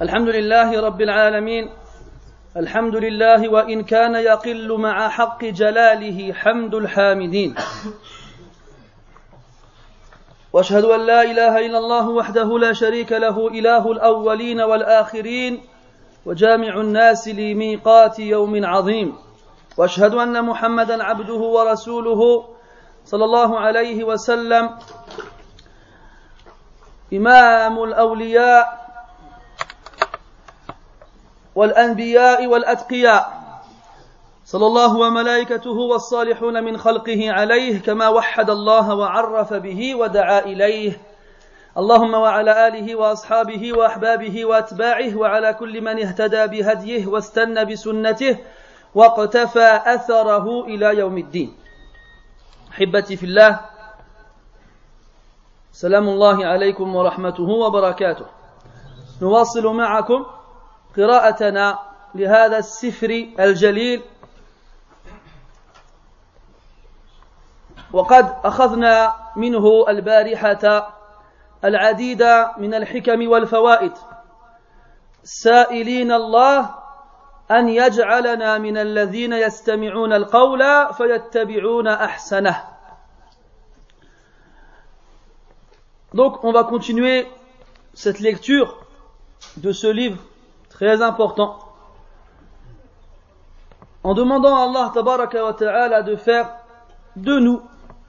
الحمد لله رب العالمين الحمد لله وإن كان يقل مع حق جلاله حمد الحامدين وأشهد أن لا إله إلا الله وحده لا شريك له إله الأولين والآخرين وجامع الناس لميقات يوم عظيم وأشهد أن محمدا عبده ورسوله صلى الله عليه وسلم إمام الأولياء والأنبياء والأتقياء صلى الله وملائكته والصالحون من خلقه عليه كما وحد الله وعرف به ودعا إليه اللهم وعلى آله وأصحابه وأحبابه وأتباعه وعلى كل من اهتدى بهديه واستنى بسنته واقتفى أثره إلى يوم الدين. أحبتي في الله، سلام الله عليكم ورحمته وبركاته. نواصل معكم قراءتنا لهذا السفر الجليل، وقد أخذنا منه البارحة العديد من الحكم والفوائد، سائلين الله أن يجعلنا من الذين يستمعون القول فيتبعون أحسنه. Donc on va continuer cette lecture de ce livre très important en demandant à Allah tabaraka wa ta'ala de faire de nous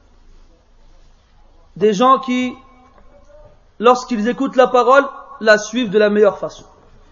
des gens qui, lorsqu'ils écoutent la parole, la suivent de la meilleure façon.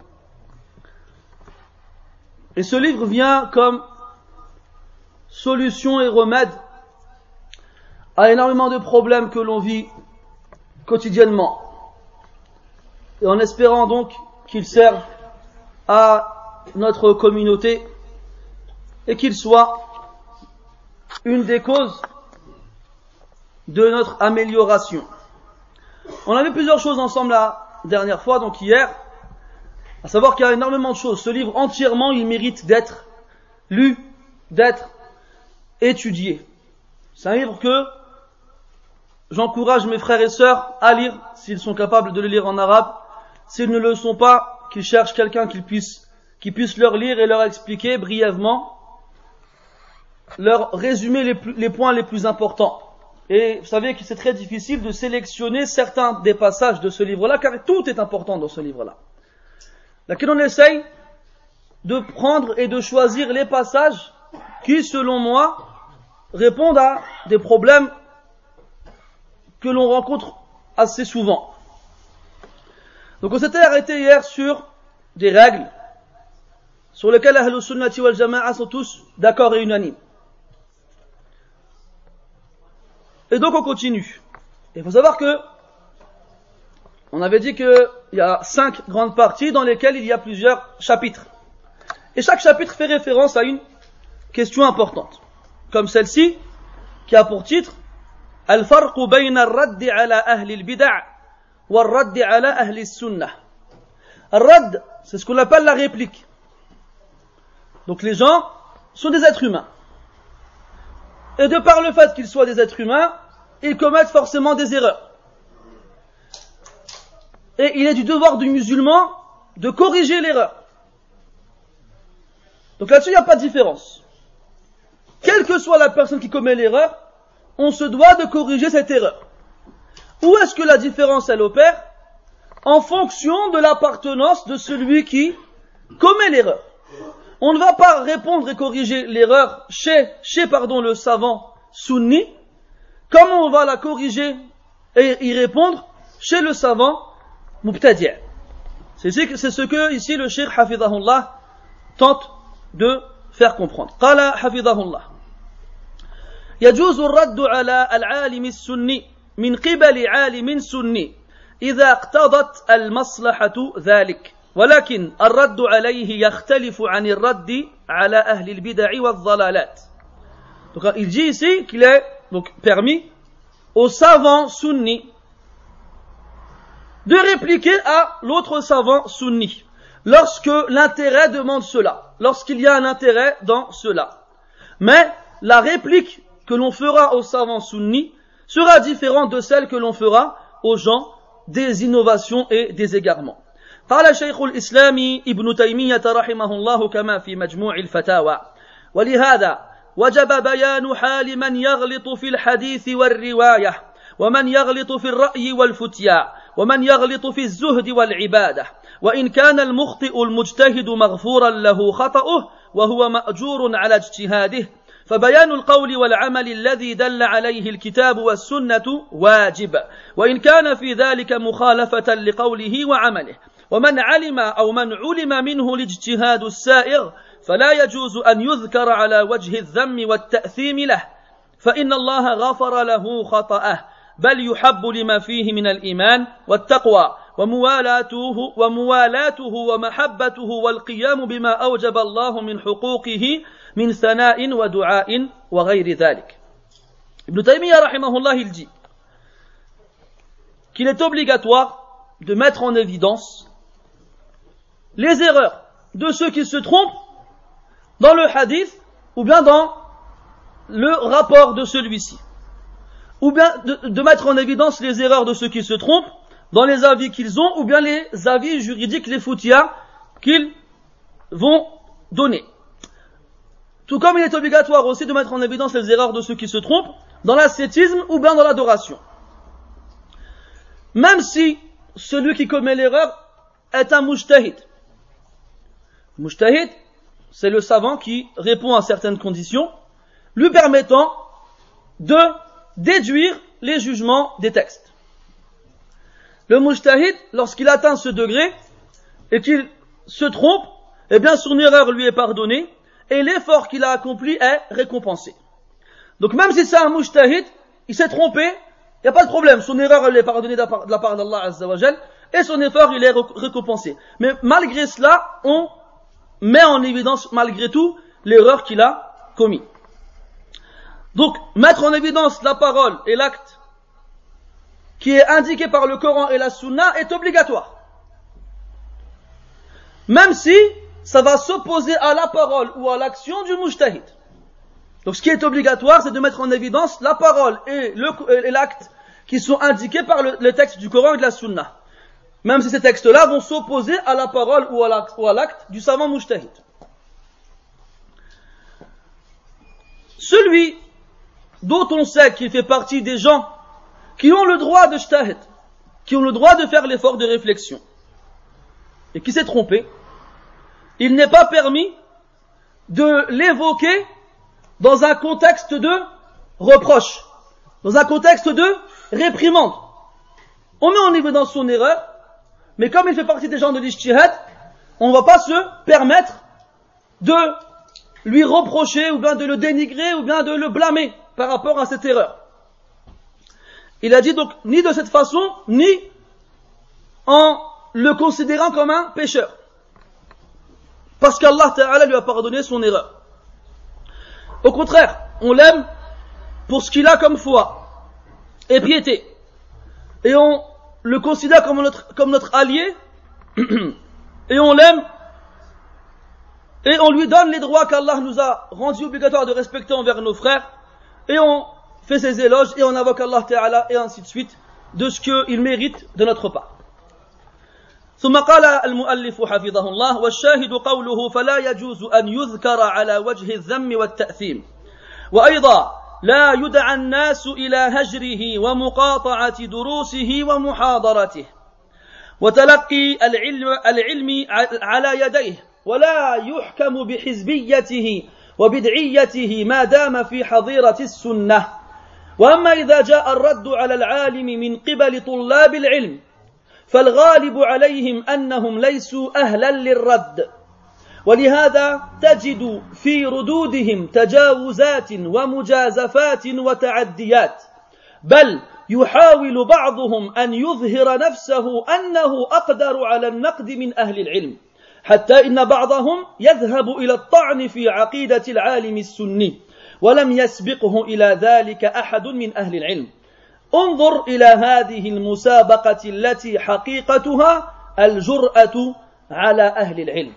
Et ce livre vient comme solution et remède à énormément de problèmes que l'on vit quotidiennement. Et en espérant donc qu'il serve à notre communauté et qu'il soit une des causes de notre amélioration. On a vu plusieurs choses ensemble la dernière fois, donc hier, à savoir qu'il y a énormément de choses. Ce livre entièrement, il mérite d'être lu, d'être étudié. C'est un livre que j'encourage mes frères et sœurs à lire, s'ils sont capables de le lire en arabe. S'ils ne le sont pas, qu'ils cherchent quelqu'un qui puisse leur lire et leur expliquer brièvement, leur résumer les points les plus importants. Et vous savez que c'est très difficile de sélectionner certains des passages de ce livre-là, car tout est important dans ce livre-là. Laquelle on essaye de prendre et de choisir les passages qui, selon moi, répondent à des problèmes que l'on rencontre assez souvent. Donc on s'était arrêté hier sur des règles sur lesquelles Ahlus Sunnati wal Jama'a sont tous d'accord et unanimes. Et donc on continue. Il faut savoir que on avait dit qu'il y a 5 grandes parties dans lesquelles il y a plusieurs chapitres. Et chaque chapitre fait référence à une question importante. Comme celle-ci, qui a pour titre Al-Farqu bayna al-Radd ala ahli al-Bid'a wa al-Radd ala ahli al-Sunnah. Al-Radd, c'est ce qu'on appelle la réplique. Donc les gens sont des êtres humains. Et de par le fait qu'ils soient des êtres humains, ils commettent forcément des erreurs. Et il est du devoir du musulman de corriger l'erreur. Donc là-dessus, il n'y a pas de différence. Quelle que soit la personne qui commet l'erreur, on se doit de corriger cette erreur. Où est-ce que la différence, elle opère? En fonction de l'appartenance de celui qui commet l'erreur. On ne va pas répondre et corriger l'erreur chez le savant sunni, comme on va la corriger et y répondre chez le savant mubtadi'. C'est ce que ici le Cheikh Hafidahullah tente de faire comprendre. Qala Hafidahullah. يجوز الرد على العالم السني من قبل عالم سني إذا اقتضت المصلحة ذلك ولكن الرد عليه يختلف عن الرد على أهل البدع والضلالات. Donc il dit ici qu'il est donc permis aux savants sunnis de répliquer à l'autre savant sunni lorsque l'intérêt demande cela, lorsqu'il y a un intérêt dans cela. Mais la réplique que l'on fera aux savants sunnis sera différente de celle que l'on fera aux gens des innovations et des égarements. قال شيخ الإسلام ابن تيمية رحمه الله كما في مجموع الفتاوى ولهذا وجب بيان حال من يغلط في الحديث والرواية ومن يغلط في الرأي والفتيا ومن يغلط في الزهد والعبادة وإن كان المخطئ المجتهد مغفورا له خطأه وهو مأجور على اجتهاده فبيان القول والعمل الذي دل عليه الكتاب والسنة واجب وإن كان في ذلك مخالفة لقوله وعمله ومن علم أو من علم منه الاجتهاد السائغ فلا يجوز أن يذكر على وجه الذم والتأثيم له فإن الله غفر له خطأه بل يحب لما فيه من الإيمان والتقوى وموالاته ومحبته والقيام بما أوجب الله من حقوقه من ثناء ودعاء وغير ذلك. Ibn Taymiyyah rahimahullah il dit qu'il est obligatoire de mettre en évidence les erreurs de ceux qui se trompent dans le hadith ou bien dans le rapport de celui-ci, ou bien de mettre en évidence les erreurs de ceux qui se trompent dans les avis qu'ils ont ou bien les avis juridiques, les foutias qu'ils vont donner. Tout comme il est obligatoire aussi de mettre en évidence les erreurs de ceux qui se trompent dans l'ascétisme ou bien dans l'adoration. Même si celui qui commet l'erreur est un mujtahid. Mujtahid, c'est le savant qui répond à certaines conditions, lui permettant de déduire les jugements des textes. Le mujtahid, lorsqu'il atteint ce degré et qu'il se trompe, eh bien son erreur lui est pardonnée et l'effort qu'il a accompli est récompensé. Donc même si c'est un mujtahid, il s'est trompé, il n'y a pas de problème, son erreur elle est pardonnée de la part d'Allah Azza wa Jal et son effort il est récompensé. Mais malgré cela, on met en évidence malgré tout l'erreur qu'il a commis. Donc mettre en évidence la parole et l'acte qui est indiqué par le Coran et la Sunna est obligatoire. Même si ça va s'opposer à la parole ou à l'action du mujtahid. Donc ce qui est obligatoire, c'est de mettre en évidence la parole et l'acte qui sont indiqués par le texte du Coran et de la Sunna. Même si ces textes-là vont s'opposer à la parole ou à l'acte du savant mujtahid. Celui dont on sait qu'il fait partie des gens qui ont le droit de ijtihad, qui ont le droit de faire l'effort de réflexion, et qui s'est trompé, il n'est pas permis de l'évoquer dans un contexte de reproche, dans un contexte de réprimande. On met en évidence son erreur, mais comme il fait partie des gens de l'ijtihad, on ne va pas se permettre de lui reprocher, ou bien de le dénigrer, ou bien de le blâmer par rapport à cette erreur. Il a dit donc ni de cette façon, ni en le considérant comme un pécheur. Parce qu'Allah Ta'ala lui a pardonné son erreur. Au contraire, on l'aime pour ce qu'il a comme foi et piété. Et on le considère comme notre allié, et on l'aime, et on lui donne les droits qu'Allah nous a rendus obligatoires de respecter envers nos frères, et on fait ses éloges, et on invoque Allah Ta'ala, et ainsi de suite, de ce qu'il mérite de notre part. ثم قال المؤلف حفظه الله والشاهد قوله فلا يجوز أن يذكر على وجه الذم والتأثيم وأيضا لا يدعى الناس إلى هجره ومقاطعة دروسه ومحاضرته وتلقي العلم على يديه ولا يحكم بحزبيته وبدعيته ما دام في حظيرة السنة وأما إذا جاء الرد على العالم من قبل طلاب العلم فالغالب عليهم أنهم ليسوا أهلا للرد ولهذا تجد في ردودهم تجاوزات ومجازفات وتعديات بل يحاول بعضهم أن يظهر نفسه أنه أقدر على النقد من أهل العلم حتى إن بعضهم يذهب إلى الطعن في عقيدة العالم السني ولم يسبقه إلى ذلك أحد من أهل العلم انظر إلى هذه المسابقة التي حقيقتها الجرأة على أهل العلم.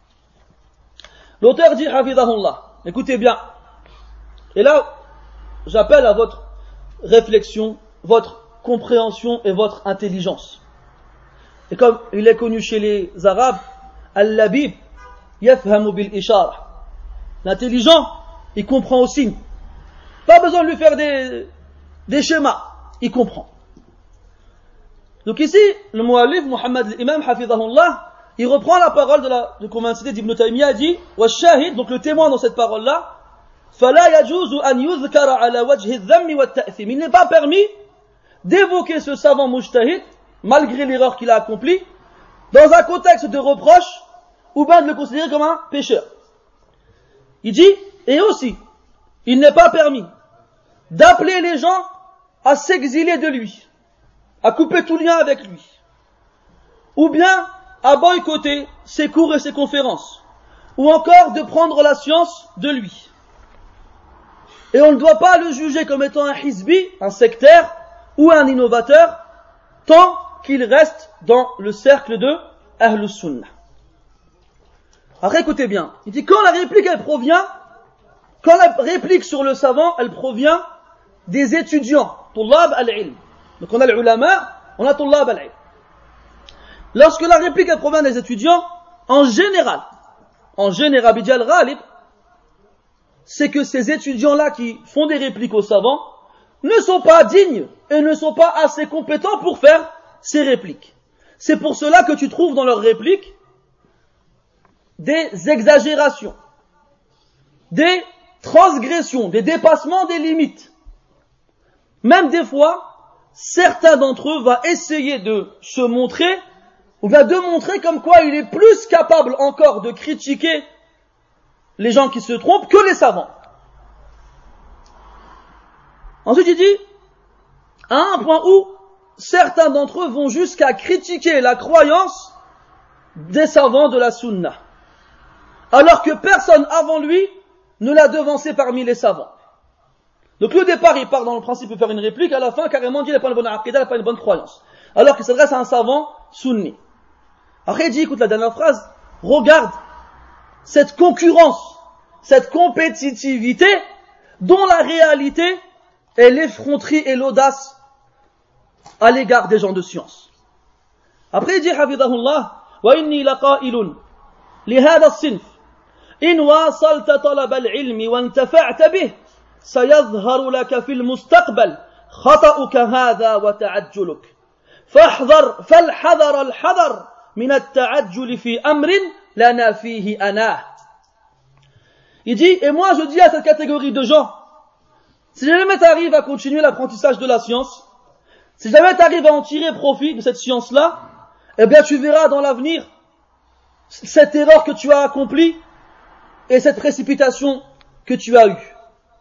L'auteur dit Hafidahullah, écoutez bien, et là j'appelle à votre réflexion, votre compréhension et votre intelligence. Et comme il est connu chez les Arabes, Al-Labib yafhamu bil-ishara. L'intelligent, il comprend au signe. Pas besoin de lui faire des schémas, il comprend. Donc ici, le muallif, Muhammad al-Imam, hafidhahullah, il reprend la parole qu'on vient de citer d'Ibn Taymiyyah, dit wa shahid, donc le témoin dans cette parole-là, fala yajuzu an yuzkara ala wajhi adh-dhamm wa at-ta'thim. Il n'est pas permis d'évoquer ce savant mujtahid, malgré l'erreur qu'il a accomplie, dans un contexte de reproche, ou bien de le considérer comme un pécheur. Il dit, et aussi, il n'est pas permis d'appeler les gens à s'exiler de lui, à couper tout lien avec lui, ou bien à boycotter ses cours et ses conférences, ou encore de prendre la science de lui. Et on ne doit pas le juger comme étant un hizbi, un sectaire, ou un innovateur, tant qu'il reste dans le cercle de Ahlus Sunnah. Alors écoutez bien, il dit quand la réplique sur le savant, elle provient des étudiants, tullab al-ilm. Donc on a l'ulama, on a tullab al-ilm. Lorsque la réplique elle provient des étudiants, en général, bidjal ghalib, c'est que ces étudiants-là qui font des répliques aux savants ne sont pas dignes et ne sont pas assez compétents pour faire ces répliques. C'est pour cela que tu trouves dans leurs répliques des exagérations, des transgressions, des dépassements des limites. Même des fois, certains d'entre eux vont essayer de se montrer, ou bien de montrer comme quoi il est plus capable encore de critiquer les gens qui se trompent que les savants. Ensuite, il dit, à un point où certains d'entre eux vont jusqu'à critiquer la croyance des savants de la sunna, alors que personne avant lui ne l'a devancé parmi les savants. Donc le départ, il part dans le principe de faire une réplique, à la fin, carrément, il dit, il n'a pas une bonne aqida, il n'a pas une bonne croyance. Alors qu'il s'adresse à un savant sunni. Après, il dit, écoute la dernière phrase, regarde cette concurrence, cette compétitivité, dont la réalité est l'effronterie et l'audace à l'égard des gens de science. Après, il dit, hafidhahullah, wa inni laqa'ilun, li hadha as-sinf, in wasalta talab al-ilmi wa intafa'ta bih, سيظهر لك في المستقبل خطأك هذا وتعجلك فالحذر الحذر من التعجل في أمر لنا فيه أناه. Il dit, et moi je dis à cette catégorie de gens, si jamais tu arrives à continuer l'apprentissage de la science, si jamais tu arrives à en tirer profit de cette science-là, eh bien tu verras dans l'avenir cette erreur que tu as accomplie et cette précipitation que tu as eue.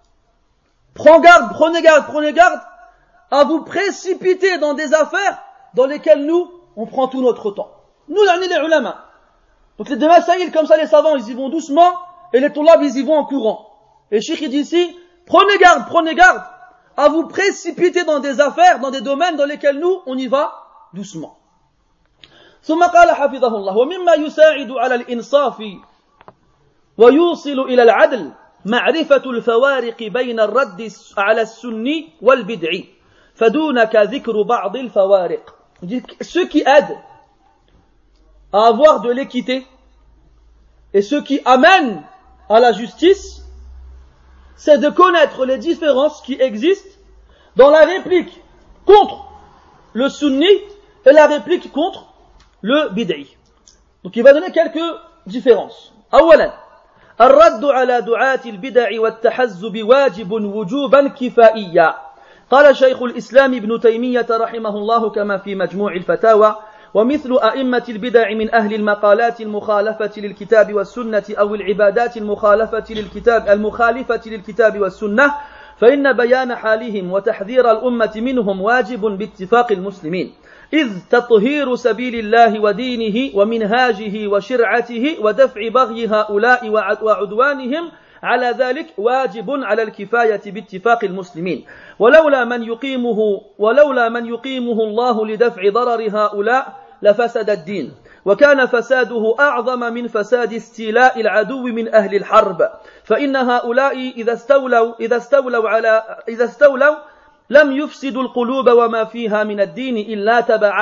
Prenez garde à vous précipiter dans des affaires dans lesquelles nous, on prend tout notre temps. Nous, on est les ulama. Donc les masaïl, comme ça, les savants, ils y vont doucement, et les tollab, ils y vont en courant. Et le cheikh, il dit ici, prenez garde à vous précipiter dans des affaires, dans des domaines dans lesquels nous, on y va doucement. ثم قال حفظه الله ومما يساعد على الإنصاف ويوصل إلى العدل معرفة الفوارق بين الرد على السني والبدعي فدونك ذكر بعض الفوارق. Ce qui aide à avoir de l'équité et ce qui amène à la justice, c'est de connaître les différences qui existent dans la réplique contre le sunni et la réplique contre le bid'i. Donc il va donner quelques différences. أولا الرد على دعاة البدع والتحزب واجب وجوبا كفائيا. قال شيخ الإسلام ابن تيمية رحمه الله كما في مجموع الفتاوى ومثل أئمة البدع من أهل المقالات المخالفة للكتاب والسنة أو العبادات المخالفة للكتاب والسنة فإن بيان حالهم وتحذير الأمة منهم واجب باتفاق المسلمين إذ تطهير سبيل الله ودينه ومنهاجه وشرعته ودفع بغي هؤلاء وعدوانهم على ذلك واجب على الكفاية باتفاق المسلمين ولولا من يقيمه الله لدفع ضرر هؤلاء لفسد الدين وكان فساده أعظم من فساد استيلاء العدو من أهل الحرب فإن هؤلاء إذا استولوا لم يفسدوا القلوب وما فيها من الدين إلا تبعا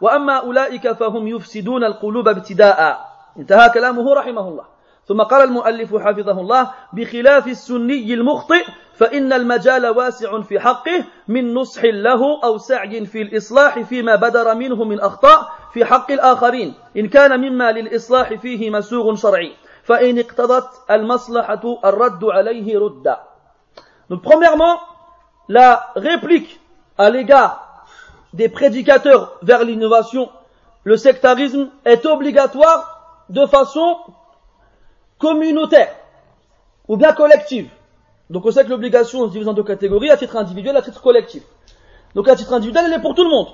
وأما أولئك فهم يفسدون القلوب ابتداء. انتهى كلامه رحمه الله. ثم قال المؤلف حفظه الله: بخلاف السني المخطئ فإن المجال واسع في حقه من نصح له أو سعي في الإصلاح فيما بدر منه من أخطاء في حق الآخرين إن كان مما للإصلاح فيه مسوغ شرعي فإن اقتضت المصلحة الرد عليه ردا. Donc premièrement, la réplique à l'égard des prédicateurs vers l'innovation, le sectarisme, est obligatoire de façon communautaire ou bien collective. Donc on sait que l'obligation se divise en deux catégories, à titre individuel et à titre collectif. Donc à titre individuel, elle est pour tout le monde.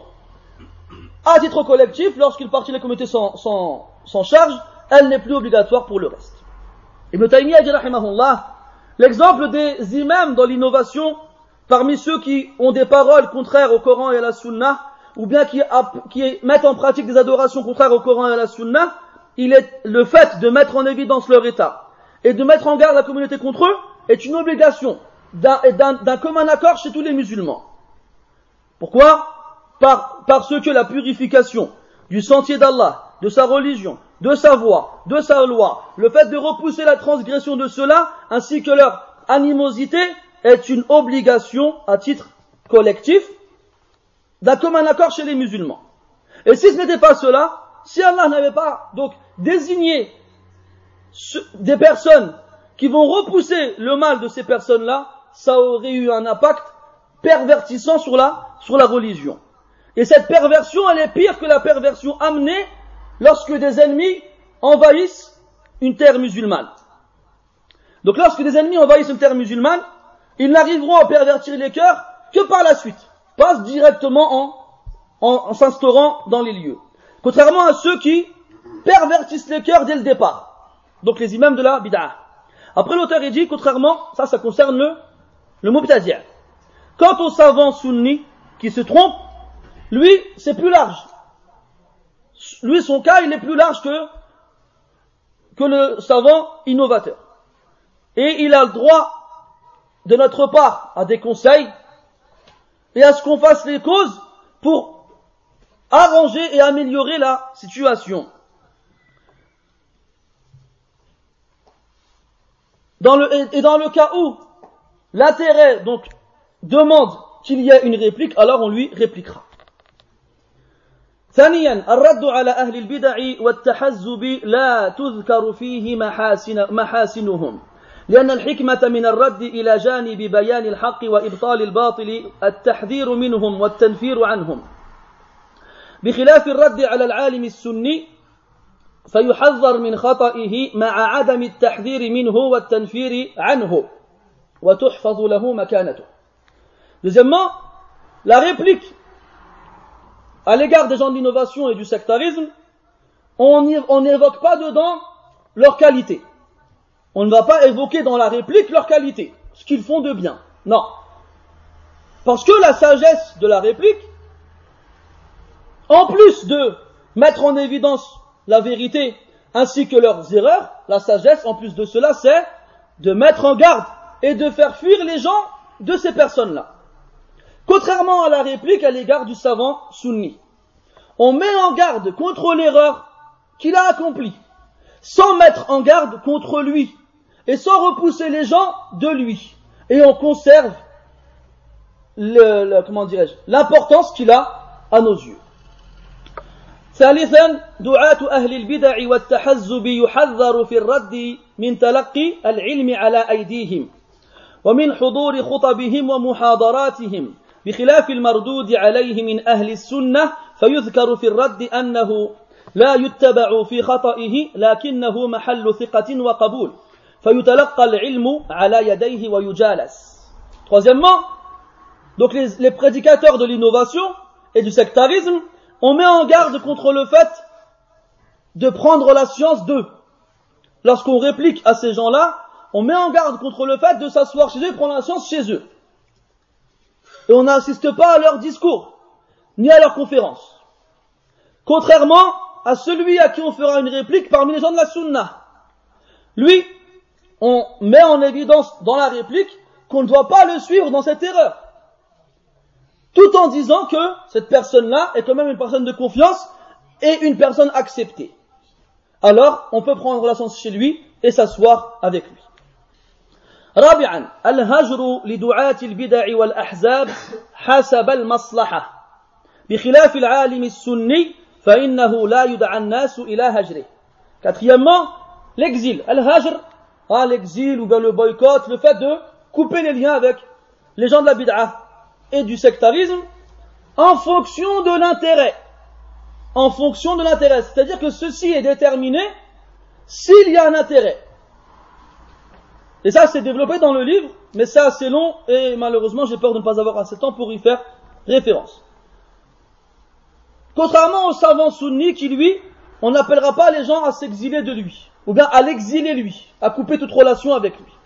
À titre collectif, lorsqu'une partie de la communauté s'en charge, elle n'est plus obligatoire pour le reste. Ibn Taymiyyah dit rahimahullah, l'exemple des imams dans l'innovation, parmi ceux qui ont des paroles contraires au Coran et à la Sunna, ou bien qui mettent en pratique des adorations contraires au Coran et à la Sunna, il est le fait de mettre en évidence leur état et de mettre en garde la communauté contre eux est une obligation d'un commun accord chez tous les musulmans. Pourquoi? Parce que la purification du sentier d'Allah, de sa religion, de sa voie, de sa loi, le fait de repousser la transgression de ceux-là, ainsi que leur animosité, est une obligation à titre collectif d'un commun accord chez les musulmans. Et si ce n'était pas cela, si Allah n'avait pas donc désigné des personnes qui vont repousser le mal de ces personnes-là, ça aurait eu un impact pervertissant sur la religion. Et cette perversion, elle est pire que la perversion amenée lorsque des ennemis envahissent une terre musulmane. Donc lorsque des ennemis envahissent une terre musulmane, ils n'arriveront à pervertir les cœurs que par la suite, pas directement en s'instaurant dans les lieux. Contrairement à ceux qui pervertissent les cœurs dès le départ. Donc les imams de la bid'ah. Après l'auteur il dit, contrairement, ça concerne le mubtadi'. Quant au savant sunni qui se trompe, lui c'est plus large. Lui son cas il est plus large que le savant innovateur. Et il a le droit de notre part à des conseils et à ce qu'on fasse les causes pour arranger et améliorer la situation. Dans le cas où l'intérêt donc demande qu'il y ait une réplique, alors on lui répliquera. ثانيا الرد على أهل البدع والتحزب لا تذكر فيه محاسنهم لأن الحكمة من الرد إلى جانب بيان الحق وإبطال الباطل التحذير منهم والتنفير عنهم بخلاف الرد على العالم السني فيحذر من خطئه مع عدم التحذير منه والتنفير عنه وتحفظ له مكانته. Deuxièmement, la réplique à l'égard des gens de l'innovation et du sectarisme, on n'évoque pas dedans leur qualité. On ne va pas évoquer dans la réplique leur qualité, ce qu'ils font de bien. Non. Parce que la sagesse de la réplique, en plus de mettre en évidence la vérité ainsi que leurs erreurs, la sagesse, en plus de cela, c'est de mettre en garde et de faire fuir les gens de ces personnes-là. Contrairement à la réplique à l'égard du savant sunni, on met en garde contre l'erreur qu'il a accomplie, sans mettre en garde contre lui, et sans repousser les gens de lui. Et on conserve l'importance qu'il a à nos yeux. ثالثا دعاة أهل البدع والتحزب يحذر في الرد من تلقي العلم على أيديهم ومن حضور خطبهم ومحاضراتهم بخلاف المردود عليه من أهل السنة فيذكر في الرد أنه لا يتبع في خطئه لكنه محل ثقة وقبول فيتلقى العلم على يديه ويجالس. Troisièmement, donc les prédicateurs de l'innovation et du sectarisme, on met en garde contre le fait de prendre la science d'eux. Lorsqu'on réplique à ces gens-là, on met en garde contre le fait de s'asseoir chez eux et prendre la science chez eux. Et on n'assiste pas à leurs discours, ni à leurs conférences. Contrairement à celui à qui on fera une réplique parmi les gens de la Sunna. Lui, on met en évidence dans la réplique qu'on ne doit pas le suivre dans cette erreur. tout en disant que cette personne-là est quand même une personne de confiance et une personne acceptée. Alors, on peut prendre relation chez lui et s'asseoir avec lui. رابعا الهجر لدعاة البدع والأحزاب حسب المصلحة بخلاف العالم السني فإنه لا يدعى الناس إلى هجره. Quatrièmement, l'exil, al-hajr, l'exil ou bien le boycott, le fait de couper les liens avec les gens de la bid'a et du sectarisme en fonction de l'intérêt. En fonction de l'intérêt, c'est-à-dire que ceci est déterminé s'il y a un intérêt. Et ça, c'est développé dans le livre, mais c'est assez long et malheureusement, j'ai peur de ne pas avoir assez de temps pour y faire référence. Contrairement au savant sunni qui, lui, on n'appellera pas les gens à s'exiler de lui, ou bien à l'exiler lui, à couper toute relation avec lui.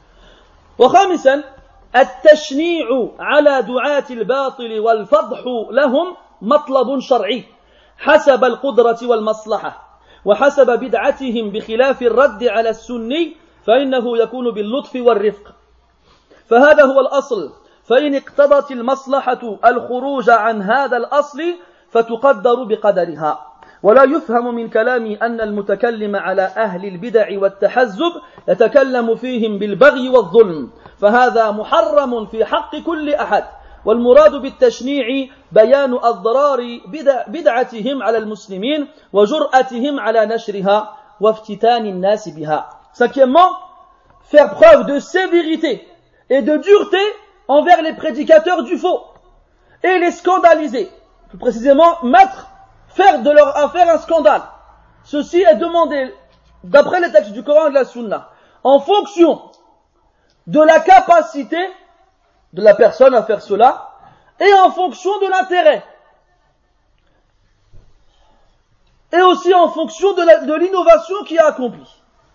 وخامسا التشنيع على دعاة الباطل والفضح لهم مطلب شرعي حسب القدرة والمصلحة وحسب بدعتهم بخلاف الرد على السني فإنه يكون باللطف والرفق فهذا هو الأصل فإن اقتضت المصلحة الخروج عن هذا الأصل فتقدر بقدرها ولا يفهم من كلامي أن المتكلم على أهل البدع والتحزب يتكلم فيهم بالبغي والظلم فهذا محرم في حق كل أحد والمراد بالتشنيع بيان أضرار بدعتهم على المسلمين وجرأتهم على نشرها وافتتان الناس بها. Cinquièmement, faire preuve de sévérité et de dureté envers les prédicateurs du faux et les scandaliser. Plus précisément, faire de leur affaire un scandale. Ceci est demandé d'après les textes du Coran et de la Sunna en fonction de la capacité de la personne à faire cela et en fonction de l'intérêt et aussi en fonction de l'innovation qui est accomplie.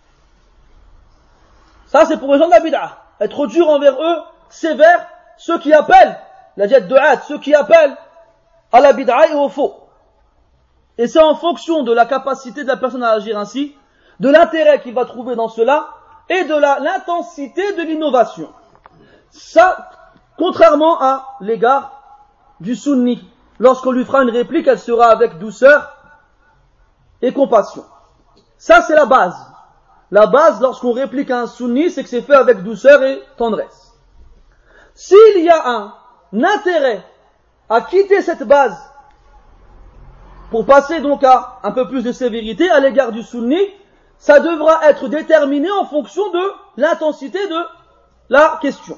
Ça, c'est pour les gens de la bid'a. Être dur envers eux, sévère, ceux qui appellent, la jet de hâte, ceux qui appellent à la bid'a et au faux. Et c'est en fonction de la capacité de la personne à agir ainsi, de l'intérêt qu'il va trouver dans cela, et de l'intensité de l'innovation. Ça, contrairement à l'égard du sunni. Lorsqu'on lui fera une réplique, elle sera avec douceur et compassion. Ça, c'est la base. La base, lorsqu'on réplique à un sunni, c'est que c'est fait avec douceur et tendresse. S'il y a un intérêt à quitter cette base pour passer donc à un peu plus de sévérité à l'égard du sunni, ça devra être déterminé en fonction de l'intensité de la question.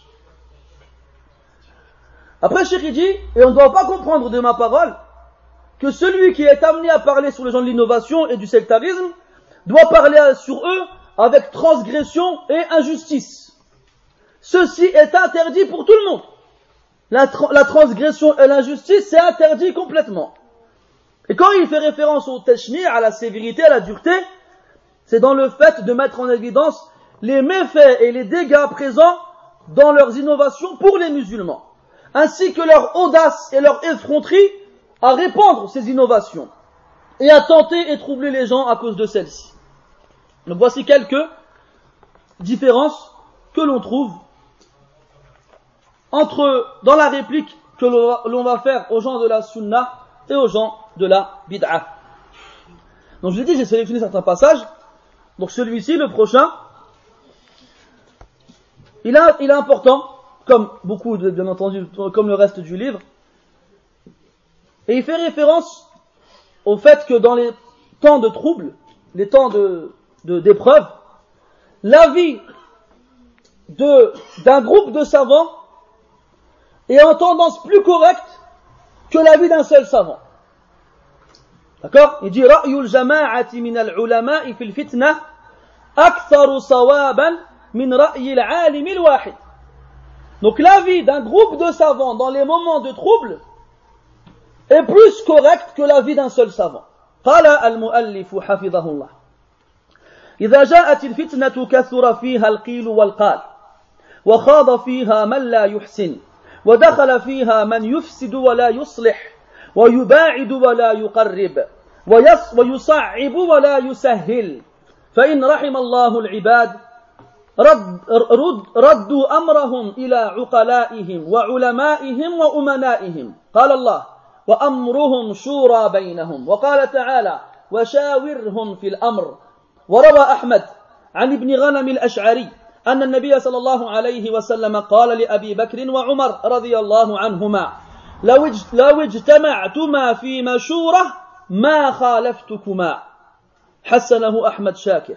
Après, Cheikh dit, et on ne doit pas comprendre de ma parole, que celui qui est amené à parler sur les gens de l'innovation et du sectarisme doit parler sur eux avec transgression et injustice. Ceci est interdit pour tout le monde. La transgression et l'injustice, c'est interdit complètement. Et quand il fait référence au tashni', à la sévérité, à la dureté, c'est dans le fait de mettre en évidence les méfaits et les dégâts présents dans leurs innovations pour les musulmans, ainsi que leur audace et leur effronterie à répandre ces innovations et à tenter et troubler les gens à cause de celles-ci. Donc voici quelques différences que l'on trouve dans la réplique que l'on va faire aux gens de la sunna et aux gens de la bid'a. Donc je vous ai dit, j'ai sélectionné certains passages. Donc celui-ci, le prochain, il est important, comme beaucoup, bien entendu, comme le reste du livre, et il fait référence au fait que dans les temps de trouble, les temps d'épreuve, l'avis d'un groupe de savants est en tendance plus correcte que l'avis d'un seul savant. D'accord? Il dit ra'yul jama'ati min al-ulama'i fil fitna aktharu sawaban min ra'yi al-'alim al-wahid. Donc l'avis d'un groupe de savants dans les moments de trouble est plus correct que l'avis d'un seul savant. قال المؤلف حفظه الله إذا جاءت الفتنة كثر فيها القيل والقال وخاض فيها من لا يحسن ودخل فيها من يفسد ولا يصلح ويباعد ولا يقرب ويصعب ولا يسهل فإن رحم الله العباد ردوا أمرهم إلى عقلائهم وعلمائهم وأمنائهم قال الله وأمرهم شورى بينهم وقال تعالى وشاورهم في الأمر وروى أحمد عن ابن غنم الأشعري أن النبي صلى الله عليه وسلم قال لأبي بكر وعمر رضي الله عنهما لو اجتمعتما في مشورة ما خالفتكما حسنه أحمد شاكر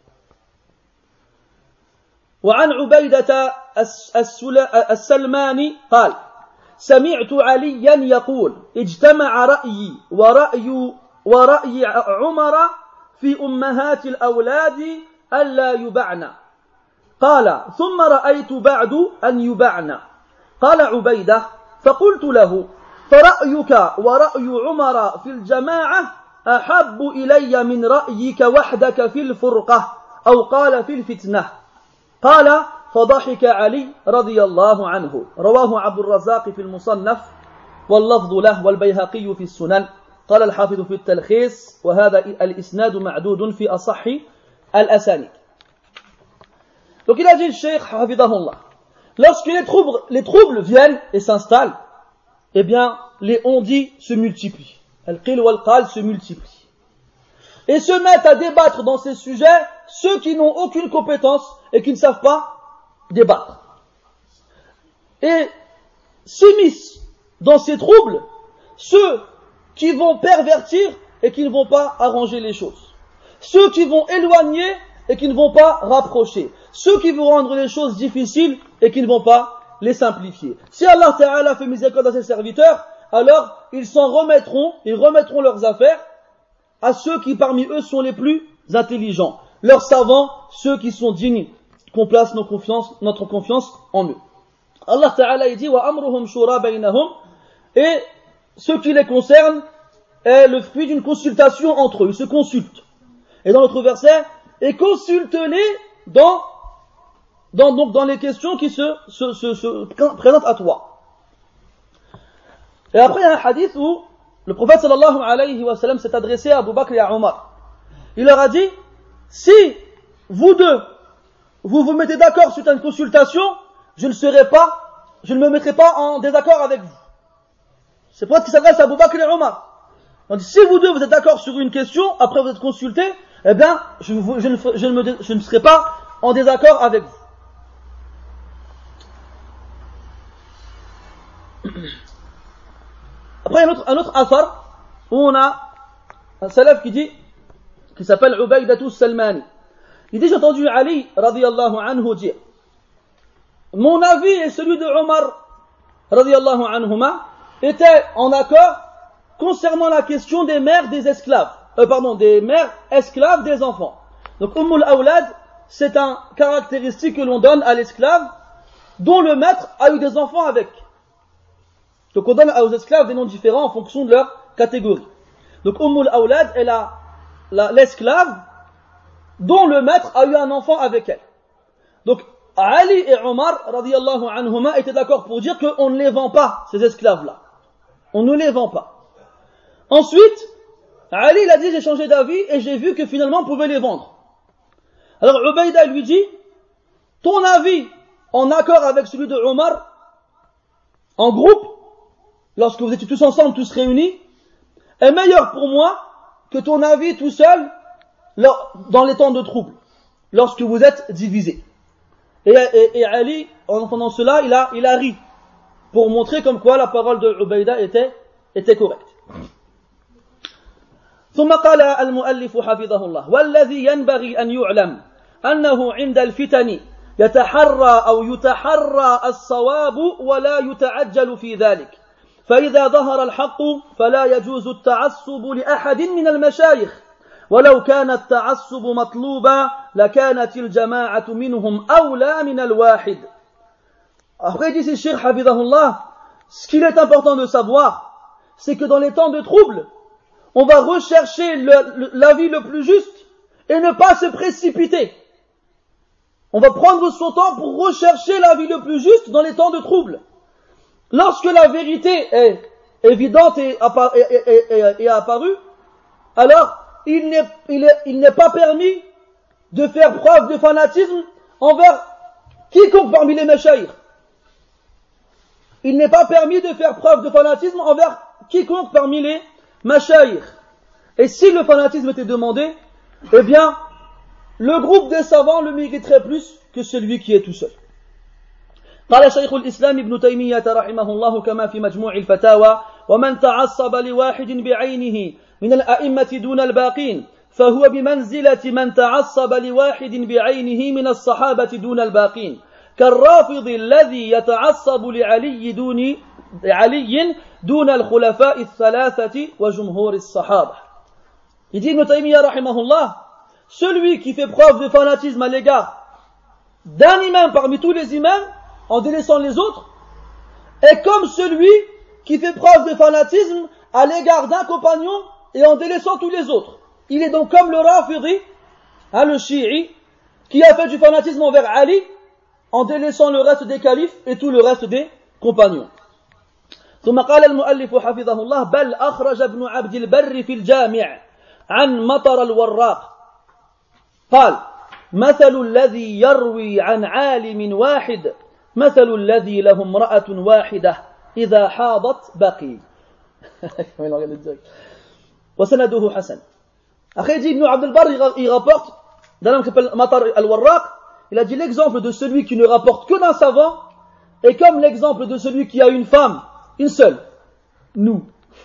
وعن عبيدة السلماني قال سمعت عليا يقول اجتمع رأيي ورأي عمر في أمهات الأولاد ألا يبعن قال ثم رأيت بعد أن يبعن قال عبيدة فقلت له فرأيك ورأي عمر في الجماعة أحب إلي من رأيك وحدك في الفرقة أو قال في الفتنة قال فضحك علي رضي الله عنه رواه عبد الرزاق في المصنف واللفظ له والبيهقي في السنن قال الحافظ في التلخيص وهذا الإسناد معدود في أصح الأسانيد. Donc il a dit le Cheikh Hafidahullah, lorsque les troubles viennent et s'installent, eh bien les on-dit se multiplient, al-qil wal-qal se multiplient et se mettent à débattre dans ces sujets ceux qui n'ont aucune compétence et qui ne savent pas débattre. Et s'immiscent dans ces troubles ceux qui vont pervertir et qui ne vont pas arranger les choses, ceux qui vont éloigner et qui ne vont pas rapprocher, ceux qui vont rendre les choses difficiles et qui ne vont pas les simplifier. Si Allah Ta'ala fait miséricorde à ses serviteurs, alors ils remettront leurs affaires à ceux qui parmi eux sont les plus intelligents, leurs savants, ceux qui sont dignes qu'on place notre confiance en eux. Allah Ta'ala dit wa amruhum shura baynahum, et ce qui les concerne est le fruit d'une consultation entre eux, ils se consultent. Et dans notre verset, et consulte-les dans les questions qui se présentent à toi. Et après il y a un hadith où le prophète sallallahu alayhi wa sallam s'est adressé à Abu Bakr et à Omar. Il leur a dit, si vous deux, vous mettez d'accord sur une consultation, je ne me mettrai pas en désaccord avec vous. C'est pour ça qu'il s'adresse à Abu Bakr et à Omar. On dit, si vous deux vous êtes d'accord sur une question, après vous êtes consultés, eh bien, je ne serai pas en désaccord avec vous. Après, un autre athar, où on a un salaf qui s'appelle Ubaydatu Salmani. Il dit, j'ai entendu Ali, radiyallahu anhu, dire, mon avis et celui de Omar, radiyallahu anhuma, étaient en accord concernant la question des mères des esclaves. Des mères esclaves des enfants. Donc, Ummul Awlad, c'est une caractéristique que l'on donne à l'esclave dont le maître a eu des enfants avec. Donc, on donne aux esclaves des noms différents en fonction de leur catégorie. Donc, Ummul Awlad est l'esclave dont le maître a eu un enfant avec elle. Donc, Ali et Omar, radiyallahu anhuma, étaient d'accord pour dire qu'on ne les vend pas, ces esclaves-là. On ne les vend pas. Ensuite, Ali il a dit, j'ai changé d'avis et j'ai vu que finalement on pouvait les vendre. Alors Ubayda lui dit, ton avis en accord avec celui de Omar, en groupe, lorsque vous étiez tous ensemble, tous réunis, est meilleur pour moi que ton avis tout seul dans les temps de trouble, lorsque vous êtes divisés. Et Ali, en entendant cela, il a ri, pour montrer comme quoi la parole de Ubayda était correcte. ثم قال المؤلف حفظه الله والذي ينبغي أن يعلم أنه عند الفتن يتحرى الصواب ولا يتعجل في ذلك فإذا ظهر الحق فلا يجوز التعصب لأحد من المشايخ ولو كان التعصب مطلوبا لكانت الجماعة منهم أولى من الواحد. Après dit Cheikh Hafidahullah, ce qu'il est important de savoir, c'est que dans les temps de trouble, on va rechercher l'avis le plus juste et ne pas se précipiter. On va prendre son temps pour rechercher l'avis le plus juste dans les temps de trouble. Lorsque la vérité est évidente et apparue, alors il n'est pas permis de faire preuve de fanatisme envers quiconque parmi les mashayikh. Il n'est pas permis de faire preuve de fanatisme envers quiconque parmi les mashayikh. Et si le fanatisme était demandé, eh bien, le groupe des savants le mériterait plus que celui qui est tout seul. قال شيخ الإسلام ابن تيمية رحمه الله كما في مجموع الفتاوى ومن تعصب لواحد بعينه من الأئمة دون الباقين فهو بمنزلة من تعصب لواحد بعينه من الصحابة دون الباقين كالرافض الذي يتعصب لعلي دون الخلفاء الثلاثة وجمهور الصحابة. Il dit Ibn Taymiyyah rahimahullah, celui qui fait preuve de fanatisme à l'égard d'un imam parmi tous les imams en délaissant les autres est comme celui qui fait preuve de fanatisme à l'égard d'un compagnon et en délaissant tous les autres. Il est donc comme le Rafidi, le Shi'i, qui a fait du fanatisme envers Ali en délaissant le reste des califes et tout le reste des compagnons. ثم قال المؤلف حفظه الله بل أخرج ابن عبد البر في الجامع عن مطر الوراق قال مثل الذي يروي عن عالم واحد مثل الذي له امرأة واحدة إذا حاضت بقي وسنده حسن. Après il dit Ibn Abd al-Barr, il rapporte d'un homme qui s'appelle Matar al-Warraq, il a dit l'exemple de celui qui ne rapporte que d'un savant est comme l'exemple de celui qui a une femme, une seule, nous.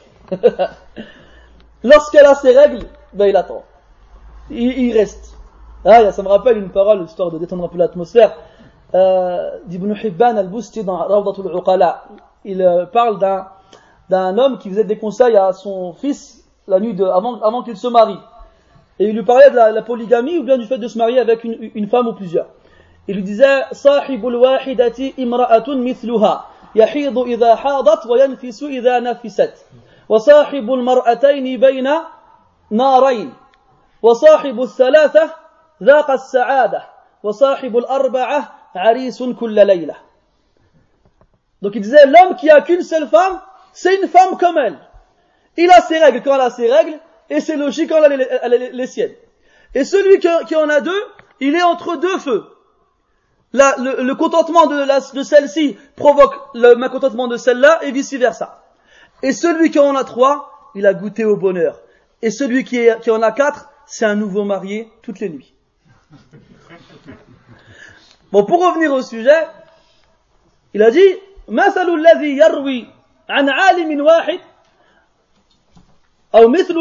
Lorsqu'elle a ses règles, ben il attend, il reste. Ah, ça me rappelle une parole, histoire de détendre un peu l'atmosphère, d'Ibn Hibban al-Busti dans Rawdatul Uqala. Il parle d'un homme qui faisait des conseils à son fils la nuit avant qu'il se marie. Et il lui parlait de la polygamie ou bien du fait de se marier avec une femme ou plusieurs. Il lui disait Sahibul wahidati imra'atun mithluha yahidu idha hadat wa yanfisu idha nafisat wa sahibul mar'atayni bayna narayn wa sahibul thalatha dhaqa as-sa'adah wa sahibul arba'ah arisun kulla layla. Donc il disait l'homme qui a qu'une seule femme, c'est une femme comme elle. Il a ses règles quand elle a ses règles, et c'est logique quand elle a les siennes. Et celui qui en a deux, il est entre deux feux. Le contentement de celle-ci provoque le mécontentement de celle-là, et vice versa. Et celui qui en a trois, il a goûté au bonheur. Et celui qui en a quatre, c'est un nouveau marié toutes les nuits. Bon, pour revenir au sujet, il a dit مثل الذي يروي عن عالم واحد أو مثل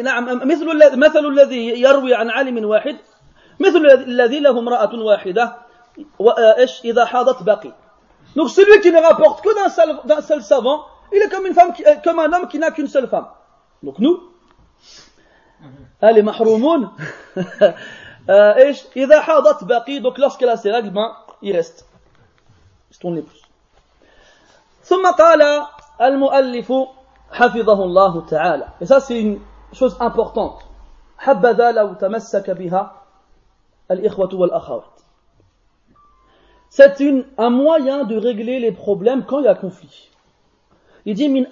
الذي يروي عن عالم واحد مثل الذي له امرأة واحدة وإيش إذا حاضت باقي. Donc celui qui ne rapporte que d'un seul savant, il est comme une femme, comme un homme qui n'a qu'une seule femme. Donc nous, les mahroumoun, إيش إذا حاضت باقي. Donc lorsqu'elle a ses règles, il reste. Il se tourne les pouces. ثم قال المؤلف حفظه الله تعالى. Et ça c'est une chose importante. حبذا لو تمسك بها الإخوة والأخوات. C'est un moyen de régler les problèmes quand il y a conflit. Il dit من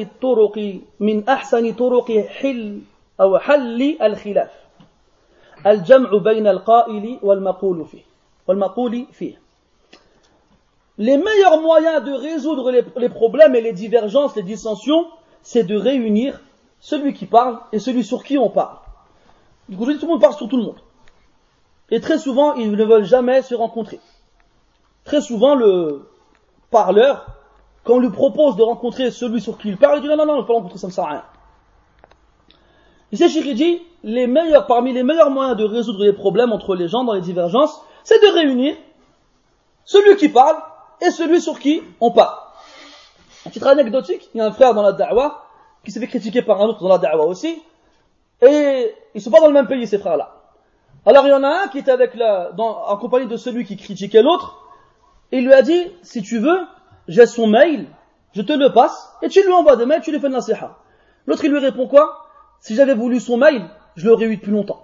أحسن طرق حل الخلاف الجمع بين القائل والمقول فيه. Les meilleurs moyens de résoudre les problèmes et les divergences, les dissensions, c'est de réunir celui qui parle et celui sur qui on parle. Du coup, tout le monde parle sur tout le monde. Et très souvent, ils ne veulent jamais se rencontrer. Très souvent, le parleur, quand on lui propose de rencontrer celui sur qui il parle, il dit non, je ne veux pas rencontrer, ça ne sert à rien. Ici, Cheikh dit, parmi les meilleurs moyens de résoudre les problèmes entre les gens dans les divergences, c'est de réunir celui qui parle et celui sur qui on parle. Un titre anecdotique, il y a un frère dans la da'wa qui s'est fait critiquer par un autre dans la da'wa aussi, et ils ne sont pas dans le même pays ces frères-là. Alors il y en a un qui était en compagnie de celui qui critiquait l'autre, et il lui a dit, si tu veux, j'ai son mail, je te le passe, et tu lui envoies des mails, tu lui fais de nasiha. L'autre il lui répond quoi? Si j'avais voulu son mail, je l'aurais eu depuis longtemps.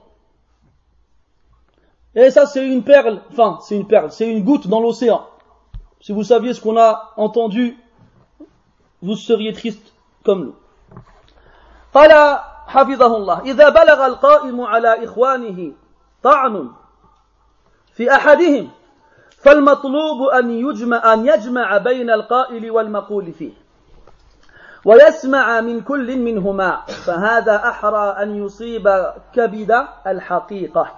Et ça c'est une goutte dans l'océan. Si vous saviez ce qu'on a entendu, vous seriez triste comme nous. قال حفظه الله إذا بلغ القائم على إخوانه طعن في أحدهم فالمطلوب أن يجمع بين القائل والمقول فيه ويسمع من كل منهما فهذا أحرى أن يصيب كبد الحقيقة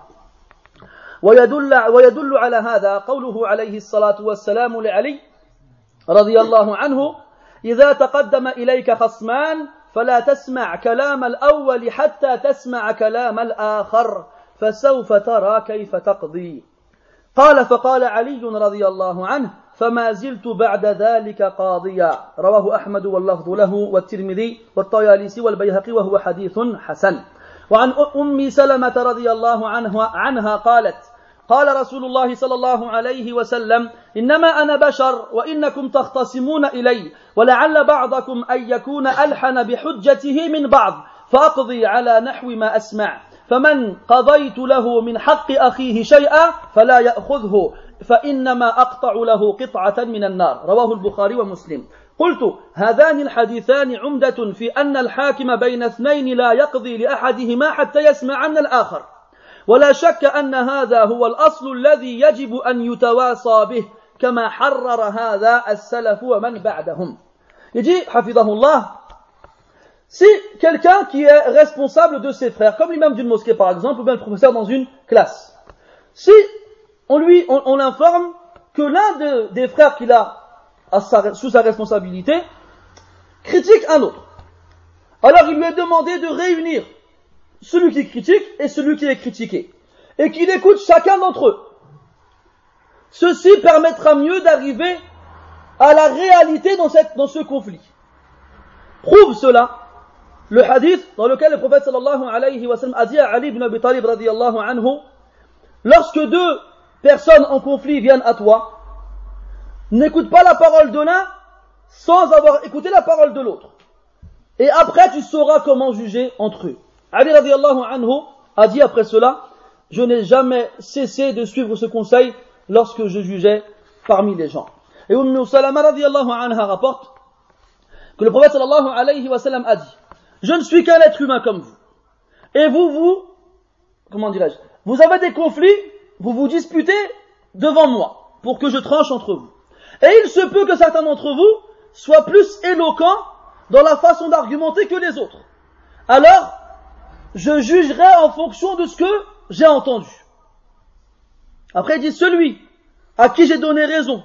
ويدل على هذا قوله عليه الصلاة والسلام لعلي رضي الله عنه إذا تقدم إليك خصمان فلا تسمع كلام الأول حتى تسمع كلام الآخر فسوف ترى كيف تقضي قال فقال علي رضي الله عنه فما زلت بعد ذلك قاضيا رواه أحمد واللفظ له والترمذي والطيالسي والبيهقي وهو حديث حسن وعن أم سلمة رضي الله عنها قالت قال رسول الله صلى الله عليه وسلم إنما أنا بشر وإنكم تختصمون إلي ولعل بعضكم أن يكون ألحن بحجته من بعض فأقضي على نحو ما أسمع فمن قضيت له من حق أخيه شيئا فلا يأخذه فإنما أقطع له قطعة من النار رواه البخاري ومسلم قلت هذان الحديثان عمدة في أن الحاكم بين اثنين لا يقضي لأحدهما حتى يسمع من الآخر ولا شك أن هذا هو الأصل الذي يجب أن يتواصى به كما حرر هذا السلف ومن بعدهم. Il dit, hafidahullah, si quelqu'un qui est responsable de ses frères, comme l'imam d'une mosquée par exemple, ou bien le professeur dans une classe, si on l'informe que l'un des frères qu'il a sous sa responsabilité critique un autre, alors il lui est demandé de réunir celui qui critique et celui qui est critiqué, et qu'il écoute chacun d'entre eux. Ceci permettra mieux d'arriver à la réalité dans ce conflit. Prouve cela le hadith dans lequel le prophète sallallahu alayhi wa sallam a dit à Ali ibn Abi Talib radiyallahu anhu, lorsque deux personnes en conflit viennent à toi, n'écoute pas la parole de l'un sans avoir écouté la parole de l'autre. Et après tu sauras comment juger entre eux. Ali radiyallahu anhu a dit après cela, je n'ai jamais cessé de suivre ce conseil lorsque je jugeais parmi les gens. Et Umm Salama radiyallahu anha rapporte que le prophète sallallahu alayhi wa sallam a dit, je ne suis qu'un être humain comme vous. Et vous avez des conflits, vous vous disputez devant moi pour que je tranche entre vous. Et il se peut que certains d'entre vous soient plus éloquents dans la façon d'argumenter que les autres. Alors, je jugerai en fonction de ce que j'ai entendu. Après, il dit, celui à qui j'ai donné raison,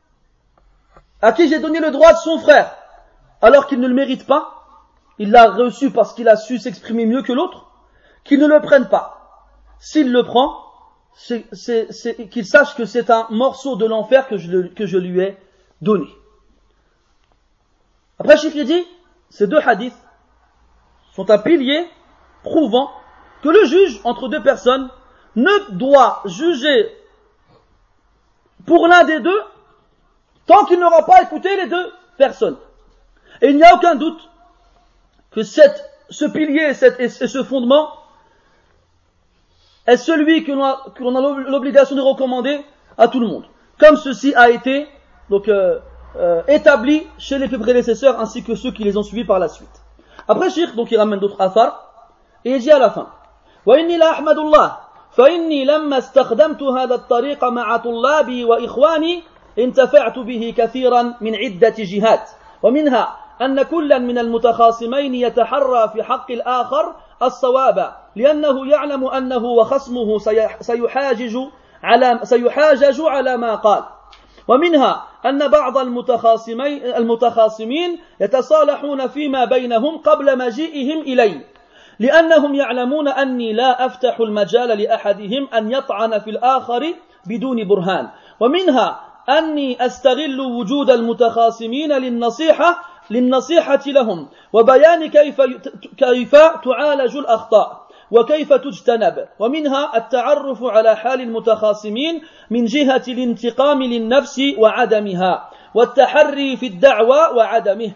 à qui j'ai donné le droit de son frère, alors qu'il ne le mérite pas, il l'a reçu parce qu'il a su s'exprimer mieux que l'autre, qu'il ne le prenne pas. S'il le prend, qu'il sache que c'est un morceau de l'enfer que je lui ai donné. Après, Cheikh dit, ces deux hadiths sont un pilier prouvant que le juge entre deux personnes ne doit juger pour l'un des deux tant qu'il n'aura pas écouté les deux personnes. Et il n'y a aucun doute que ce pilier et ce fondement est celui que l'on a l'obligation de recommander à tout le monde. Comme ceci a été établi chez les prédécesseurs ainsi que ceux qui les ont suivis par la suite. Après, Cheikh, donc il ramène d'autres athars et il dit à la fin, وإني لا أحمد الله فإني لما استخدمت هذا الطريق مع طلابي وإخواني انتفعت به كثيرا من عدة جهات ومنها أن كلا من المتخاصمين يتحرى في حق الآخر الصواب لأنه يعلم أنه وخصمه سيحاجج على ما قال ومنها أن بعض المتخاصمين يتصالحون فيما بينهم قبل مجيئهم إلي لأنهم يعلمون أني لا أفتح المجال لأحدهم أن يطعن في الآخر بدون برهان ومنها أني أستغل وجود المتخاصمين للنصيحة لهم وبيان كيف تعالج الأخطاء وكيف تجتنب ومنها التعرف على حال المتخاصمين من جهة الانتقام للنفس وعدمها والتحري في الدعوى وعدمه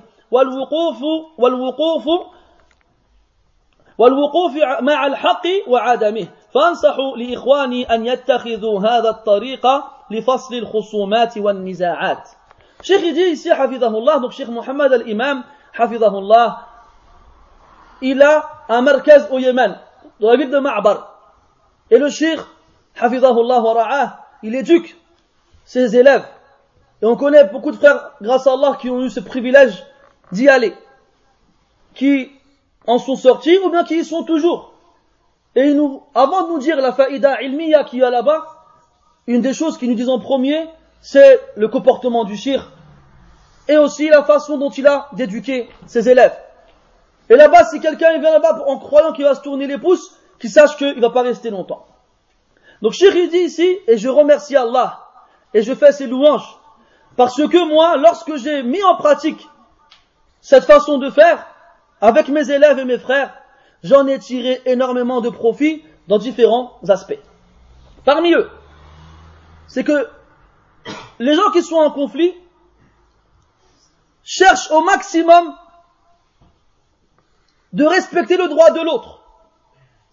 والوقوف مع الحق وعدمه فانصح لإخواني أن يتخذوا هذا الطريق لفصل الخصومات والنزاعات. Cheikh dit ici, hafidahullah, donc Cheikh Mohammed al-Imam, hafidahullah, il a un markaz au Yémen, dans la ville de Ma'bar. Et le Cheikh, hafidahullah wa ra'ah, il éduque ses élèves. Et on connaît beaucoup de frères, grâce à Allah, qui ont eu ce privilège d'y aller, qui en sont sortis ou bien qui y sont toujours. Et avant de nous dire la faïda ilmiya qu'il y a là-bas, une des choses qu'ils nous disent en premier, c'est le comportement du shir et aussi la façon dont il a d'éduquer ses élèves. Et là-bas, si quelqu'un vient là-bas en croyant qu'il va se tourner les pouces, qu'il sache qu'il ne va pas rester longtemps. Donc Cheikh il dit ici, et je remercie Allah, et je fais ses louanges, parce que moi, lorsque j'ai mis en pratique cette façon de faire, avec mes élèves et mes frères, j'en ai tiré énormément de profit dans différents aspects. Parmi eux, c'est que les gens qui sont en conflit cherchent au maximum de respecter le droit de l'autre. Pourquoi ?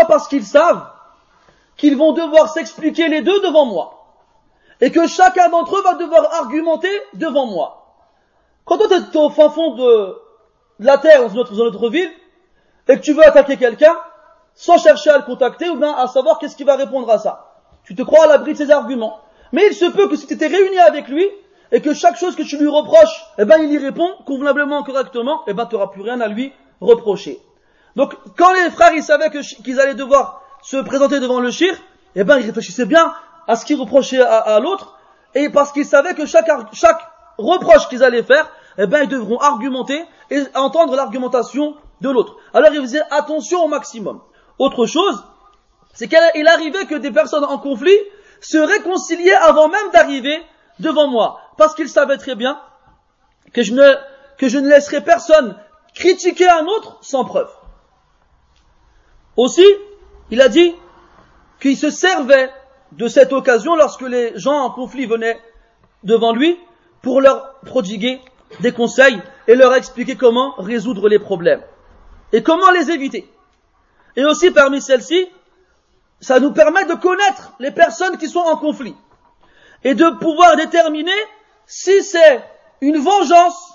Parce qu'ils savent qu'ils vont devoir s'expliquer les deux devant moi. Et que chacun d'entre eux va devoir argumenter devant moi. Quand toi t'es au fin fond de la terre, dans notre ville, et que tu veux attaquer quelqu'un, sans chercher à le contacter, ou bien à savoir qu'est-ce qu'il va répondre à ça. Tu te crois à l'abri de ses arguments. Mais il se peut que si tu étais réuni avec lui, et que chaque chose que tu lui reproches, il y répond convenablement, correctement, tu n'auras plus rien à lui reprocher. Donc, quand les frères, ils savaient qu'ils allaient devoir se présenter devant le shir, ils réfléchissaient bien à ce qu'ils reprochaient à l'autre, et parce qu'ils savaient que chaque reproche qu'ils allaient faire, ils devront argumenter et entendre l'argumentation de l'autre. Alors, ils faisaient attention au maximum. Autre chose, c'est qu'il arrivait que des personnes en conflit se réconciliaient avant même d'arriver devant moi, parce qu'ils savaient très bien que je ne laisserai personne critiquer un autre sans preuve. Aussi, il a dit qu'il se servait de cette occasion lorsque les gens en conflit venaient devant lui pour leur prodiguer des conseils et leur expliquer comment résoudre les problèmes et comment les éviter. Et aussi parmi celles-ci, ça nous permet de connaître les personnes qui sont en conflit et de pouvoir déterminer si c'est une vengeance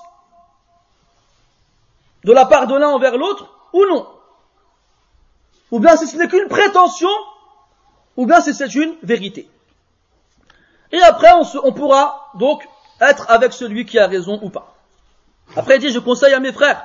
de la part de l'un envers l'autre ou non. Ou bien si ce n'est qu'une prétention, ou bien si c'est une vérité. Et après, on pourra donc être avec celui qui a raison ou pas. Après, il dit, je conseille à mes frères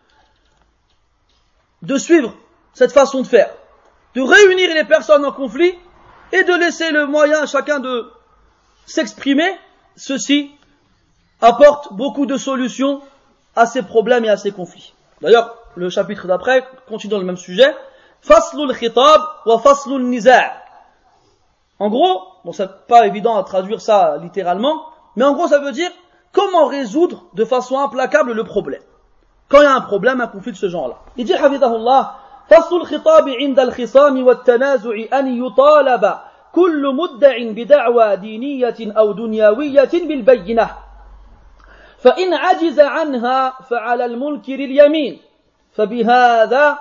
de suivre cette façon de faire, de réunir les personnes en conflit et de laisser le moyen à chacun de s'exprimer. Ceci apporte beaucoup de solutions à ces problèmes et à ces conflits. D'ailleurs, le chapitre d'après continue dans le même sujet. Faslul khitab wa faslul niza'. En gros, bon, c'est pas évident à traduire ça littéralement, mais en gros, ça veut dire comment résoudre de façon implacable le problème. Quand il y a un problème, un conflit de ce genre-là. Il dit, hafidahullah, faslul khitab 'inda al-khisam wa at-tanazu' an yutalaba kullu mudda'in bida'wa diniyatin aw dunyawiyatin bil bayyinah. فإن عجز عنها فعلى المنكر اليمين فبهذا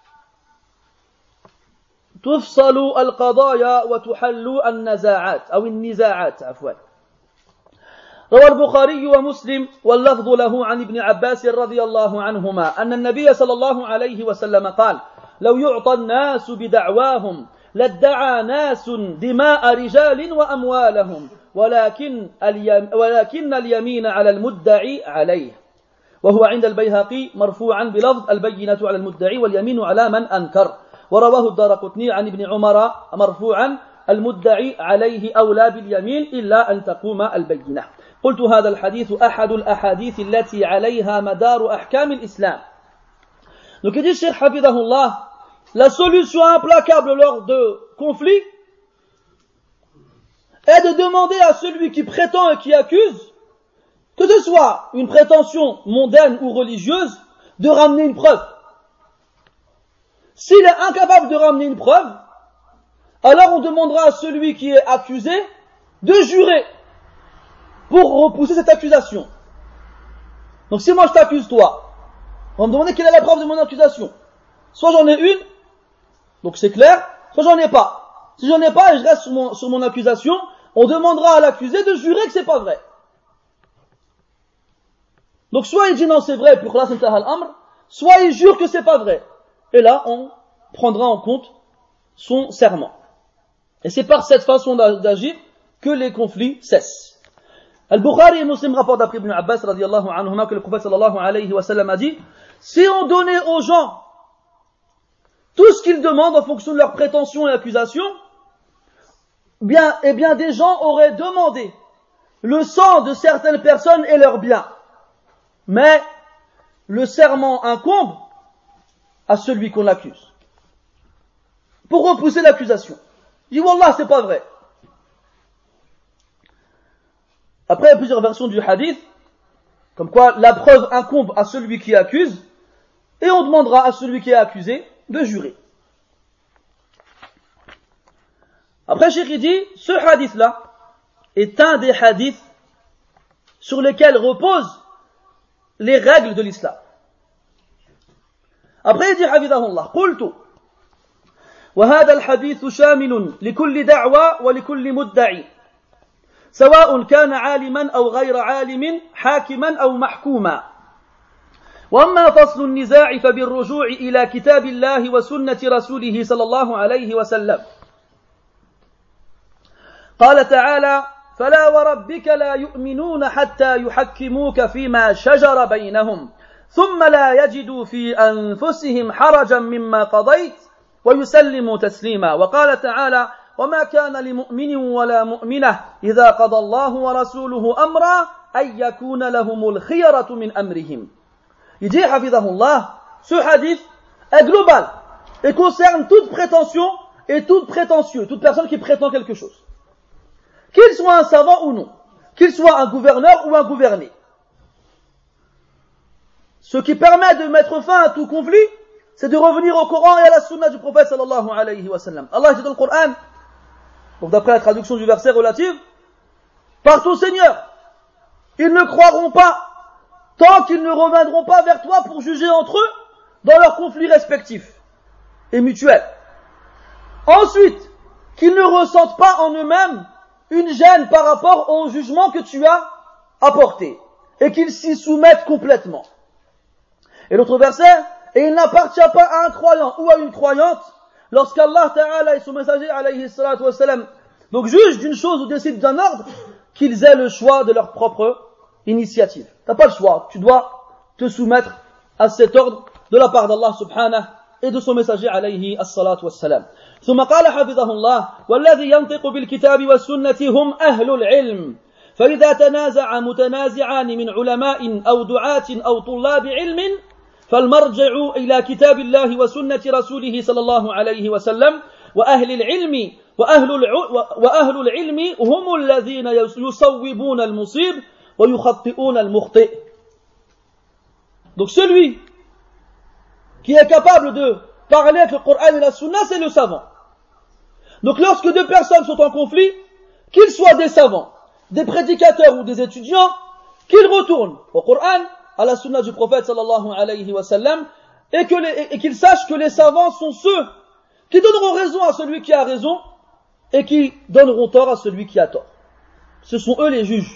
تفصل القضايا وتحل النزاعات عفوا. روى البخاري ومسلم واللفظ له عن ابن عباس رضي الله عنهما أن النبي صلى الله عليه وسلم قال لو يعطى الناس بدعواهم لادعى ناس دماء رجال وأموالهم ولكن اليمين على المدعي عليه وهو عند البيهقي مرفوعا بلفظ البينة على المدعي واليمين على من أنكر. ورواه الدارقطني عن ابن عمر مرفوعا المدعي عليه أولى باليمين إلا أن تقوم البينة. قلت هذا الحديث أحد الأحاديث التي عليها مدار أحكام الإسلام. Donc il dit Cheikh Hafidahullah, la solution implacable lors de conflits est de demander à celui qui prétend et qui accuse, que ce soit une prétention mondaine ou religieuse, de ramener une preuve. S'il est incapable de ramener une preuve, alors on demandera à celui qui est accusé de jurer pour repousser cette accusation. Donc si moi je t'accuse toi, on va me demander quelle est la preuve de mon accusation. Soit j'en ai une, donc c'est clair, soit j'en ai pas. Si j'en ai pas et je reste sur mon accusation, on demandera à l'accusé de jurer que c'est pas vrai. Donc soit il dit non c'est vrai pour khlas intahal amr, soit il jure que c'est pas vrai. Et là on prendra en compte son serment. Et c'est par cette façon d'agir que les conflits cessent. Al-Bukhari et Muslim rapportent d'après Ibn Abbas radiyallahu anhuma que le prophète sallallahu alayhi wa sallam a dit: si on donnait aux gens tout ce qu'ils demandent en fonction de leurs prétentions et accusations, eh bien des gens auraient demandé le sang de certaines personnes et leurs biens. Mais le serment incombe à celui qu'on accuse. Pour repousser l'accusation. Il dit, Wallah, c'est pas vrai. Après, il y a plusieurs versions du hadith, comme quoi la preuve incombe à celui qui accuse, et on demandera à celui qui est accusé de jurer. Après, Cheikh dit, ce hadith-là est un des hadiths sur lesquels reposent les règles de l'islam. Après, il dit, Hafidahullah, قلت وهذا الحديث شامل لكل دعوى ولكل مدعي سواء كان عالما أو غير عالم حاكما أو محكوما وأما فصل النزاع فبالرجوع إلى كتاب الله وسنة رسوله صلى الله عليه وسلم قال تعالى فلا وربك لا يؤمنون حتى يحكموك فيما شجر بينهم ثم لا يجدوا في أنفسهم حرجا مما قضيت ويسلموا تسليما وقال تعالى وما كان لمؤمن ولا مؤمنة إذا قضى الله ورسوله أمرا أن يكون لهم الخيرة من أمرهم. Il dit, Hafidahullah, ce hadith est global et concerne toute prétention et tout prétentieux, toute personne qui prétend quelque chose. Qu'il soit un savant ou non, qu'il soit un gouverneur ou un gouverné. Ce qui permet de mettre fin à tout conflit, c'est de revenir au Coran et à la Sunna du prophète sallallahu alayhi wa sallam. Allah dit dans le Coran, donc d'après la traduction du verset relative, par ton Seigneur, ils ne croiront pas tant qu'ils ne reviendront pas vers toi pour juger entre eux dans leurs conflits respectifs et mutuels. Ensuite, qu'ils ne ressentent pas en eux-mêmes une gêne par rapport au jugement que tu as apporté et qu'ils s'y soumettent complètement. Et l'autre verset, et il n'appartient pas à un croyant ou à une croyante lorsqu'Allah Ta'ala et son messager alayhi salatu wa salam donc jugent d'une chose ou décident d'un ordre qu'ils aient le choix de leur propre initiative. T'as pas le choix, tu dois te soumettre à cet ordre de la part d'Allah subhanahu et de son messager alayhi as-salatu was-salam. ثم قال حفظه الله والذي ينطق بالكتاب والسنة هم أهل العلم فإذا تنازع متنازعان من علماء أو دعاة أو طلاب علم فالمرجع إلى كتاب الله وسنة رسوله صلى الله عليه وسلم وأهل العلم هم الذين يصوبون المصيب ويخطئون المخطئ. Donc celui qui est capable de parler avec le Coran et la Sunna, c'est le savant. Donc lorsque deux personnes sont en conflit, qu'ils soient des savants, des prédicateurs ou des étudiants, qu'ils retournent au Coran, à la Sunna du prophète sallallahu alayhi wa sallam, et qu'ils sachent que les savants sont ceux qui donneront raison à celui qui a raison et qui donneront tort à celui qui a tort. Ce sont eux les juges.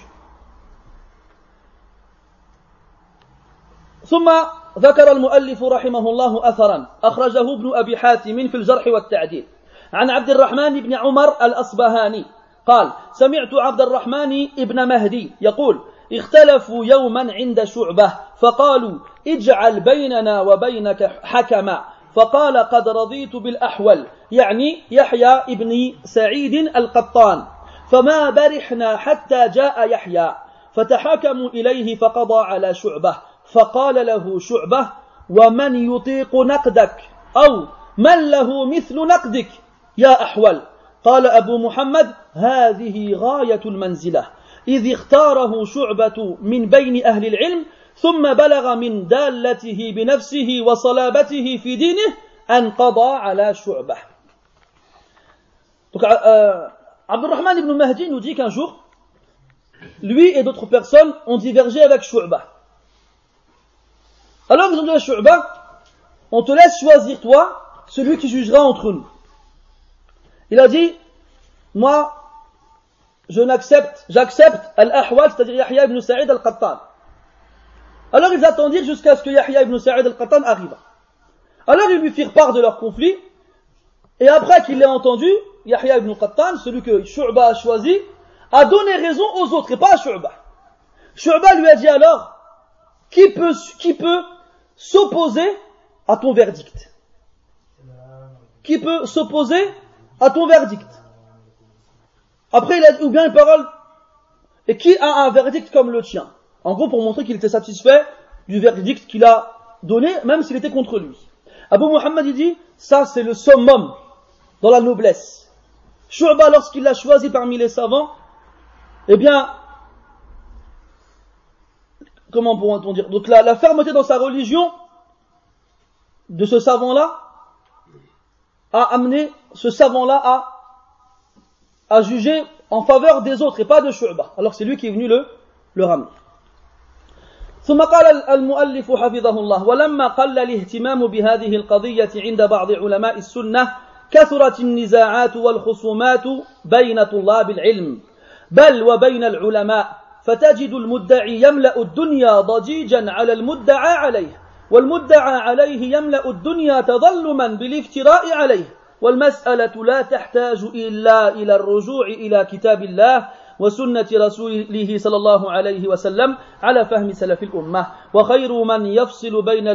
ثم ذكر المؤلف رحمه الله أثرا أخرجه ابن أبي حاتم في الجرح والتعديل عن عبد الرحمن بن عمر الأصبهاني قال سمعت عبد الرحمن ابن مهدي يقول اختلفوا يوما عند شعبة فقالوا اجعل بيننا وبينك حكما فقال قد رضيت بالأحول يعني يحيى ابن سعيد القطان فما برحنا حتى جاء يحيى فتحكموا إليه فقضى على شعبة فقال له شعبة ومن يطيق نقدك أو من له مثل نقدك يا أحول قال أبو محمد هذه غاية المنزلة إذ اختاره شعبة من بين أهل العلم ثم بلغ من دالته بنفسه وصلابته في دينه أن قضى على شعبة. Donc Abdurrahman ibn Mahdi nous dit qu'un jour, lui et d'autres personnes ont divergé avec Shu'bah. Alors ils ont dit à Shu'bah, on te laisse choisir toi, celui qui jugera entre nous. Il a dit, moi, j'accepte Al-Ahwal, c'est-à-dire Yahya ibn Sa'id al-Qattan. Alors ils attendirent jusqu'à ce que Yahya ibn Sa'id al-Qattan arrive. Alors ils lui firent part de leur conflit, et après qu'il l'ait entendu, Yahya ibn Qattan, celui que Shu'bah a choisi, a donné raison aux autres et pas à Shu'ba. Shu'ba lui a dit alors, qui peut s'opposer à ton verdict? Qui peut s'opposer à ton verdict? Après il a dit, ou bien une parole, et qui a un verdict comme le tien? En gros pour montrer qu'il était satisfait du verdict qu'il a donné, même s'il était contre lui. Abu Muhammad il dit, ça c'est le summum dans la noblesse. Shu'ba lorsqu'il l'a choisi parmi les savants, eh bien, comment pourrait-on dire? Donc la fermeté dans sa religion de ce savant-là a amené ce savant-là à juger en faveur des autres et pas de Shu'ba. Alors c'est lui qui est venu le ramener. ثم قال المؤلف حفظه الله ولما قل الاهتمام بهذه القضية عند بعض علماء السنة كثرت النزاعات والخصومات بين طلاب العلم بل وبين العلماء فتجد المدعي يملأ الدنيا ضجيجا على المدعى عليه والمدعى عليه يملأ الدنيا تظلما بالافتراء عليه والمسألة لا تحتاج إلا إلى الرجوع إلى كتاب الله وسنة رسوله صلى الله عليه وسلم على فهم سلف الأمة وخير من يفصل بين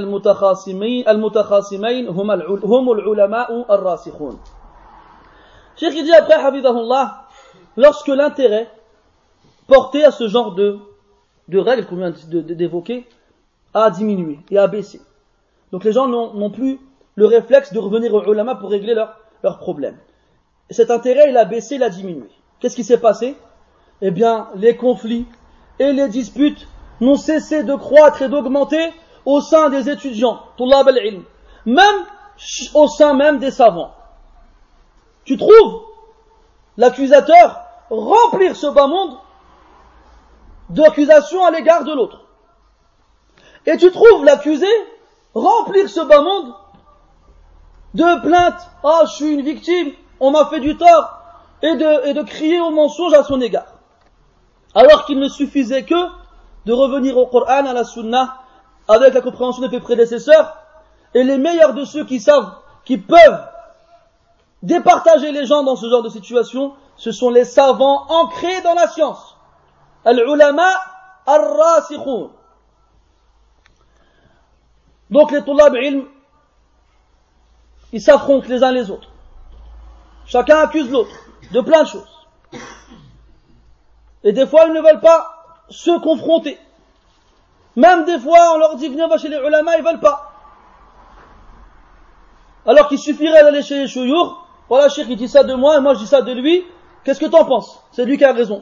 المتخاصمين هم العلماء الراسخون. Cheikh dit après, Hafidahullah, lorsque l'intérêt porté à ce genre de règles qu'on vient d'évoquer a diminué et a baissé. Donc les gens n'ont plus le réflexe de revenir aux ulama pour régler leurs problèmes. Et cet intérêt, il a baissé, il a diminué. Qu'est-ce qui s'est passé? Eh bien, les conflits et les disputes n'ont cessé de croître et d'augmenter au sein des étudiants, Tullab al-ilm, même au sein même des savants. Tu trouves l'accusateur remplir ce bas monde d'accusations à l'égard de l'autre. Et tu trouves l'accusé remplir ce bas monde de plaintes. Ah, je suis une victime, on m'a fait du tort, et de crier au mensonge à son égard. Alors qu'il ne suffisait que de revenir au Coran, à la Sunna, avec la compréhension de ses prédécesseurs, et les meilleurs de ceux qui savent, qui peuvent départager les gens dans ce genre de situation, ce sont les savants ancrés dans la science. Al-ulama ar-rasikhun. Donc les tullab ilm, ils s'affrontent les uns les autres. Chacun accuse l'autre de plein de choses. Et des fois, ils ne veulent pas se confronter. Même des fois, on leur dit, venez, va chez les ulama, ils veulent pas. Alors qu'il suffirait d'aller chez les chouyours, voilà, cheikh, il dit ça de moi, et moi je dis ça de lui, qu'est-ce que t'en penses? C'est lui qui a raison.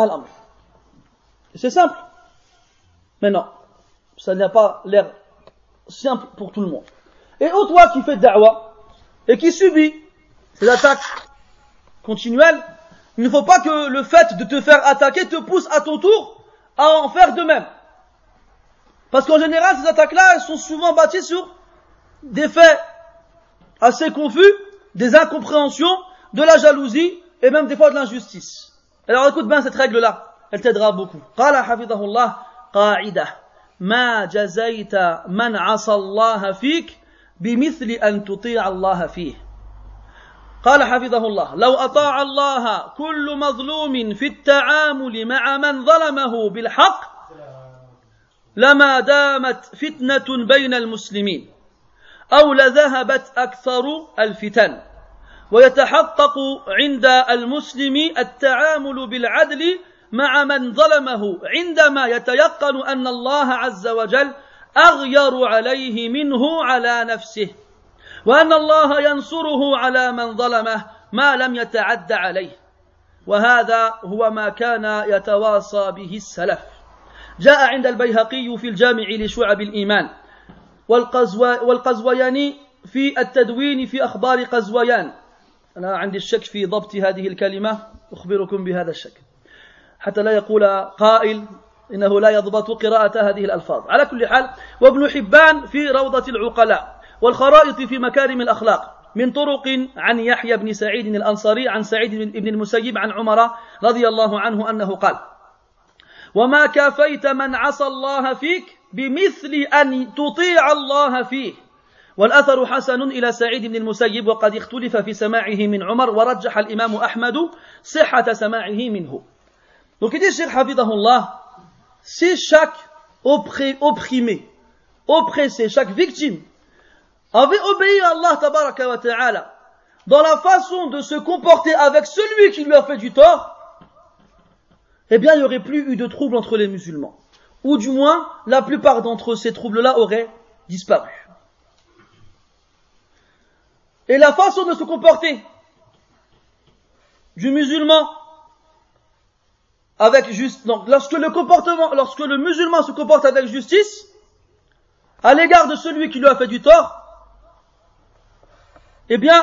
C'est simple. Mais non, ça n'a pas l'air simple pour tout le monde. Et toi qui fais da'wah, et qui subit ces attaques continuelles, il ne faut pas que le fait de te faire attaquer te pousse à ton tour à en faire de même. Parce qu'en général, ces attaques-là, elles sont souvent bâties sur des faits assez confus, des incompréhensions, de la jalousie et même des fois de l'injustice. Alors écoute bien cette règle-là, elle t'aidera beaucoup. Qala hafidahullah qa'idah ma jazaita man 'asa Allah fik bimithli an tuti'a Allah fihi. قال حفظه الله لو أطاع الله كل مظلوم في التعامل مع من ظلمه بالحق لما دامت فتنة بين المسلمين أو لذهبت أكثر الفتن ويتحقق عند المسلم التعامل بالعدل مع من ظلمه عندما يتيقن أن الله عز وجل أغير عليه منه على نفسه وأن الله ينصره على من ظلمه ما لم يتعد عليه وهذا هو ما كان يتواصى به السلف. جاء عند البيهقي في الجامع لشعب الإيمان والقزوياني في التدوين في أخبار قزويان. أنا عندي الشك في ضبط هذه الكلمة، أخبركم بهذا الشك حتى لا يقول قائل إنه لا يضبط قراءة هذه الألفاظ. على كل حال، وابن حبان في روضة العقلاء والخرائط في مكارم الأخلاق من طرق عن يحيى بن سعيد الأنصاري عن سعيد بن المسيب عن عمر رضي الله عنه أنه قال وما كافيت من عصى الله فيك بمثل أن تطيع الله فيه. والأثر حسن إلى سعيد بن المسيب وقد اختلف في سماعه من عمر ورجح الإمام أحمد صحة سماعه منه. Donc il dit, Cheikh Hafidahullah, si chaque opprimé, oppressé, chaque victime avait obéi à Allah tabaraka wa ta'ala dans la façon de se comporter avec celui qui lui a fait du tort, eh bien il n'y aurait plus eu de troubles entre les musulmans. Ou du moins, la plupart d'entre ces troubles-là auraient disparu. Et la façon de se comporter du musulman avec justice, donc lorsque le musulman se comporte avec justice à l'égard de celui qui lui a fait du tort, eh bien,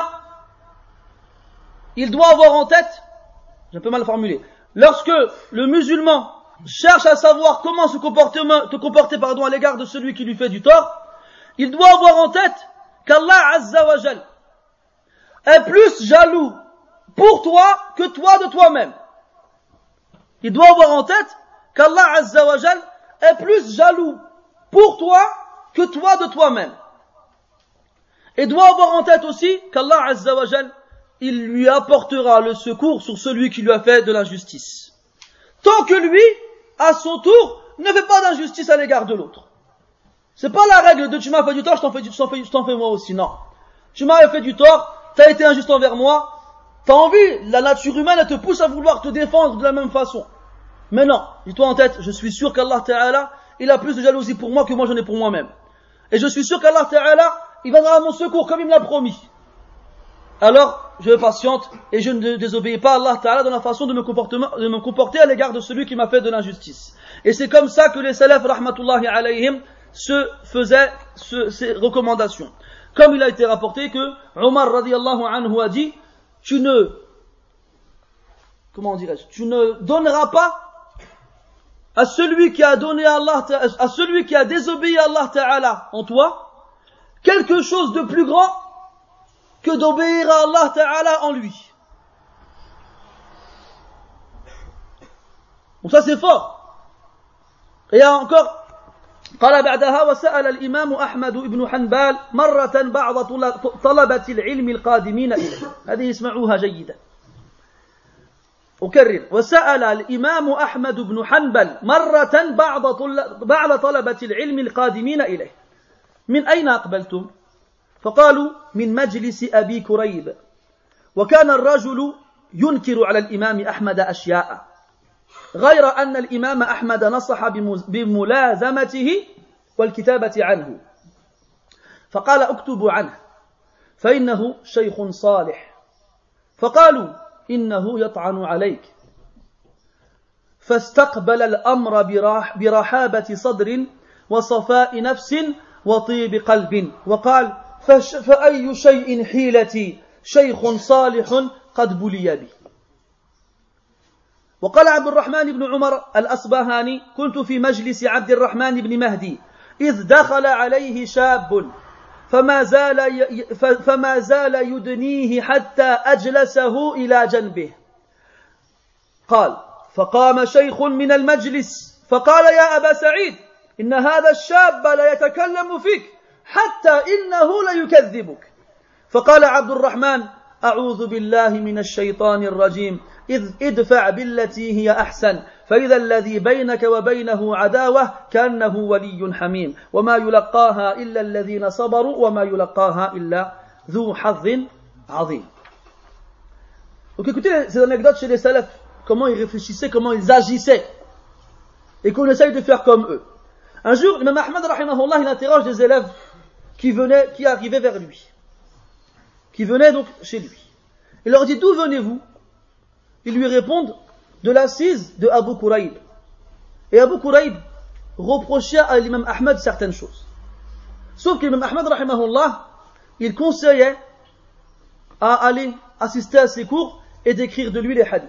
il doit avoir en tête, j'ai un peu mal formulé, lorsque le musulman cherche à savoir comment se comporter à l'égard de celui qui lui fait du tort, il doit avoir en tête qu'Allah Azza wa Jal est plus jaloux pour toi que toi de toi-même. Il doit avoir en tête qu'Allah Azza wa Jal est plus jaloux pour toi que toi de toi-même. Et doit avoir en tête aussi qu'Allah Azza wa Jal, il lui apportera le secours sur celui qui lui a fait de l'injustice. Tant que lui, à son tour, ne fait pas d'injustice à l'égard de l'autre. C'est pas la règle de tu m'as fait du tort, je t'en fais moi aussi, non. Tu m'as fait du tort, t'as été injuste envers moi, t'as envie, la nature humaine, elle te pousse à vouloir te défendre de la même façon. Mais non, dis-toi en tête, je suis sûr qu'Allah Ta'ala, il a plus de jalousie pour moi que moi j'en ai pour moi-même. Et je suis sûr qu'Allah Ta'ala, il viendra à mon secours comme il me l'a promis. Alors, je patiente et je ne désobéis pas à Allah Ta'ala dans la façon de me comporter à l'égard de celui qui m'a fait de l'injustice. Et c'est comme ça que les salafs, rahmatullahi alayhim, se faisaient ces recommandations. Comme il a été rapporté que Omar radiyallahu anhu a dit, tu ne donneras pas à celui qui a désobéi à Allah Ta'ala en toi, quelque chose de plus grand que d'obéir à Allah Ta'ala en lui. Donc ça c'est fort. Et il y a encore, قال بعدها وسأل الإمام أحمد بن حنبل مرة بعض طلبة العلم القادمين إليه. هذه اسمعوها جيدا. أكرر وسأل الإمام أحمد بن حنبل مرة بعض طلبة العلم القادمين إليه من أين أقبلتم؟ فقالوا من مجلس أبي كريب. وكان الرجل ينكر على الإمام أحمد أشياء غير أن الإمام أحمد نصح بملازمته والكتابة عنه فقال اكتبوا عنه فإنه شيخ صالح فقالوا إنه يطعن عليك فاستقبل الأمر برحابة صدر وصفاء نفس وطيب قلب وقال فأي شيء حيلتي شيخ صالح قد بلي بي. وقال عبد الرحمن بن عمر الأصبهاني كنت في مجلس عبد الرحمن بن مهدي إذ دخل عليه شاب فما زال يدنيه حتى أجلسه إلى جنبه قال فقام شيخ من المجلس فقال يا أبا سعيد إن هذا الشاب لا يتكلم فيك حتى إنه ليكذبك فقال عبد الرحمن أعوذ بالله من الشيطان الرجيم إذ ادفع بالتي هي أحسن فإذا الذي بينك وبينه عداوة كأنه ولي حميم وما يلقاها إلا الذين صبروا وما يلقاها إلا ذو حظ عظيم. Donc écoutez ces anecdotes chez les salafs, comment ils réfléchissaient, comment ils agissaient et qu'on essaye de faire comme eux. Un jour, l'imam Ahmad rahimahullah, il interroge des élèves qui arrivaient vers lui, qui venaient donc chez lui. Il leur dit, d'où venez-vous? Ils lui répondent, de l'assise de Abu Kurayb. Et Abu Kurayb reprochait à l'imam Ahmad certaines choses. Sauf que l'imam Ahmad rahimahullah, il conseillait à aller assister à ses cours et d'écrire de lui les hadiths.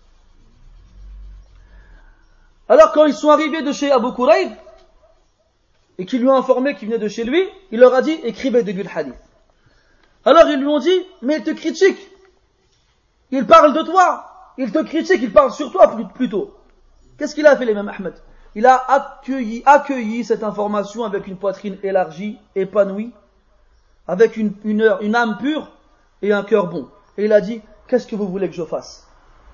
Alors quand ils sont arrivés de chez Abu Kurayb, et qu'ils lui ont informé qu'il venait de chez lui, il leur a dit, écrivez de lui le hadith. Alors ils lui ont dit, mais il te critique. Il parle de toi. Il te critique, il parle sur toi plutôt. Qu'est-ce qu'il a fait l'imam Ahmad? Il a accueilli cette information avec une poitrine élargie, épanouie, avec une âme pure et un cœur bon. Et il a dit, qu'est-ce que vous voulez que je fasse?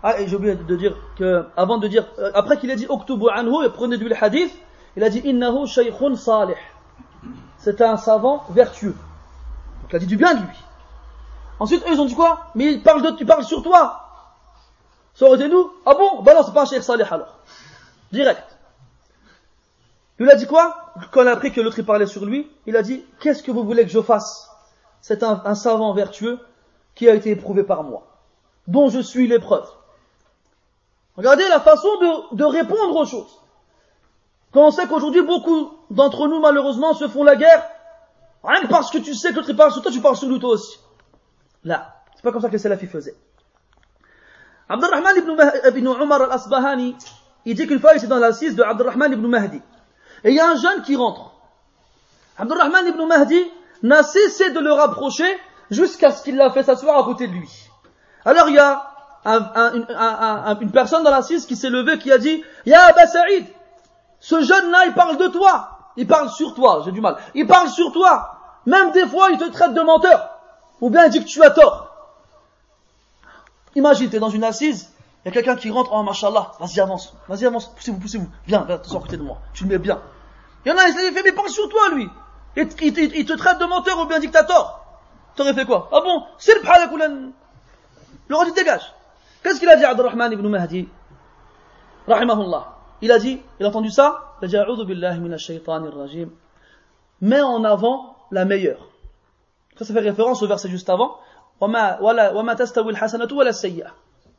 Ah, et j'ai oublié de dire que, avant de dire, après qu'il a dit Oktubu anhu, et prenez du hadith, il a dit Innahu shaykhun salih. C'est un savant vertueux. Donc il a dit du bien de lui. Ensuite, eux, ils ont dit quoi? Mais il parle sur toi. Ça aurait été nous? Ah bon? Bah non, c'est pas un cheikh salih alors. Direct. Il a dit quoi? Quand il a appris que l'autre il parlait sur lui, il a dit, qu'est-ce que vous voulez que je fasse? C'est un savant vertueux qui a été éprouvé par moi, dont je suis l'épreuve. Regardez la façon de répondre aux choses. Quand on sait qu'aujourd'hui, beaucoup d'entre nous, malheureusement, se font la guerre, rien que parce que tu sais que l'autre il parle sur toi, tu parles sur lui toi aussi. Là, c'est pas comme ça que les salafis faisaient. Abdurrahman ibn Umar al-Asbahani, il dit qu'une fois il était dans l'assise de Abdurrahman ibn Mahdi. Et il y a un jeune qui rentre. Abdurrahman ibn Mahdi n'a cessé de le rapprocher jusqu'à ce qu'il l'a fait s'asseoir à côté de lui. Alors il y a une personne dans l'assise qui s'est levée qui a dit « Ya Aba Saïd, ce jeune-là il parle de toi, il parle sur toi, j'ai du mal, il parle sur toi, même des fois il te traite de menteur, ou bien il dit que tu as tort. » Imagine, tu es dans une assise, il y a quelqu'un qui rentre, oh mashallah, vas-y avance, poussez-vous, viens, t'es à côté de moi, tu le mets bien. Il y en a, il fait, mais il parle sur toi lui, il te traite de menteur ou bien dictateur. T'aurais fait quoi? Ah bon, c'est le bhalak ou le roi du dégage. Qu'est-ce qu'il a dit Abdurrahman ibn Mahdi rahimahullah? Il a entendu ça, il a dit a'udhu billahi minash shaytanir rajim, mets en avant la meilleure. Ça fait référence au verset juste avant. وما تستوي الحسنة ولا السيئة.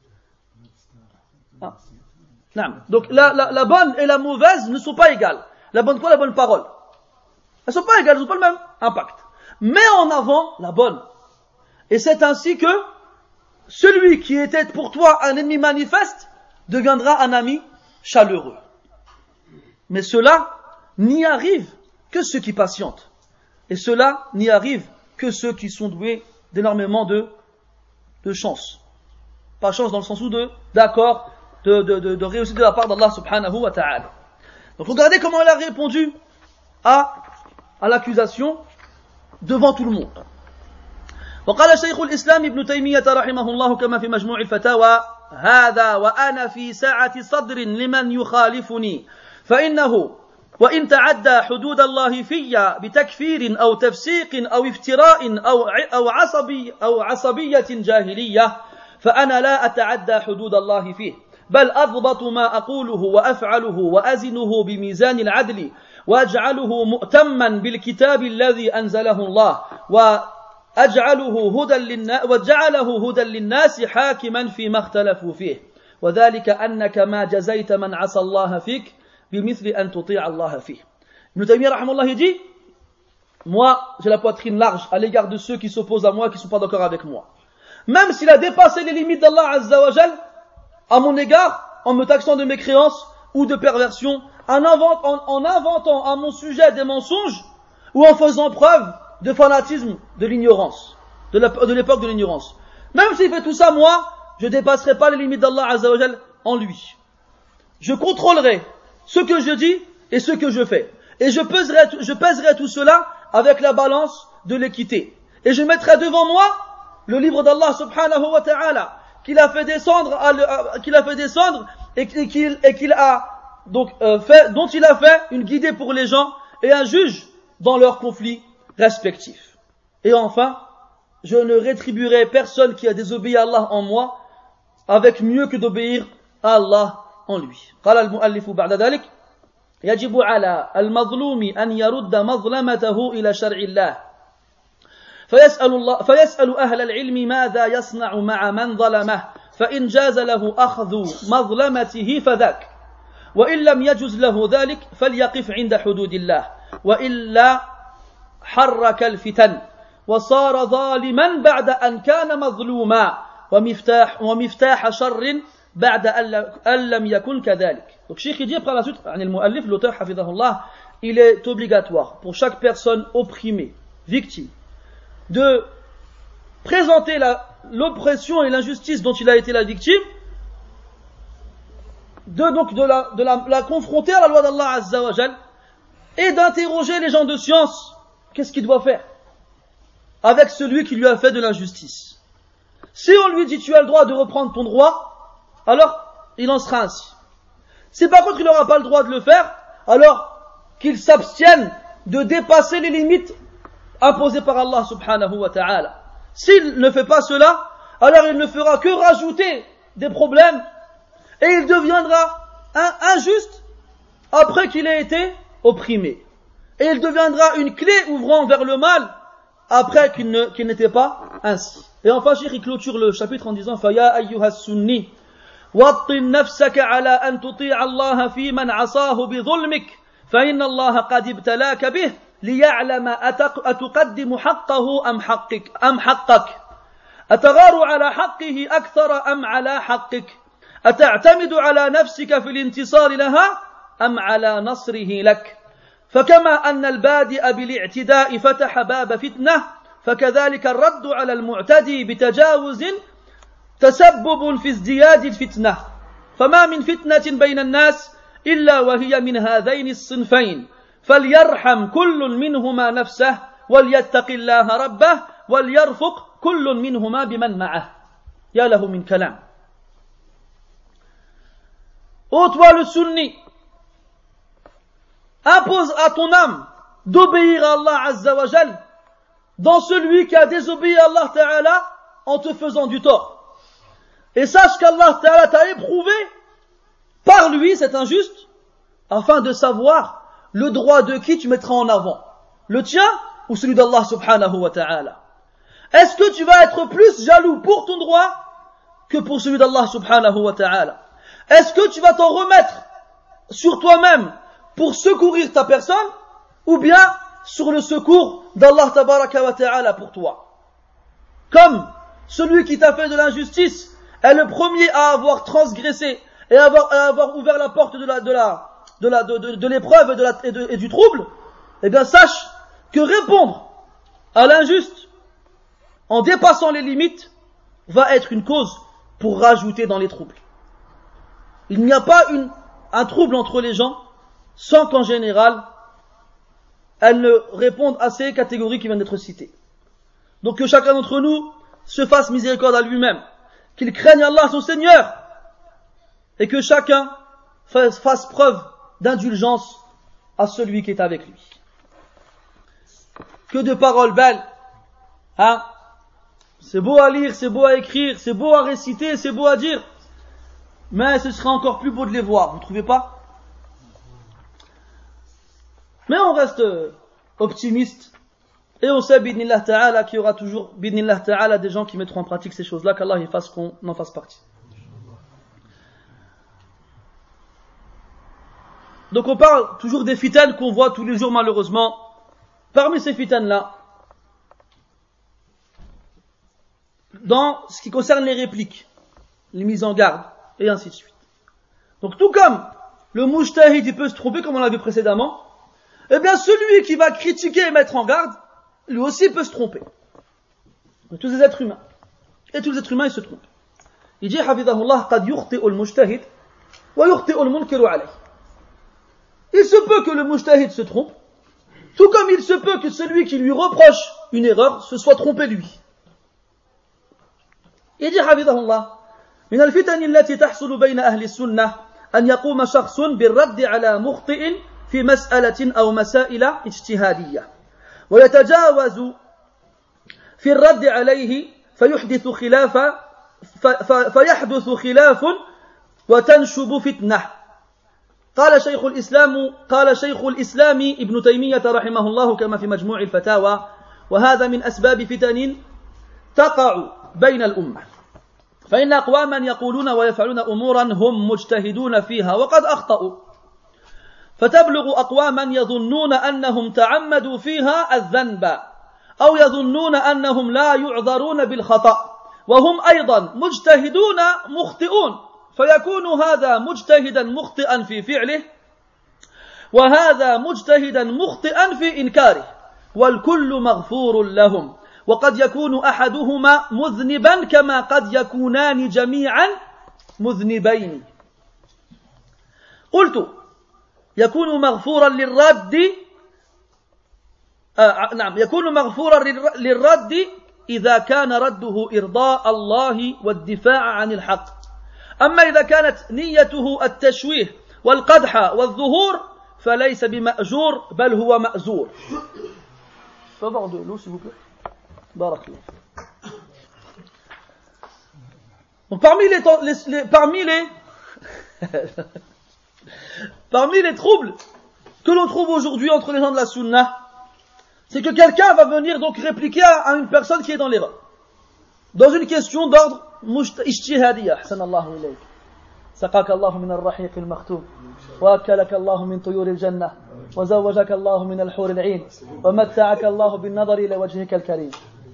Donc la bonne et la mauvaise ne sont pas égales. La bonne quoi? La bonne parole. Elles ne sont pas égales, elles n'ont pas le même impact. Mets en avant la bonne. Et c'est ainsi que celui qui était pour toi un ennemi manifeste deviendra un ami chaleureux. Mais cela n'y arrive que ceux qui patientent. Et cela n'y arrive que ceux qui sont doués d'énormément de chance. Pas chance dans le sens où d'accord, de réussite de la part d'Allah subhanahu wa ta'ala. Donc regardez comment il a répondu à l'accusation devant tout le monde. وقال شيخ الإسلام ابن تيمية رحمه الله كما في مجموع الفتاوى هذا وأنا في سعة صدر لمن يخالفني فإنه وإن تعدى حدود الله في بتكفير أو تفسيق أو افتراء أو عصبية جاهلية فأنا لا أتعدى حدود الله فيه بل أضبط ما أقوله وأفعله وأزنه بميزان العدل وأجعله مؤتما بالكتاب الذي أنزله الله وجعله هدى للناس حاكما فيما اختلفوا فيه وذلك أنك ما جزيت من عصى الله فيك بمثل أن تطيع الله فيه. Ibn Taymiyyah rahimahullah il dit, moi j'ai la poitrine large à l'égard de ceux qui s'opposent à moi, qui ne sont pas d'accord avec moi. Même s'il a dépassé les limites d'Allah Azza wa Jal à mon égard, en me taxant de mécréance ou de perversion, en inventant à mon sujet des mensonges ou en faisant preuve de fanatisme, de l'ignorance, de l'époque de l'ignorance. Même s'il fait tout ça, moi, je ne dépasserai pas les limites d'Allah Azza wa Jal en lui. Je contrôlerai ce que je dis et ce que je fais. Et je pèserai tout cela avec la balance de l'équité. Et je mettrai devant moi le livre d'Allah subhanahu wa ta'ala qu'il a fait descendre et qu'il a donc dont il a fait une guidée pour les gens et un juge dans leurs conflits respectifs. Et enfin, je ne rétribuerai personne qui a désobéi à Allah en moi avec mieux que d'obéir à Allah en lui. قال المؤلف بعد ذلك يجب على المظلوم أن يرد مظلمته إلى شرع الله فيسأل أهل العلم ماذا يصنع مع من ظلمه فإن جاز له أخذ مظلمته فذاك وإن لم يجز له ذلك فليقف عند حدود الله وإلا حرك الفتن وصار ظالما بعد أن كان مظلوما ومفتاح شر بعد أن لم يكن كذلك. Donc Cheikh dit après la suite, المؤلف l'auteur hafidhahullah, il est obligatoire pour chaque personne opprimée, victime, de présenter l'oppression et l'injustice dont il a été la victime, de la confronter à la loi d'Allah Azza wa Jal et d'interroger les gens de science. Qu'est-ce qu'il doit faire avec celui qui lui a fait de l'injustice? Si on lui dit tu as le droit de reprendre ton droit, alors il en sera ainsi. Si par contre il n'aura pas le droit de le faire, alors qu'il s'abstienne de dépasser les limites imposées par Allah subhanahu wa ta'ala. S'il ne fait pas cela, alors il ne fera que rajouter des problèmes et il deviendra injuste après qu'il ait été opprimé. Et il deviendra une clé ouvrant vers le mal après qu'il n'était pas ainsi. Et enfin, Cheikh, il clôture le chapitre en disant فَيَا أَيُّهَا السُّنِّي وَطِّنْ نَفْسَكَ عَلَى أَنْ تُطِيعَ اللَّهَ فِي مَنْ عَصَاهُ بِظُلْمِكَ فَإِنَّ اللَّهَ قَدْ ابْتَلَاكَ بِهِ لِيَعْلَمَ أَتُقَدِّمُ حَقَّهُ أَمْ حَقَّكَ أتغار على حقه أكثر أم على حقك أتعتمد على نفسك في الانتصار لها أم على نصره لك فكما أن البادئ بالاعتداء فتح باب فتنة فكذلك الرد على المعتدي بتجاوز تسبب في ازدياد الفتنة فما من فتنة بين الناس إلا وهي من هذين الصنفين فليرحم كل منهما نفسه وليتق الله ربه وليرفق كل منهما بمن معه يا له من كلام. Ô toi le sunni, impose à ton âme d'obéir à Allah Azza wa Jal dans celui qui a désobéi à Allah Ta'ala en te faisant du tort. Et sache qu'Allah Ta'ala t'a éprouvé par lui, cet injuste, afin de savoir le droit de qui tu mettras en avant, le tien ou celui d'Allah Subhanahu wa Ta'ala. Est-ce que tu vas être plus jaloux pour ton droit que pour celui d'Allah Subhanahu wa Ta'ala? Est-ce que tu vas t'en remettre sur toi-même pour secourir ta personne ou bien sur le secours d'Allah Tabaraka wa Ta'ala pour toi? Comme celui qui t'a fait de l'injustice est le premier à avoir transgressé et à avoir ouvert la porte de l'épreuve et du trouble, eh bien sache que répondre à l'injuste en dépassant les limites va être une cause pour rajouter dans les troubles. Il n'y a pas un trouble entre les gens sans qu'en général elles ne répondent à ces catégories qui viennent d'être citées. Donc que chacun d'entre nous se fasse miséricorde à lui-même, qu'il craigne Allah son Seigneur et que chacun fasse preuve d'indulgence à celui qui est avec lui. Que de paroles belles, hein? C'est beau à lire, c'est beau à écrire, c'est beau à réciter, c'est beau à dire, mais ce sera encore plus beau de les voir, vous ne trouvez pas? Mais on reste optimiste et on sait bidnillah ta'ala qu'il y aura toujours bidnillah ta'ala des gens qui mettront en pratique ces choses-là, qu'Allah il fasse qu'on en fasse partie. Donc on parle toujours des fitanes qu'on voit tous les jours malheureusement. Parmi ces fitanes-là, dans ce qui concerne les répliques, les mises en garde, et ainsi de suite. Donc tout comme le mujtahid il peut se tromper comme on l'a vu précédemment, eh bien celui qui va critiquer et mettre en garde, lui aussi peut se tromper. Tous les êtres humains. Et tous les êtres humains ils se trompent. Il dit hafidhahullah qad yukhti'u al-mujtahid wa yukhti'u al-munkiru alayh. Il se peut que le mujtahid se trompe, tout comme il se peut que celui qui lui reproche une erreur se soit trompé lui. Il dit hafidhahullah من الفتن التي تحصل بين أهل السنة أن يقوم شخص بالرد على مخطئ في مسألة أو مسائل اجتهادية ويتجاوز في الرد عليه فيحدث خلاف وتنشب فتنة. قال شيخ الإسلام ابن تيمية رحمه الله كما في مجموع الفتاوى وهذا من أسباب فتن تقع بين الأمة فإن أقواما يقولون ويفعلون أمورا هم مجتهدون فيها وقد أخطأوا فتبلغ أقواما يظنون أنهم تعمدوا فيها الذنب أو يظنون أنهم لا يعذرون بالخطأ وهم أيضا مجتهدون مخطئون فيكون هذا مجتهدا مخطئا في فعله وهذا مجتهدا مخطئا في إنكاره والكل مغفور لهم وقد يكون أحدهما مذنبا كما قد يكونان جميعا مذنبين. قلت يكون مغفورا للرد يكون مغفورا للرد إذا كان رده إرضاء الله والدفاع عن الحق أما إذا كانت نيته التشويه والقدح والظهور فليس بمأجور بل هو مأزور. Faut avoir de l'eau s'il vous plaît. Barakallah. Donc parmi les troubles que l'on trouve aujourd'hui entre les gens de la Sunna, c'est que quelqu'un va venir donc répliquer à une personne qui est dans l'erreur. Dans une question d'ordre ijtihadiyya. Ahsanallahu ilayk. سقاك الله من الرحيق المختوم وأكلك الله من طيور الجنة وزوجك الله من الحور العين ومتعك الله بالنظر إلى وجهك الكريم.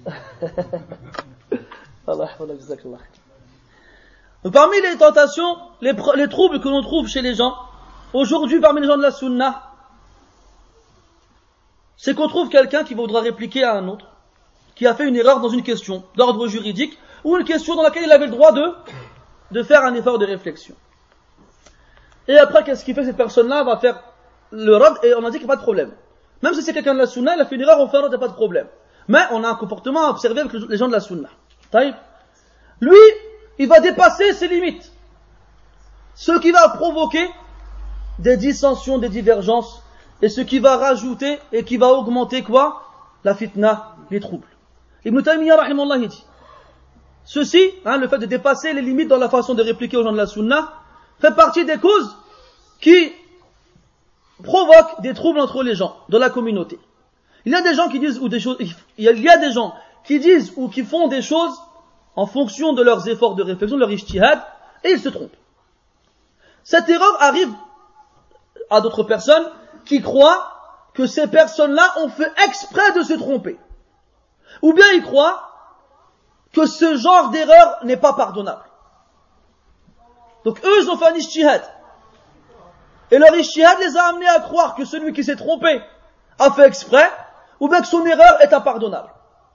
الله يحفظك جزاك الله خير. Parmi les tentations, les troubles que l'on trouve chez les gens, aujourd'hui parmi les gens de la Sunna, c'est qu'on trouve quelqu'un qui voudra répliquer à un autre, qui a fait une erreur dans une question d'ordre juridique, ou une question dans laquelle il avait le droit de faire un effort de réflexion. Et après, qu'est-ce qu'il fait? Cette personne-là va faire le rad, et on a dit qu'il n'y a pas de problème. Même si c'est quelqu'un de la Sunna, il a fait une erreur, on fait un rad, il n'y a pas de problème. Mais on a un comportement à observer avec les gens de la Sunna. Lui, il va dépasser ses limites. Ce qui va provoquer des dissensions, des divergences, et ce qui va rajouter et qui va augmenter quoi? La fitna, les troubles. Ibn Taymiyyah rahimahullah dit, ceci, le fait de dépasser les limites dans la façon de répliquer aux gens de la Sunna, fait partie des causes qui provoquent des troubles entre les gens, dans la communauté. Il y a des gens qui disent ou qui font des choses en fonction de leurs efforts de réflexion, de leur ijtihad, et ils se trompent. Cette erreur arrive à d'autres personnes qui croient que ces personnes-là ont fait exprès de se tromper. Ou bien ils croient que ce genre d'erreur n'est pas pardonnable. Donc eux, ils ont fait un ijtihad. Et leur ijtihad les a amenés à croire que celui qui s'est trompé a fait exprès, ou bien que son erreur est impardonnable.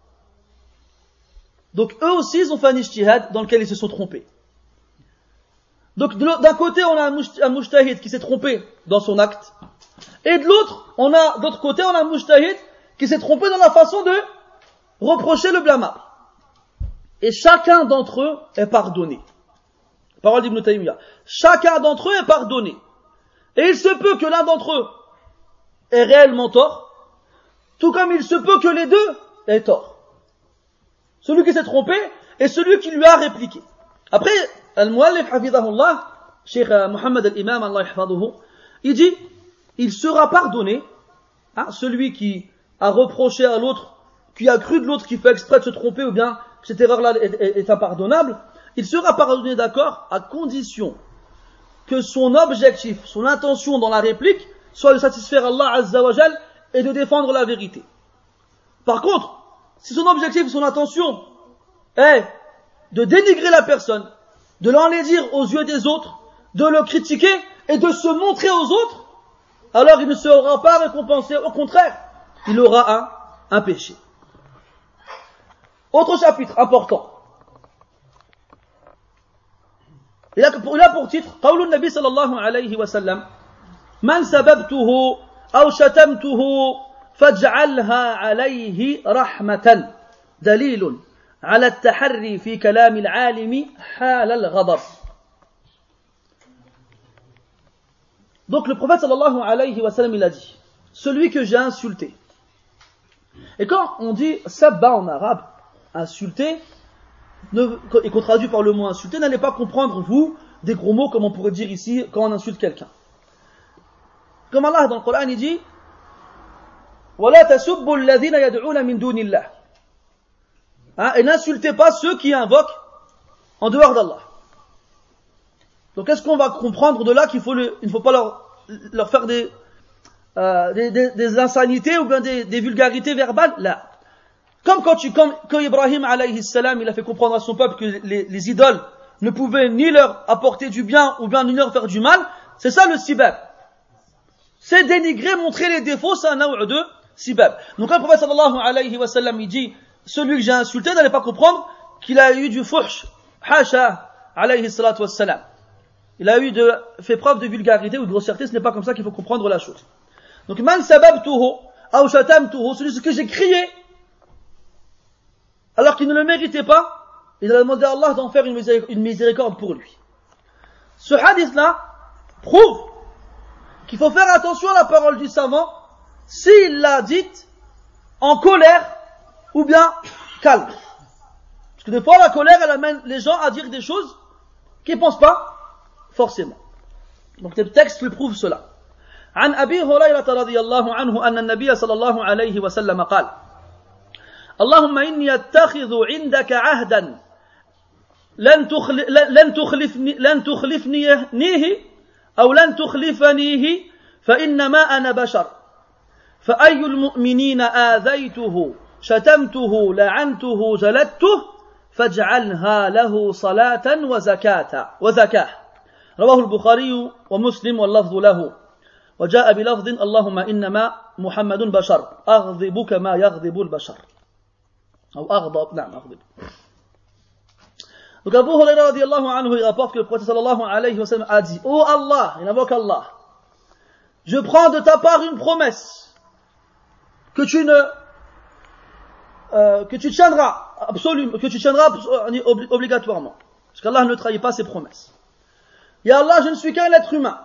Donc eux aussi, ils ont fait un ijtihad dans lequel ils se sont trompés. Donc d'un côté, on a un mujtahid qui s'est trompé dans son acte, et de l'autre côté, on a un mujtahid qui s'est trompé dans la façon de reprocher le blâmable. Et chacun d'entre eux est pardonné. Parole d'Ibn Taymiyyah. Chacun d'entre eux est pardonné. Et il se peut que l'un d'entre eux ait réellement tort, tout comme il se peut que les deux aient tort. Celui qui s'est trompé et celui qui lui a répliqué. Après, Al-Muallif hafidhahullah, Cheikh Mohammed al-Imam, Allah yahfaduhu, il dit, il sera pardonné, celui qui a reproché à l'autre, qui a cru de l'autre qui fait exprès de se tromper, ou bien que cette erreur-là est impardonnable, il sera pardonné, d'accord, à condition que son objectif, son intention dans la réplique, soit de satisfaire Allah Azza wa Jal et de défendre la vérité. Par contre, si son objectif, son intention est de dénigrer la personne, de l'enlaidir aux yeux des autres, de le critiquer et de se montrer aux autres, alors il ne sera pas récompensé, au contraire, il aura un péché. Autre chapitre important. Il a pour titre قول النبي صلى الله عليه وسلم من سببته أو شتمته فاجعلها عليه رحمة دليل على التحري في كلام العالم حال الغضب. Donc le prophète sallallahu alayhi wa sallam il a dit, celui que j'ai insulté. Et quand on dit sabba en arabe, insulter, et qu'on traduit par le mot insulter, n'allez pas comprendre, vous, des gros mots comme on pourrait dire ici quand on insulte quelqu'un. Comme Allah dans le Coran il dit وَلَا تَسُبُّوا الَّذِينَ يَدْعُونَ مِن دُونِ اللَّهِ. Et n'insultez pas ceux qui invoquent en dehors d'Allah. Donc est-ce qu'on va comprendre de là qu'il ne faut pas leur faire des insanités ou bien des vulgarités verbales? Là. Comme quand Ibrahim alayhi salam, il a fait comprendre à son peuple que les idoles ne pouvaient ni leur apporter du bien ou bien ni leur faire du mal, c'est ça le sibab. C'est dénigrer, montrer les défauts, c'est un naw' de sibab. Donc quand le prophète sallallahu alayhi wa sallam, il dit, celui que j'ai insulté, n'allez pas comprendre qu'il a eu du fuhsh, hasha, alayhi salatu wassalam. Il a fait preuve de vulgarité ou de grossièreté, ce n'est pas comme ça qu'il faut comprendre la chose. Donc, man sababtuhu, aw shatamtuhu, celui que j'ai crié, alors qu'il ne le méritait pas, il a demandé à Allah d'en faire une miséricorde pour lui. Ce hadith-là prouve qu'il faut faire attention à la parole du savant s'il l'a dite en colère ou bien calme. Parce que des fois, la colère, elle amène les gens à dire des choses qu'ils ne pensent pas forcément. Donc le texte le prouve cela. عن أبي هريرة رضي الله عنه أن النبي صلى الله عليه وسلم قال اللهم إني أتخذ عندك عهدا لن تخلفنيه أو لن تخلفنيه فإنما أنا بشر فأي المؤمنين آذيته شتمته لعنته جلدته فاجعلها له صلاة وزكاة رواه البخاري ومسلم واللفظ له وجاء بلفظ اللهم إنما محمد بشر أغضب كما يغضب البشر أو أغضب نعم أغضب. Donc Abu Huraira radiallahu anhu, il rapporte que le prophète sallallahu alayhi wa sallam a dit: Oh Allah, il invoque Allah, je prends de ta part une promesse que tu tiendras obligatoirement, parce qu'Allah ne trahit pas ses promesses. Ya Allah, je ne suis qu'un être humain,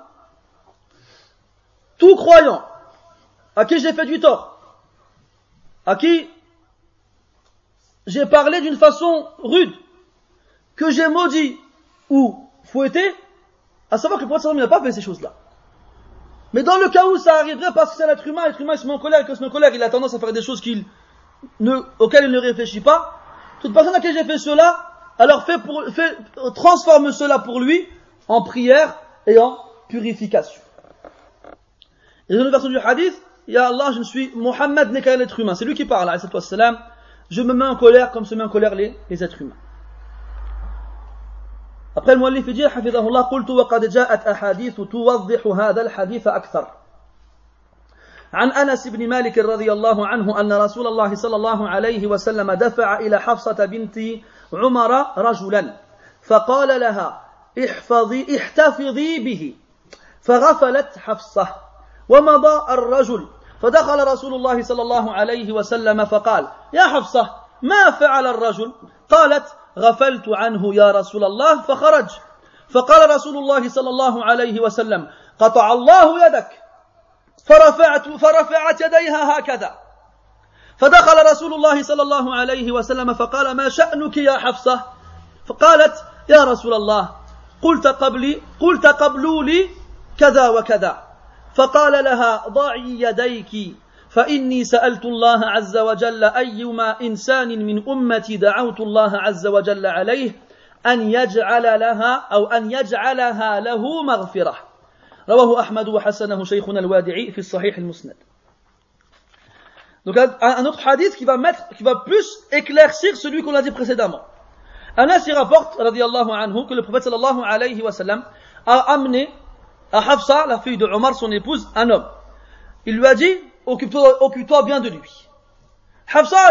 tout croyant, à qui j'ai fait du tort, à qui j'ai parlé d'une façon rude, que j'ai maudit ou fouetté, à savoir que le prophète n'a pas fait ces choses-là. Mais dans le cas où ça arriverait, parce que c'est l'être humain il se met en colère, et que se met en colère, il a tendance à faire des choses auxquelles il ne réfléchit pas. Toute personne à qui j'ai fait cela, alors transforme cela pour lui en prière et en purification. Et dans une version du hadith, Ya Allah, Mohammed n'est qu'un être humain, c'est lui qui parle, alayhi wassalam, je me mets en colère comme se met en colère les êtres humains. Après le muallif dit حفظه الله قلت وقد جاءت أحاديث توضح هذا الحديث أكثر عن أنس بن مالك رضي الله عنه أن رسول الله صلى الله عليه وسلم دفع إلى حفصة بنت عمر رجلا فقال لها احتفظي به فغفلت حفصة ومضى الرجل فدخل رسول الله صلى الله عليه وسلم فقال يا حفصة ما فعل الرجل قالت غفلت عنه يا رسول الله فخرج فقال رسول الله صلى الله عليه وسلم قطع الله يدك فرفعت يديها هكذا فدخل رسول الله صلى الله عليه وسلم فقال ما شأنك يا حفصة فقالت يا رسول الله قلت قبلوا لي كذا وكذا فقال لها ضعي يديك فإني سألت الله عز وجل أيما إنسان من أمتي دعوت الله عز وجل عليه أن يجعلها له مغفرة رواه أحمد وحسنه شيخنا الوادعي في الصحيح المسند. Donc un autre hadith qui va plus éclaircir celui qu'on a dit précédemment. Anas il rapporte radiyallahu anhu que le prophète sallallahu alayhi wa sallam a amené à Hafsa, la fille de Omar, son épouse, un homme. Il lui a dit occupe-toi bien de lui. Hafsa,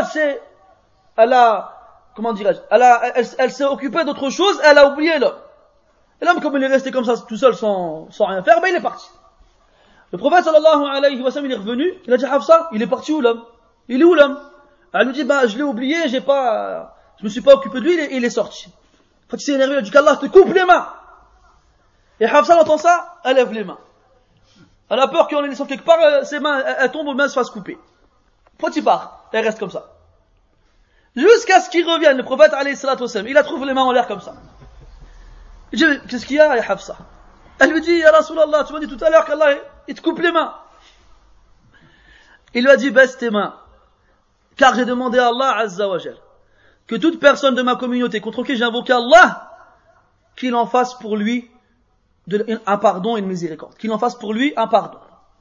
elle s'est occupée d'autre chose, elle a oublié l'homme. Et l'homme, comme il est resté comme ça, tout seul, sans rien faire, il est parti. Le prophète sallallahu alayhi wa sallam, il est revenu, il a dit Hafsa, il est parti où l'homme? Il est où l'homme? Elle lui dit, je l'ai oublié, je me suis pas occupé de lui, il est sorti. Quand il s'est énervé, il a dit qu'Allah te coupe les mains. Et Hafsa entend ça, elle lève les mains. Elle a peur qu'on les laisse quelque part, ses mains, elles tombent, les mains se fassent couper. Quand il part, elle reste comme ça. Jusqu'à ce qu'il revienne, le prophète alayhi salatu wassalam, il la trouve les mains en l'air comme ça. Il dit, qu'est-ce qu'il y a, Hafsa? Elle lui dit, Ya Rasulallah, tu m'as dit tout à l'heure qu'Allah, il te coupe les mains. Il lui a dit, baisse tes mains. Car j'ai demandé à Allah Azza wa Jal que toute personne de ma communauté contre qui j'ai invoqué Allah, qu'il en fasse pour lui un pardon et une miséricorde. Qu'il en fasse pour lui un pardon.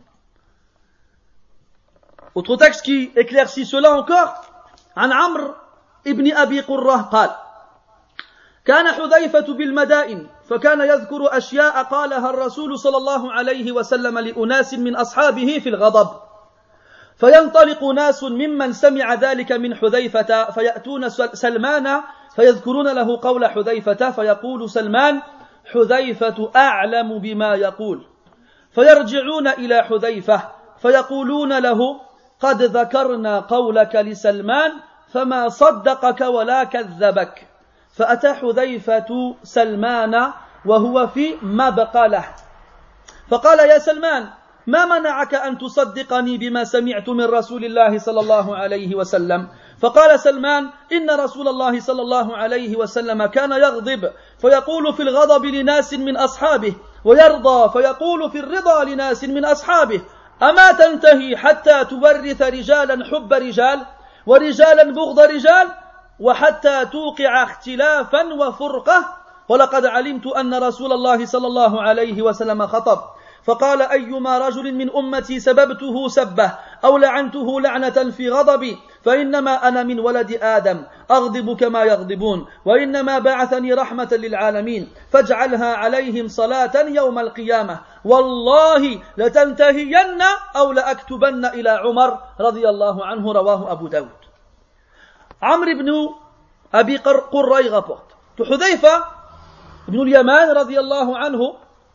Autre texte qui éclaircit cela encore. عن عمرو ابن أبي قرة قال كان حذيفة بالمدائن فكان يذكر أشياء قالها الرسول صلى الله عليه وسلم لأناس من أصحابه في الغضب فينطلق ناس ممن سمع ذلك من حذيفة فيأتون سلمان فيذكرون له قول حذيفة فيقول سلمان حذيفة أعلم بما يقول فيرجعون إلى حذيفة فيقولون له قد ذكرنا قولك لسلمان فما صدقك ولا كذبك فأتى حذيفة سلمان وهو في مبقى له فقال يا سلمان ما منعك أن تصدقني بما سمعت من رسول الله صلى الله عليه وسلم فقال سلمان إن رسول الله صلى الله عليه وسلم كان يغضب فيقول في الغضب لناس من أصحابه ويرضى فيقول في الرضا لناس من أصحابه أما تنتهي حتى تورث رجالا حب رجال ورجالا بغض رجال وحتى توقع اختلافا وفرقة ولقد علمت أن رسول الله صلى الله عليه وسلم خطب فقال أيما رجل من أمتي سببته سبه أو لعنته لعنة في غضبي فإنما أنا من ولد آدم أغضب كما يغضبون وإنما بعثني رحمة للعالمين فاجعلها عليهم صلاة يوم القيامة والله لتنتهين أو لأكتبن إلى عمر رضي الله عنه رواه أبو داود عمرو بن أبي قري rapporte que Hudayfa ibn al-Yaman رضي الله عنه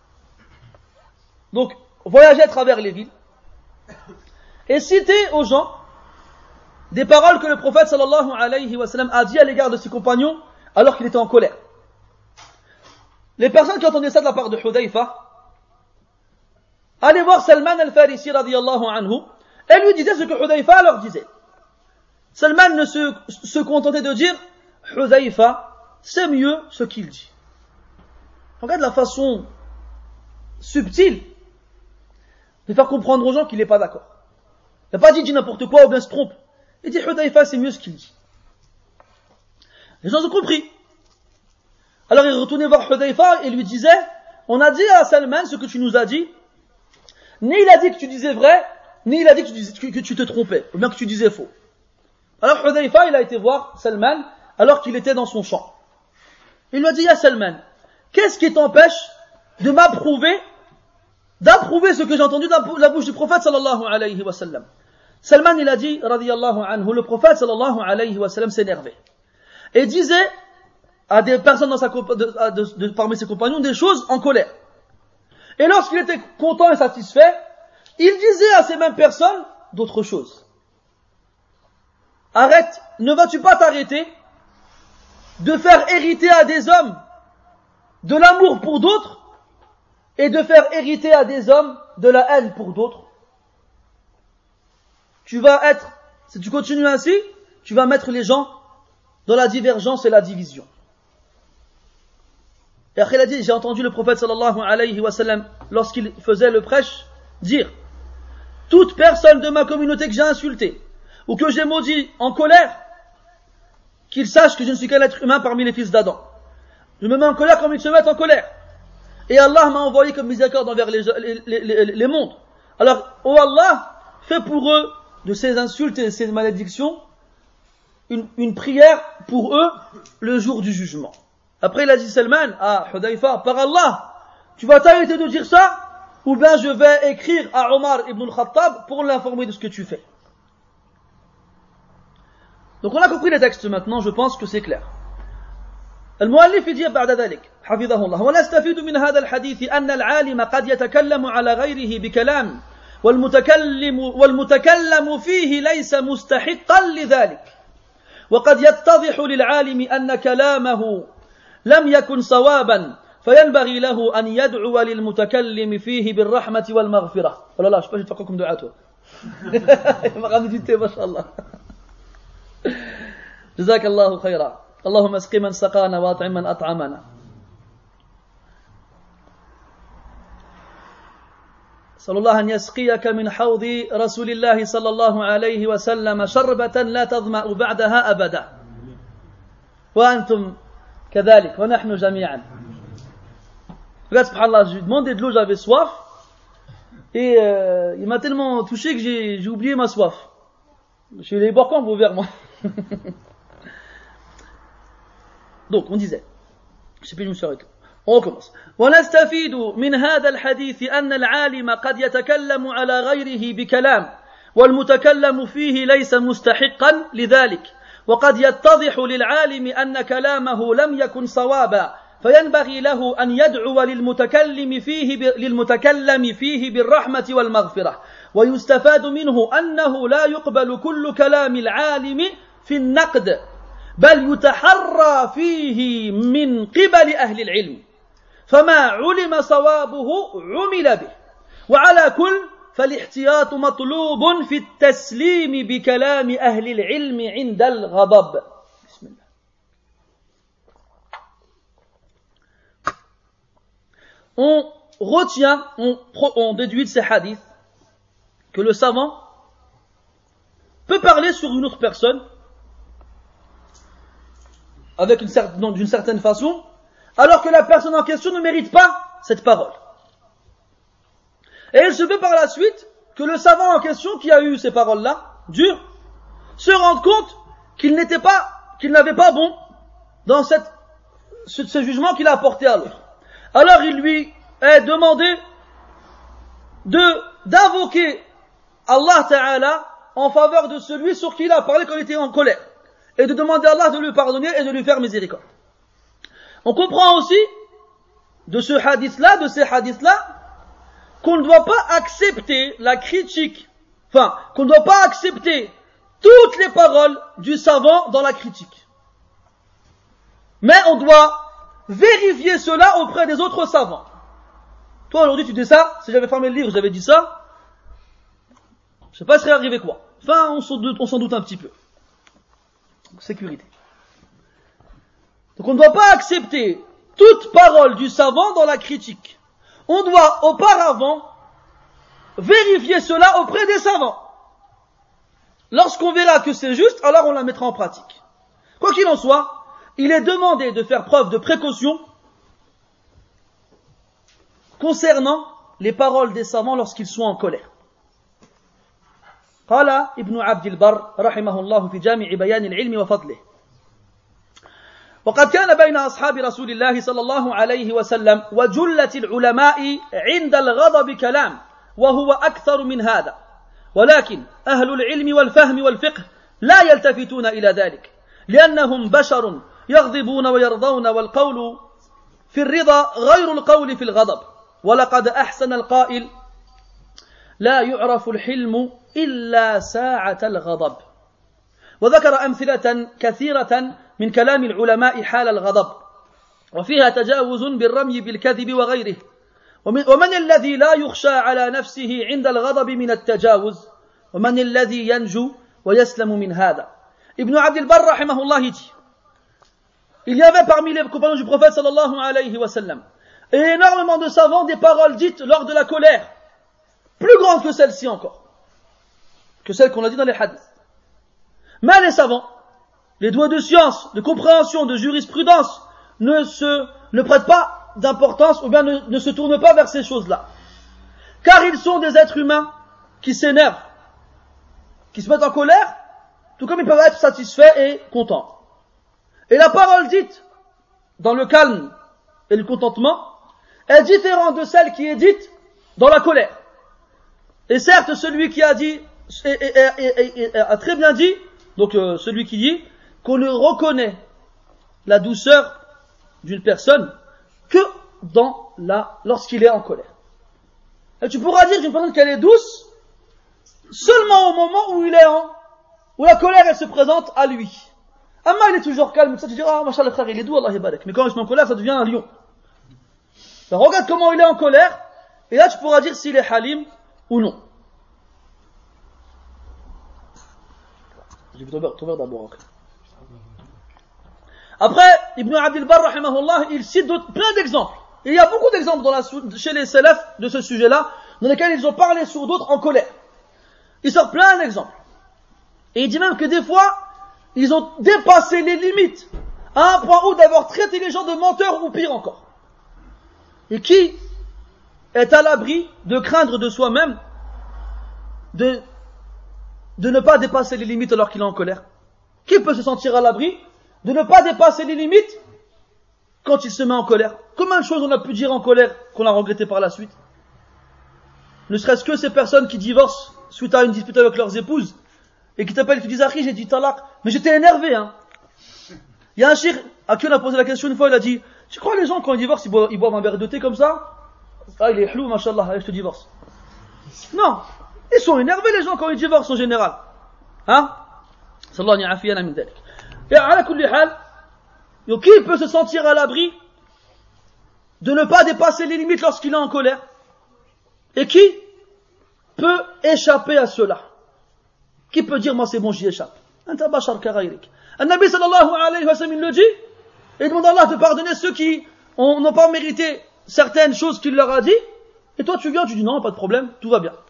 donc voyageait à travers les villes et citait aux gens des paroles que le prophète sallallahu alayhi wa sallam a dit à l'égard de ses compagnons alors qu'il était en colère. Les personnes qui entendaient ça de la part de Hudayfa allaient voir Salman al-Farisi radiyallahu anhu et lui disaient ce que Hudayfa leur disait. Salman ne se contentait de dire Hudayfa, c'est mieux ce qu'il dit. Regarde la façon subtile de faire comprendre aux gens qu'il n'est pas d'accord. Il n'a pas dit n'importe quoi ou bien se trompe. Il dit Hudayfa, c'est mieux ce qu'il dit. Les gens ont compris. Alors il retournait voir Hudayfa et lui disait on a dit à Salman ce que tu nous as dit. Ni il a dit que tu disais vrai, ni il a dit que tu te trompais, ou bien que tu disais faux. Alors Hudayfa, il a été voir Salman alors qu'il était dans son champ. Il lui a dit, ya Salman, qu'est-ce qui t'empêche de d'approuver ce que j'ai entendu de la bouche du prophète sallallahu alayhi wa sallam? Salman, il a dit, radiyallahu anhu, le prophète sallallahu alayhi wa sallam s'énervait. Et disait à des personnes parmi ses compagnons des choses en colère. Et lorsqu'il était content et satisfait, il disait à ces mêmes personnes d'autres choses. Arrête, ne vas-tu pas t'arrêter de faire hériter à des hommes de l'amour pour d'autres et de faire hériter à des hommes de la haine pour d'autres? Si tu continues ainsi, tu vas mettre les gens dans la divergence et la division. Et après il a dit, j'ai entendu le prophète sallallahu alayhi wa sallam, lorsqu'il faisait le prêche, dire, toute personne de ma communauté que j'ai insultée, ou que j'ai maudit en colère, qu'il sache que je ne suis qu'un être humain parmi les fils d'Adam. Je me mets en colère comme ils se mettent en colère. Et Allah m'a envoyé comme miséricorde envers les mondes. Alors, oh Allah, fais pour eux, de ces insultes et ces malédictions, une prière pour eux, le jour du jugement. Après, il a dit Salman, Hudayfa, par Allah, tu vas t'arrêter de dire ça, ou bien je vais écrire à Omar ibn al-Khattab pour l'informer de ce que tu fais. Donc on a compris les textes maintenant, je pense que c'est clair. المؤلف يجي بعد ذلك حفظه الله ونستفيد من هذا الحديث أن العالم قد يتكلم على غيره بكلام والمتكلم فيه ليس مستحقا لذلك وقد يتضح للعالم أن كلامه لم يكن صوابا فينبغي له أن يدعو للمتكلم فيه بالرحمة والمغفرة. Oh là là, je sais pas, je vais te faire comme dua toi. Il m'a ramené du thé, mashallah. جزاك الله خيرا اللهم اسق من سقانا واطعم من أطعمنا. صلى الله أن يسقيك من حوض رسول الله صلى الله عليه وسلم شربة لا تظمأ بعدها أبدا وأنتم كذلك ونحن جميعا. Regarde, subhanallah, je lui ai demandé de l'eau, j'avais soif et il m'a tellement touché que j'ai oublié ma soif. Je suis allé boire quand vos verres, moi. Donc, on disait, je sais plus, je me suis arrêté. On recommence. ونستفيد من هذا الحديث أن العالم قد يتكلم على غيره بكلام والمتكلم فيه ليس مستحقا لذلك وقد يتضح للعالم أن كلامه لم يكن صوابا فينبغي له أن يدعو للمتكلم فيه بالرحمة والمغفرة ويستفاد منه أنه لا يقبل كل كلام العالم في النقد بل يتحرى فيه من قبل أهل العلم فما علم صوابه عمل به وعلى كل فالاحتياط مطلوب في التسليم بكلام أهل العلم عند الغضب. بسم الله. On retient, on déduit de ces hadiths que le savant peut parler sur une autre personne avec d'une certaine façon, alors que la personne en question ne mérite pas cette parole. Et il se peut par la suite que le savant en question qui a eu ces paroles-là, dures, se rende compte qu'il n'avait pas bon dans ce jugement qu'il a apporté à l'autre. Alors il lui est demandé d'invoquer Allah Ta'ala en faveur de celui sur qui il a parlé quand il était en colère, et de demander à Allah de lui pardonner et de lui faire miséricorde. On comprend aussi de ces hadiths-là, qu'on ne doit pas accepter la critique, qu'on ne doit pas accepter toutes les paroles du savant dans la critique. Mais on doit vérifier cela auprès des autres savants. Toi aujourd'hui tu dis ça, si j'avais fermé le livre, j'avais dit ça, je sais pas ce serait arrivé quoi. Enfin, on s'en doute un petit peu. Sécurité. Donc on ne doit pas accepter toute parole du savant dans la critique. On doit auparavant vérifier cela auprès des savants. Lorsqu'on verra que c'est juste, alors on la mettra en pratique. Quoi qu'il en soit, il est demandé de faire preuve de précaution concernant les paroles des savants lorsqu'ils sont en colère. قال ابن عبد البر رحمه الله في جامع بيان العلم وفضله وقد كان بين أصحاب رسول الله صلى الله عليه وسلم وجلة العلماء عند الغضب كلام وهو أكثر من هذا ولكن أهل العلم والفهم والفقه لا يلتفتون إلى ذلك لأنهم بشر يغضبون ويرضون والقول في الرضا غير القول في الغضب ولقد أحسن القائل لا يعرف الحلم إلا ساعة الغضب وذكر أمثلة كثيرة من كلام العلماء حال الغضب وفيها تجاوز بالرمي بالكذب وغيره ومن الذي لا يخشى على نفسه عند الغضب من التجاوز ومن الذي ينجو ويسلم من هذا. Ibn Abd al-Barr rahimahullah dit, il y avait parmi les compagnons du prophète sallallahu alayhi wa sallam et énormément de savants des paroles dites lors de la colère, plus grandes que celle-ci encore, que celles qu'on a dit dans les hadiths. Mais les savants, les doués de science, de compréhension, de jurisprudence, ne prêtent pas d'importance ou bien ne se tournent pas vers ces choses-là. Car ils sont des êtres humains qui s'énervent, qui se mettent en colère, tout comme ils peuvent être satisfaits et contents. Et la parole dite dans le calme et le contentement est différente de celle qui est dite dans la colère. Et certes, celui qui a dit a très bien dit, donc celui qui dit qu'on ne reconnaît la douceur d'une personne que lorsqu'il est en colère. Et tu pourras dire d'une personne qu'elle est douce seulement au moment où la colère elle se présente à lui. Amma il est toujours calme, ça tu diras ah machallah frère il est doux Allah yabarak. Mais quand il est en colère ça devient un lion. Alors, regarde comment il est en colère et là tu pourras dire s'il est halim ou non. Je vais t'ouvrir d'abord. Après, Ibn Abd al-Barr, rahimahullah, il cite plein d'exemples. Et il y a beaucoup d'exemples chez les salafs de ce sujet-là, dans lesquels ils ont parlé sur d'autres en colère. Il sort plein d'exemples. Et il dit même que des fois, ils ont dépassé les limites, à un point où d'avoir traité les gens de menteurs ou pire encore. Et qui est à l'abri de craindre de soi-même de ne pas dépasser les limites alors qu'il est en colère? Qui peut se sentir à l'abri de ne pas dépasser les limites quand il se met en colère? Combien de choses on a pu dire en colère qu'on a regretté par la suite? Ne serait-ce que ces personnes qui divorcent suite à une dispute avec leurs épouses et qui t'appellent et qui disent Akhi, j'ai dit talaq, mais j'étais énervé. Il y a un cheikh à qui on a posé la question une fois, il a dit tu crois les gens quand ils divorcent ils boivent un verre de thé comme ça? Ah il est hlou, mashallah, allez je te divorce. Non, ils sont énervés les gens quand ils divorcent en général. Sallallahu alayhi wa sallam. Et à la kulli hal, qui peut se sentir à l'abri de ne pas dépasser les limites lorsqu'il est en colère. Et qui peut échapper à cela? Qui peut dire, moi c'est bon, j'y échappe? Anta bashar karaïrik. Un Nabi sallallahu alayhi wa sallam, il le dit, et demande à Allah de pardonner ceux qui n'ont pas mérité certaines choses qu'il leur a dit, et toi tu viens, tu dis non, pas de problème, tout va bien.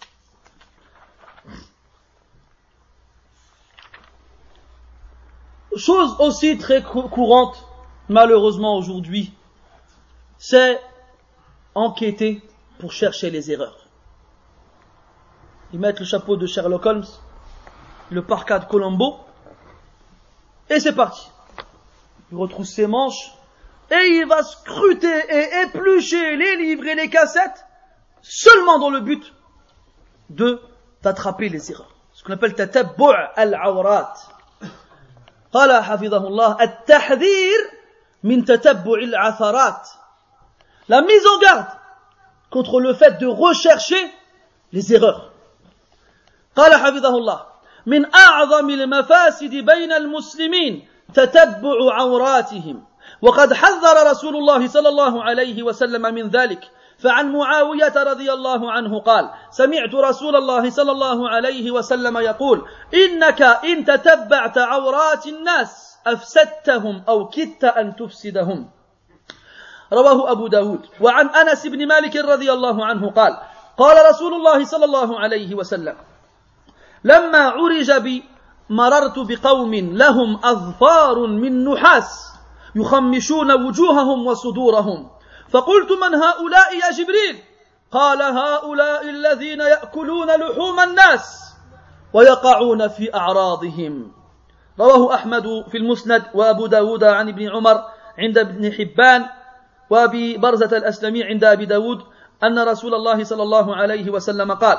Chose aussi très courante, malheureusement aujourd'hui, c'est enquêter pour chercher les erreurs. Ils mettent le chapeau de Sherlock Holmes, le parka de Colombo, et c'est parti. Il retrousse ses manches, et il va scruter et éplucher les livres et les cassettes, seulement dans le but d'attraper les erreurs. Ce qu'on appelle tatabbu' al-awrat. قال حفظه الله التحذير من تتبع العثرات. La mise en garde contre le fait de rechercher les erreurs. قال حفظه الله من أعظم المفاسد بين المسلمين تتبع عوراتهم وقد حذر رسول الله صلى الله عليه وسلم من ذلك فعن معاوية رضي الله عنه قال سمعت رسول الله صلى الله عليه وسلم يقول إنك إن تتبعت عورات الناس أفسدتهم أو كدت أن تفسدهم رواه أبو داود وعن أنس بن مالك رضي الله عنه قال قال رسول الله صلى الله عليه وسلم لما عرج بي مررت بقوم لهم أظفار من نحاس يخمشون وجوههم وصدورهم فقلت من هؤلاء يا جبريل قال هؤلاء الذين يأكلون لحوم الناس ويقعون في أعراضهم رواه أحمد في المسند وأبو داود عن ابن عمر عند ابن حبان وأبي برزة الأسلمي عند أبي داود أن رسول الله صلى الله عليه وسلم قال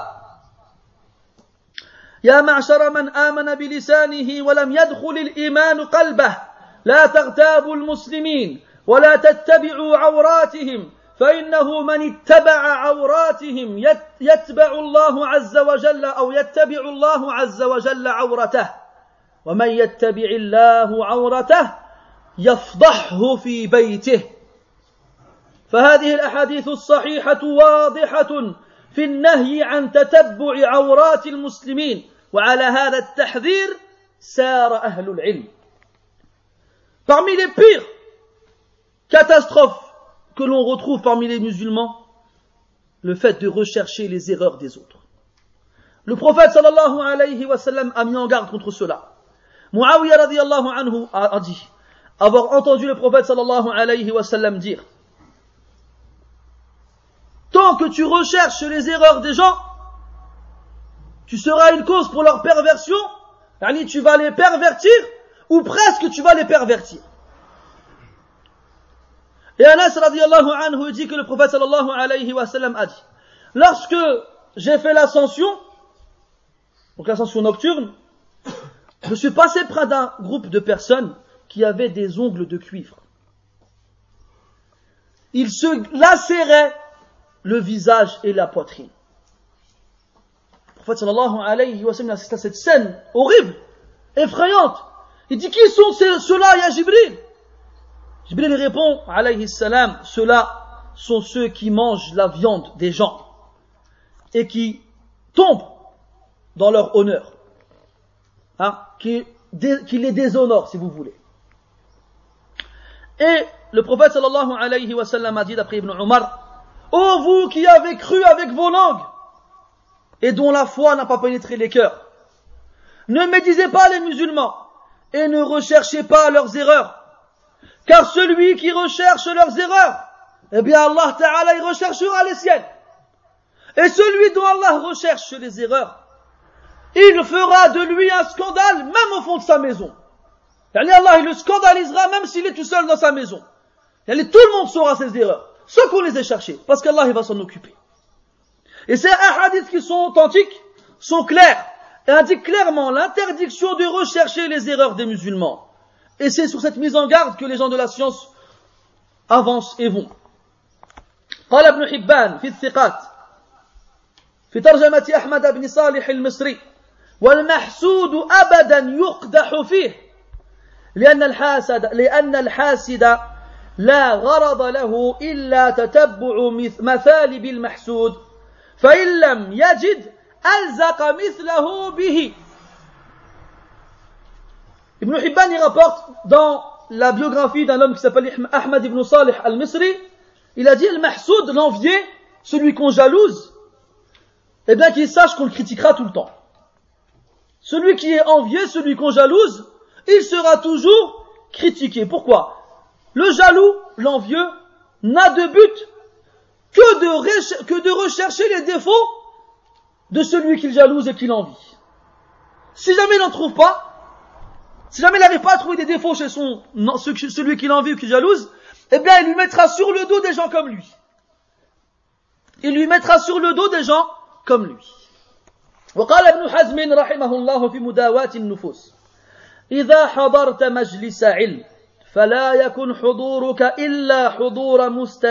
يا معشر من آمن بلسانه ولم يدخل الإيمان قلبه لا تغتابوا المسلمين ولا تتبعوا عوراتهم فإنه من اتبع عوراتهم يتبع الله عز وجل أو يتبع الله عز وجل عورته ومن يتبع الله عورته يفضحه في بيته فهذه الأحاديث الصحيحة واضحة في النهي عن تتبع عورات المسلمين وعلى هذا التحذير سار أهل العلم. Parmi les pires catastrophes que l'on retrouve parmi les musulmans, le fait de rechercher les erreurs des autres. Le prophète sallallahu alayhi wa sallam a mis en garde contre cela. Muawiyah radiyallahu anhu a dit avoir entendu le prophète sallallahu alayhi wa sallam dire tant que tu recherches les erreurs des gens, tu seras une cause pour leur perversion, yani tu vas les pervertir, ou presque tu vas les pervertir. Et Anas radiyallahu anhu dit que le prophète sallallahu alayhi wa sallam a dit lorsque j'ai fait l'ascension, donc l'ascension nocturne, je suis passé près d'un groupe de personnes qui avaient des ongles de cuivre. Ils se lacéraient le visage et la poitrine. Le prophète sallallahu alayhi wa sallam assiste à cette scène horrible, effrayante. Il dit qui sont ceux-là, ya Jibril? Jibril lui répond alayhi salam, ceux-là sont ceux qui mangent la viande des gens et qui tombent dans leur honneur, qui les déshonorent si vous voulez. Et le prophète sallallahu alayhi wa sallam a dit d'après Ibn Umar, ô vous qui avez cru avec vos langues et dont la foi n'a pas pénétré les cœurs, ne médisez pas les musulmans et ne recherchez pas leurs erreurs, car celui qui recherche leurs erreurs, eh bien Allah Ta'ala il recherchera les siennes. Et celui dont Allah recherche les erreurs, il fera de lui un scandale même au fond de sa maison. Yani Allah il le scandalisera même s'il est tout seul dans sa maison. Yani tout le monde saura ses erreurs, ceux qu'on les ait cherchés, parce qu'Allah il va s'en occuper. Et ces hadiths qui sont authentiques sont clairs et indiquent clairement l'interdiction de rechercher les erreurs des musulmans. Et c'est sur cette mise en garde que les gens de la science avancent et vont. قال ابن حبان في الثقات في ترجمة أحمد بن صالح المصري والمحسود أبدا يقدح فيه لأن الحاسد لا غرض له إلا تتبع مثالب المحسود فإن لم يجد ألزق مثله به. Ibn Hibban y rapporte dans la biographie d'un homme qui s'appelle Ahmad ibn Salih al-Misri, il a dit al-mahsoud, l'envié, celui qu'on jalouse, eh bien qu'il sache qu'on le critiquera tout le temps. Celui qui est envié, celui qu'on jalouse, il sera toujours critiqué. Pourquoi? Le jaloux, l'envieux, n'a de but que de rechercher les défauts de celui qu'il jalouse et qu'il envie. Si jamais il n'en trouve pas, si jamais il n'arrive pas à trouver des défauts chez celui qu'il envie ou qu'il jalouse, eh bien il lui mettra sur le dos des gens comme lui. Il lui mettra sur le dos des gens comme lui. وقال ابن حزم رحمه الله في مداواة النفوس إذا حضرت مجلس علم فلا يكن حضورك إلا حضور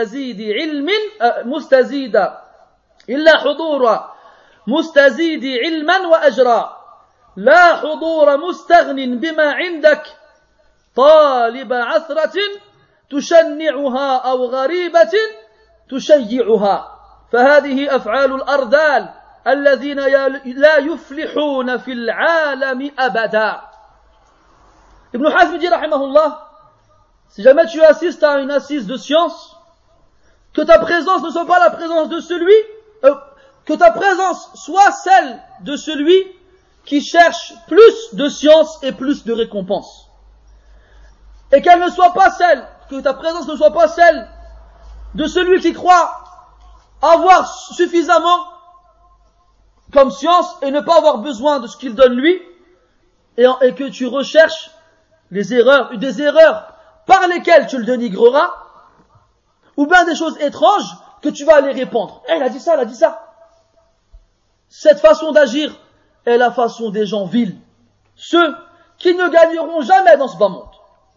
مستزيد علما وأجرا لا حضور مستغن بما عندك طالب عثرة تشنعها أو غريبة تشيعها فهذه أفعال الأرذال الذين لا يفلحون في العالم أبدا. Ibn Hazm dit rahimahullah, si jamais tu assistes à une assise de science, que ta présence ne soit pas la présence de celui, que ta présence soit celle de celui qui cherche plus de science et plus de récompense. Et qu'elle ne soit pas celle, que ta présence ne soit pas celle de celui qui croit avoir suffisamment comme science et ne pas avoir besoin de ce qu'il donne lui, et que tu recherches des erreurs par lesquelles tu le dénigreras, ou bien des choses étranges que tu vas aller répandre. Elle a dit ça, elle a dit ça. Cette façon d'agir est la façon des gens vils, ceux qui ne gagneront jamais dans ce bas monde.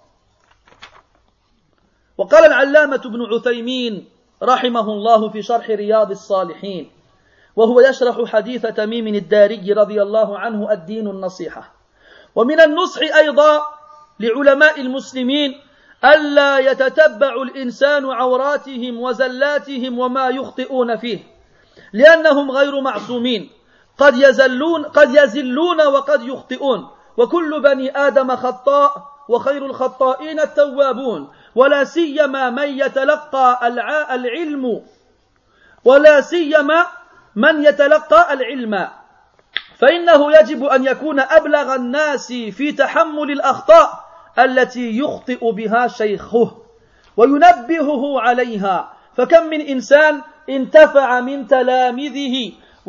وقال العلامة ابن عثيمين رحمه الله في شرح رياض الصالحين وهو يشرح حديث تميم الداري رضي الله عنه الدين النصيحة ومن النصح أيضا لعلماء المسلمين ألا يتتبع الإنسان عوراتهم وزلاتهم وما يخطئون فيه لأنهم غير معصومين قد يزلون وقد يخطئون وكل بني آدم خطاء وخير الخطائين التوابون ولا سيما من يتلقى العلم فإنه يجب أن يكون أبلغ الناس في تحمل الأخطاء التي يخطئ بها شيخه وينبهه عليها فكم من إنسان انتفع من تلامذه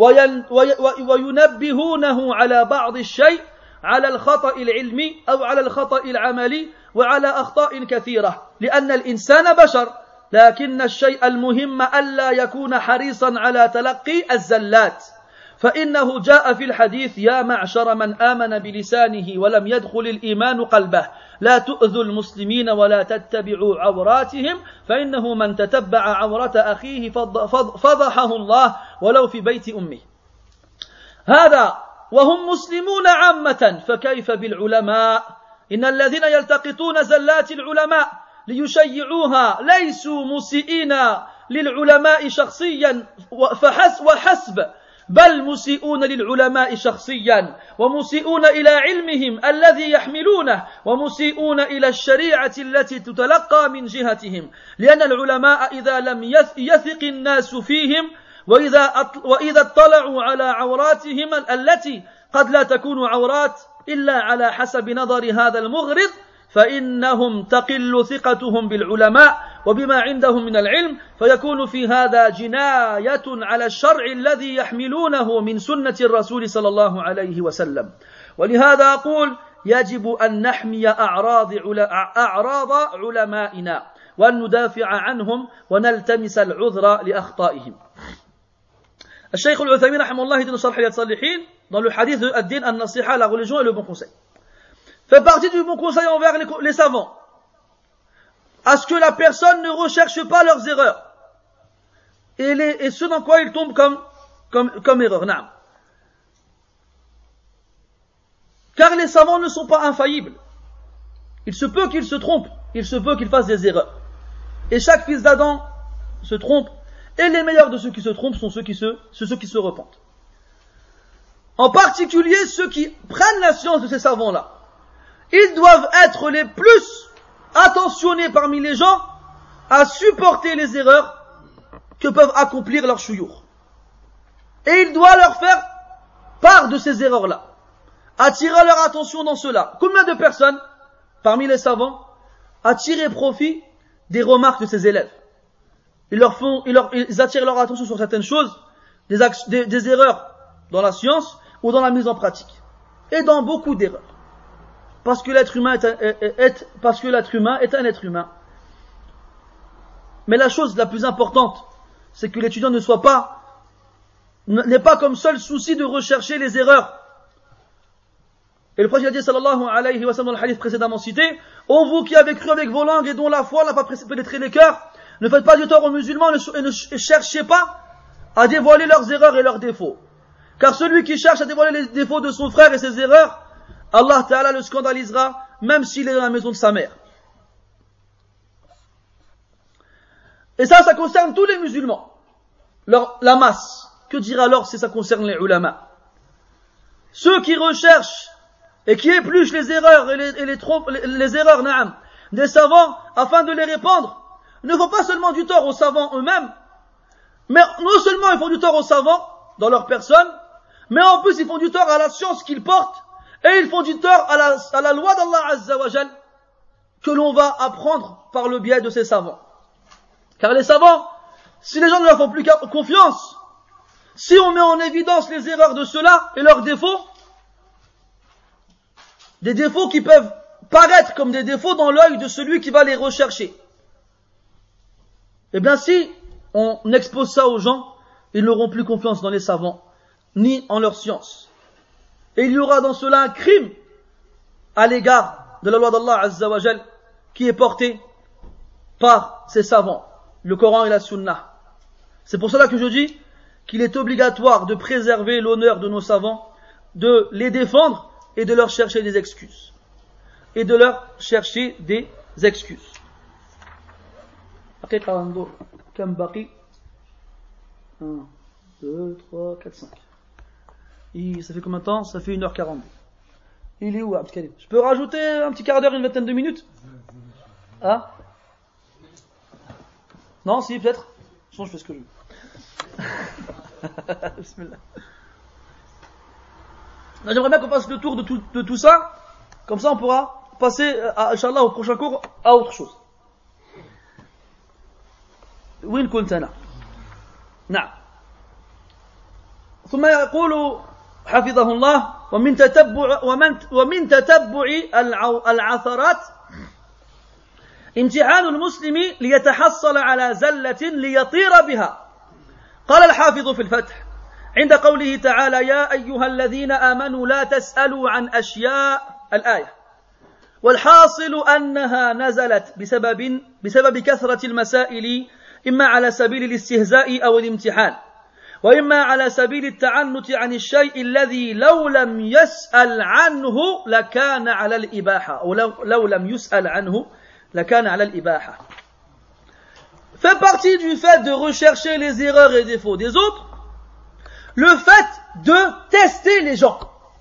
وينبهونه على بعض الشيء على الخطأ العلمي أو على الخطأ العملي وعلى أخطاء كثيرة لأن الإنسان بشر لكن الشيء المهم ألا يكون حريصا على تلقي الزلات فإنه جاء في الحديث يا معشر من آمن بلسانه ولم يدخل الإيمان قلبه لا تؤذوا المسلمين ولا تتبعوا عوراتهم فإنه من تتبع عورة أخيه فضحه الله ولو في بيت أمه هذا وهم مسلمون عامة فكيف بالعلماء إن الذين يلتقطون زلات العلماء ليشيعوها ليسوا مسيئين للعلماء شخصيا وحسب بل مسيئون للعلماء شخصيا ومسيئون إلى علمهم الذي يحملونه ومسيئون إلى الشريعة التي تتلقى من جهتهم لأن العلماء إذا لم يثق الناس فيهم وإذا اطلعوا على عوراتهم التي قد لا تكون عورات إلا على حسب نظر هذا المغرض فإنهم تقل ثقتهم بالعلماء وبما عندهم من العلم فيكون في هذا جناية على الشرع الذي يحملونه من سنة الرسول صلى الله عليه وسلم ولهذا أقول يجب أن نحمي أعراض علمائنا وأن ندافع عنهم ونلتمس العذر لأخطائهم. الشيخ العثيمين رحمه الله dit dans Sharh Riyad Salihin dans le hadith de Ad-Din an-Nasiha, la religion et le bon conseil, fait partie du bon conseil envers les savants à ce que la personne ne recherche pas leurs erreurs et ce dans quoi ils tombent comme erreur. Naam. Car les savants ne sont pas infaillibles. Il se peut qu'ils se trompent, il se peut qu'ils fassent des erreurs. et chaque fils d'Adam se trompe, et les meilleurs de ceux qui se trompent sont ceux qui se repentent. En particulier ceux qui prennent la science de ces savants-là. Ils doivent être les plus attentionnés parmi les gens à supporter les erreurs que peuvent accomplir leurs chouyours. Et il doit leur faire part de ces erreurs-là, attirer leur attention dans cela. Combien de personnes, parmi les savants, attirent profit des remarques de ces élèves? Ils attirent leur attention sur certaines choses, des erreurs dans la science ou dans la mise en pratique, et dans beaucoup d'erreurs. Parce que l'être humain est un être humain. Mais la chose la plus importante, c'est que l'étudiant n'ait pas comme seul souci de rechercher les erreurs. Et le prophète a dit, sallallahu alayhi wa sallam, dans le hadith précédemment cité, ô vous qui avez cru avec vos langues et dont la foi n'a pas pénétré les cœurs, ne faites pas du tort aux musulmans et ne cherchez pas à dévoiler leurs erreurs et leurs défauts. Car celui qui cherche à dévoiler les défauts de son frère et ses erreurs, Allah Ta'ala le scandalisera, même s'il est dans la maison de sa mère. Et ça concerne tous les musulmans. La masse. Que dire alors si ça concerne les ulama? Ceux qui recherchent et qui épluchent les erreurs et les erreurs des savants afin de les répandre, ne font pas seulement du tort aux savants eux-mêmes, mais non seulement ils font du tort aux savants dans leur personne, mais en plus ils font du tort à la science qu'ils portent, et ils font du tort à la loi d'Allah Azza wa Jal que l'on va apprendre par le biais de ces savants. Car les savants, si les gens ne leur font plus confiance, si on met en évidence les erreurs de ceux-là et leurs défauts, des défauts qui peuvent paraître comme des défauts dans l'œil de celui qui va les rechercher, eh bien si on expose ça aux gens, ils n'auront plus confiance dans les savants, ni en leur science. Et il y aura dans cela un crime à l'égard de la loi d'Allah Azza wa Jal qui est portée par ces savants, le Coran et la Sunna. C'est pour cela que je dis qu'il est obligatoire de préserver l'honneur de nos savants, de les défendre et de leur chercher des excuses. حقيقة انظر كم بقي 1, 2, 3, 4, 5 ça fait combien de temps? Ça fait 1h40. Il est où Abdelkarim? Je peux rajouter un petit quart d'heure, une vingtaine de minutes? Hein? Non, si, peut-être. Sinon je fais ce que je veux. Bismillah. J'aimerais bien qu'on fasse le tour de tout ça, comme ça on pourra passer, Inch'Allah, au prochain cours à autre chose. وين كنت أنا؟ نعم. ثم يقول حفظه الله ومن تتبع العثرات امتحان المسلم ليتحصل على زلة ليطير بها. قال الحافظ في الفتح عند قوله تعالى يا أيها الذين آمنوا لا تسألوا عن أشياء الآية. والحاصل أنها نزلت بسبب كثرة المسائل، إما على سبيل الاستهزاء أو الامتحان، وإما على سبيل التعنت عن الشيء الذي لو لم يسأل عنه لكان على الإباحة، أو لو لم يسأل عنه لكان على الإباحة. Fait partie du fait de rechercher les erreurs et défauts des autres, le fait de tester les gens,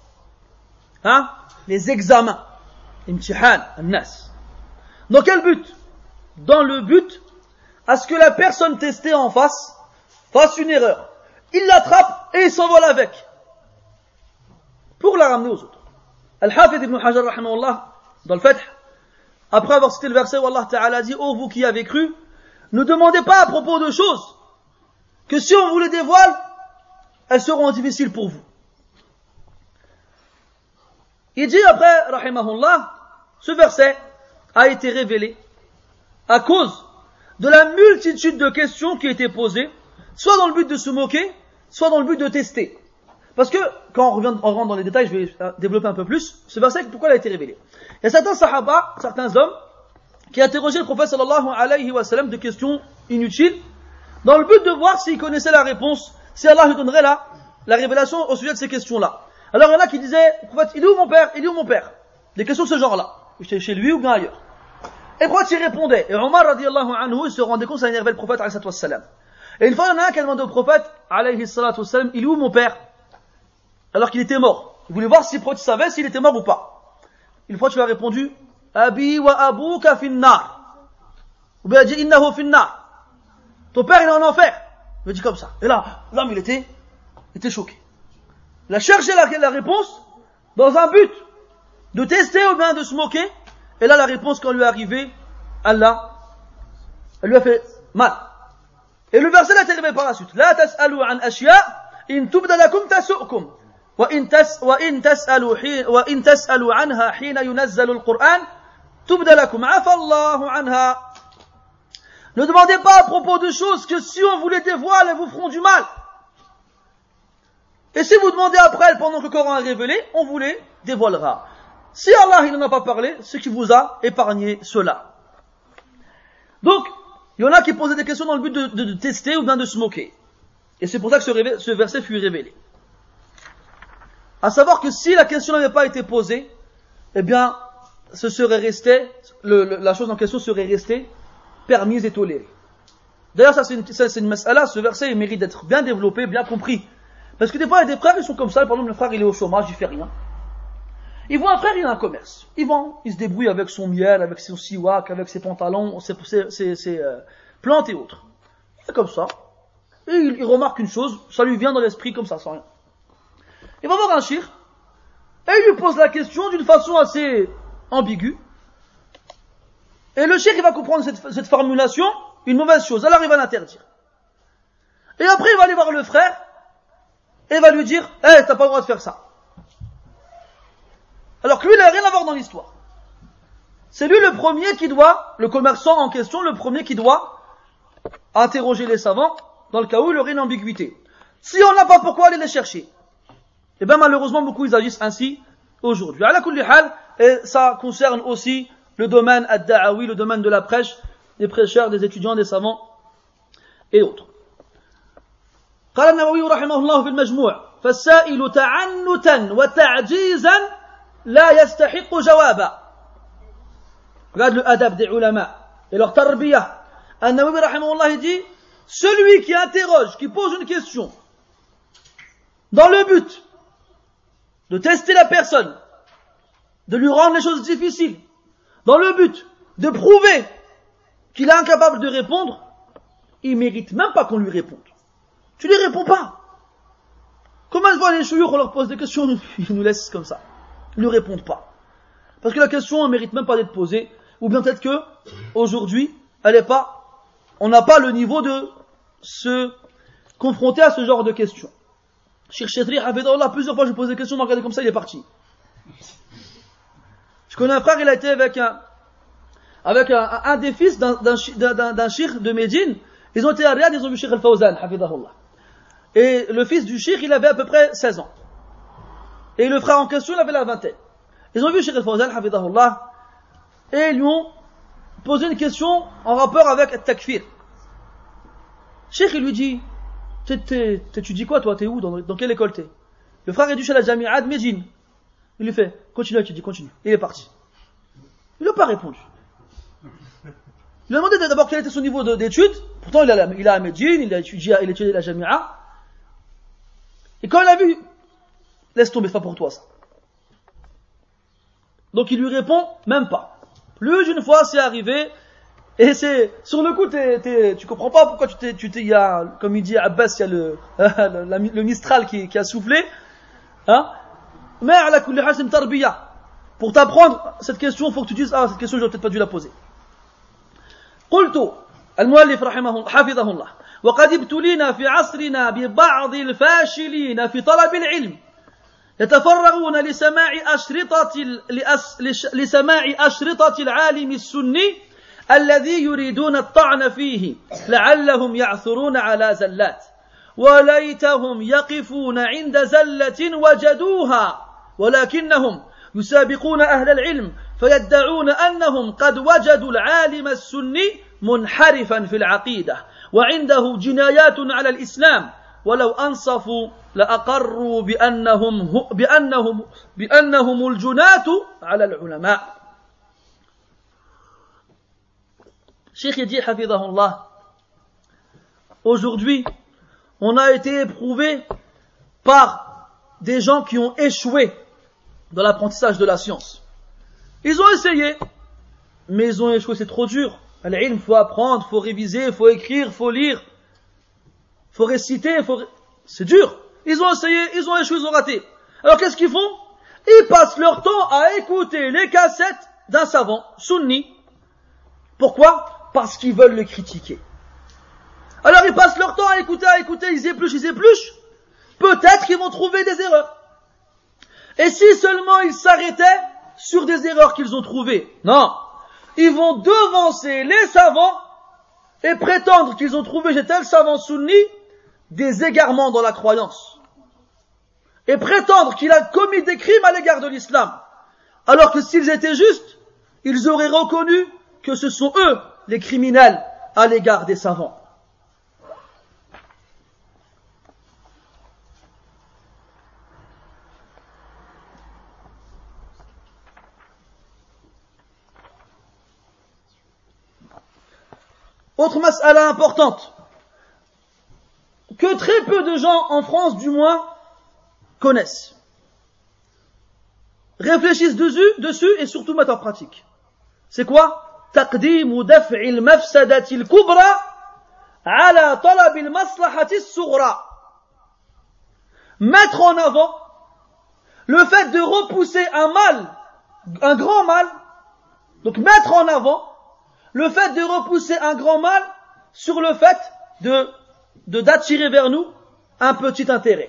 les examens, imtihan, an-nas. Dans quel but? Dans le but à ce que la personne testée en face fasse une erreur. Il l'attrape et il s'envole avec, pour la ramener aux autres. Al-Hafidh ibn Hajar rahimahullah, dans le Fath, après avoir cité le verset où Allah Ta'ala dit ô vous qui avez cru, ne demandez pas à propos de choses que si on vous les dévoile, elles seront difficiles pour vous. Il dit après, rahimahullah, ce verset a été révélé à cause de la multitude de questions qui étaient posées, soit dans le but de se moquer, soit dans le but de tester. Parce que, quand on rentre dans les détails, je vais développer un peu plus, ce verset, pourquoi il a été révélé? Il y a certains sahaba, certains hommes, qui interrogeaient le prophète sallallahu alayhi wa sallam de questions inutiles, dans le but de voir s'il connaissait la réponse, si Allah lui donnerait la révélation au sujet de ces questions-là. Alors il y en a qui disaient, prophète, il est où mon père? Il est où mon père? Des questions de ce genre-là. Chez lui ou bien ailleurs. Et pourquoi tu répondais? Et Omar radiallahu anhu, il se rendait compte que ça énervait le prophète alayhi wassalam. Et une fois, il y en a un qui a demandé au prophète alayhi wassalam, il est où mon père? Alors qu'il était mort. Il voulait voir si le prophète savait s'il était mort ou pas. Une fois, tu lui as répondu, Abi wa abuka finnar. Ou bien il a dit, innahu finnar. Ton père, il est en enfer. Il a dit comme ça. Et là, l'homme, il était choqué. Il a cherché la réponse dans un but de tester ou bien de se moquer. Et là, la réponse, quand lui est arrivée, Allah, elle lui a fait mal. Et le verset est arrivé par la suite. La tas'alu an ashya, in tubda lakum tasu'kum. Wa in tas'alu anha hina yunazzalu al-Qur'an, tubda lakum. Afa Allahu anha. Ne demandez pas à propos de choses que si on vous les dévoile, elles vous feront du mal. Et si vous demandez après elles pendant que le Coran est révélé, on vous les dévoilera. Si Allah il n'en a pas parlé, c'est qu'il vous a épargné cela. Donc, il y en a qui posaient des questions dans le but de tester ou bien de se moquer. Et c'est pour ça que ce verset fut révélé. À savoir que si la question n'avait pas été posée, eh bien, ce serait resté, la chose en question serait restée permise et tolérée. D'ailleurs, ça c'est une mas'ala, ce verset il mérite d'être bien développé, bien compris. Parce que des fois, il y a des frères, ils sont comme ça, par exemple, le frère il est au chômage, il fait rien. Il voit un frère, il a un commerce. Il vend, il se débrouille avec son miel, avec son siwak, avec ses pantalons, ses plantes et autres. C'est comme ça. Et il remarque une chose, ça lui vient dans l'esprit comme ça, sans rien. Il va voir un shir, et il lui pose la question d'une façon assez ambiguë. Et le shir, il va comprendre cette formulation, une mauvaise chose, alors il va l'interdire. Et après, il va aller voir le frère, et il va lui dire, t'as pas le droit de faire ça. Alors que lui, il n'a rien à voir dans l'histoire. C'est lui le premier qui doit, le commerçant en question, le premier qui doit interroger les savants dans le cas où il aurait une ambiguïté. Si on n'a pas pourquoi aller les chercher, et bien malheureusement beaucoup ils agissent ainsi aujourd'hui. Ala kulli hal, et ça concerne aussi le domaine ad-da'awi, le domaine de la prêche, des prêcheurs, des étudiants, des savants et autres. قال النووي رحمه الله في المجموع فالسائل تعنتا وتعجيزا لا يستحق جوابا. Regarde le adab des ulama et leur tarbiyah. An-Nawawi rahimahullah dit, celui qui interroge, qui pose une question dans le but de tester la personne, de lui rendre les choses difficiles, dans le but de prouver qu'il est incapable de répondre, il mérite même pas qu'on lui réponde. Tu lui réponds pas. Comment ils voient les chouyours, on leur pose des questions, ils nous laissent comme ça. Ils ne répondent pas. Parce que la question ne mérite même pas d'être posée, ou bien peut-être que, aujourd'hui, on n'a pas le niveau de se confronter à ce genre de questions. Cheikh Chetri, plusieurs fois je pose des questions, il m'a regardé comme ça, il est parti. Je connais un frère, il a été avec un des fils d'un cheikh de Médine. Ils ont été à Riyad, ils ont vu Cheikh Al-Fawzan, hafidahullah. Et le fils du cheikh, il avait à peu près 16 ans. Et le frère en question, il avait la vingtaine. Ils ont vu Cheikh Al-Fawzan, hafidahullah, et ils lui ont posé une question en rapport avec At-Takfir. Cheikh, il lui dit, tu dis quoi toi, t'es où, dans quelle école t'es? Le frère est du chez la Jami'a de Médine. Il lui fait, continue à étudier, continue. Il est parti. Il n'a pas répondu. Il lui a demandé d'abord quel était son niveau d'études. Pourtant, il a à Médine, il a étudié la Jami'a. Et quand il a vu, laisse tomber, c'est pas pour toi ça. Donc il lui répond, même pas. Plus d'une fois, c'est arrivé, et c'est, sur le coup, tu comprends pas pourquoi il y a, comme il dit Abbas, il y a le Mistral qui a soufflé, hein. Mais, à la kulli hal, c'est une tarbiya. Pour t'apprendre cette question, il faut que tu dises, cette question, j'aurais peut-être pas dû la poser. قلت المؤلف حفظه الله وقد ابتلينا في عصرنا ببعض الفاشلين في طلب العلم يتفرغون لسماع أشرطة العالم السني الذي يريدون الطعن فيه لعلهم يعثرون على زلات وليتهم يقفون عند زلة وجدوها ولكنهم يسابقون أهل العلم فيدعون أنهم قد وجدوا العالم السني منحرفا في العقيدة وعنده جنايات على الإسلام ولو أنصفوا لأقروا بأنهم الجناة على العلماء. Cheikh dit, hafidahullah, aujourd'hui, on a été éprouvé par des gens qui ont échoué dans l'apprentissage de la science. Ils ont essayé, mais ils ont échoué, c'est trop dur. Il faut apprendre, faut réviser, faut écrire, faut lire, faut réciter, c'est dur. Ils ont essayé, ils ont échoué, ils ont raté. Alors qu'est-ce qu'ils font? Ils passent leur temps à écouter les cassettes d'un savant sunni. Pourquoi? Parce qu'ils veulent le critiquer. Alors ils passent leur temps à écouter, ils épluchent. Peut-être qu'ils vont trouver des erreurs. Et si seulement ils s'arrêtaient sur des erreurs qu'ils ont trouvées, non, ils vont devancer les savants et prétendre qu'ils ont trouvé chez tel savant sunni des égarements dans la croyance. Et prétendre qu'il a commis des crimes à l'égard de l'islam. Alors que s'ils étaient justes, ils auraient reconnu que ce sont eux les criminels à l'égard des savants. Autre mas'ala importante, que très peu de gens en France du moins connaissent, réfléchissent dessus et surtout mettent en pratique. C'est quoi? تقديم دفع المفسدة الكبرى على طلب المصلحة الصغرى. Mettre en avant le fait de repousser un mal, un grand mal, donc mettre en avant le fait de repousser un grand mal sur le fait d'attirer vers nous un petit intérêt.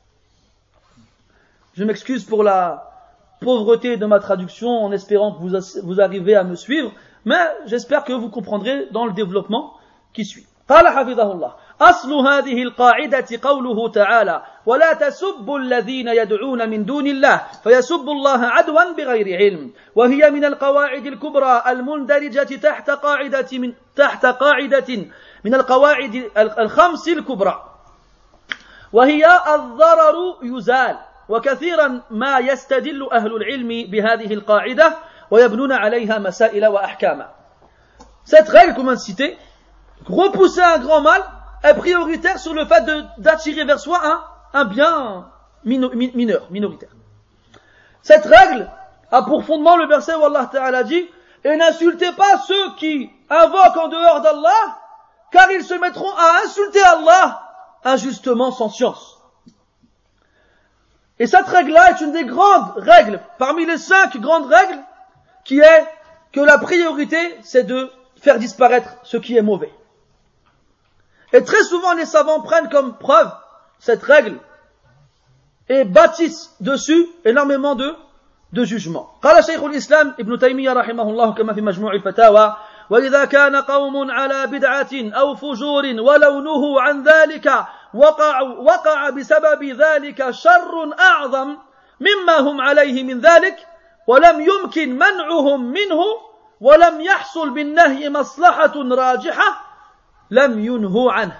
Je m'excuse pour la pauvreté de ma traduction en espérant que vous arrivez à me suivre, mais j'espère que vous comprendrez dans le développement qui suit. قال حفظه الله أصل هذه القاعدة قوله تعالى ولا تسبوا الذين يدعون من دون الله فيسبوا الله عدوا بغير علم وهي من القواعد الكبرى المندرجة تحت قاعدة من القواعد الخمس الكبرى وهي الضرر يزال وكثيرا ما يستدل أهل العلم بهذه القاعدة ويبنون عليها مسائل وأحكاما. Cette règle qu'on vient de citer, repousser un grand mal est prioritaire sur le fait d'attirer vers soi un bien minoritaire. Cette règle a pour fondement le verset où Allah Ta'ala dit « Et n'insultez pas ceux qui invoquent en dehors d'Allah, car ils se mettront à insulter Allah injustement sans science. » Et cette règle-là est une des grandes règles, parmi les 5 grandes règles, qui est que la priorité, c'est de faire disparaître ce qui est mauvais. Et très souvent, les savants prennent comme preuve cette règle et bâtissent dessus énormément de jugements. قال شيخ الإسلام ابن تيمية رحمه الله كما في مجموع الفتاوى وإذا كان قوم على بدعة أو فجور ولو نهوا عن ذلك وقع بسبب ذلك شر أعظم مما هم عليه من ذلك ولم يمكن منعهم منه ولم يحصل بالنهي مصلحة راجحة لم ينهوا عنه.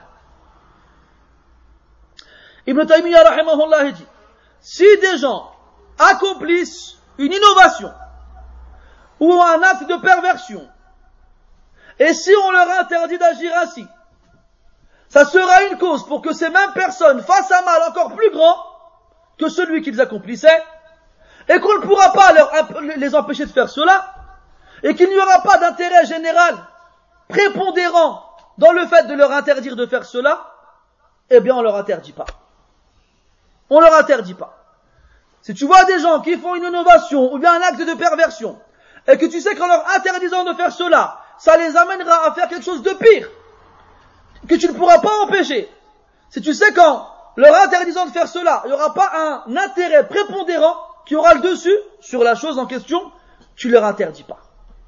Ibn Taymiyyah rahimahullah dit, si des gens accomplissent une innovation ou un acte de perversion, et si on leur interdit d'agir ainsi, ça sera une cause pour que ces mêmes personnes fassent un mal encore plus grand que celui qu'ils accomplissaient, et qu'on ne pourra pas les empêcher de faire cela, et qu'il n'y aura pas d'intérêt général prépondérant dans le fait de leur interdire de faire cela, eh bien on leur interdit pas. On leur interdit pas. Si tu vois des gens qui font une innovation ou bien un acte de perversion, et que tu sais qu'en leur interdisant de faire cela, ça les amènera à faire quelque chose de pire, que tu ne pourras pas empêcher. Si tu sais qu'en leur interdisant de faire cela, il n'y aura pas un intérêt prépondérant qui aura le dessus sur la chose en question, tu ne leur interdis pas.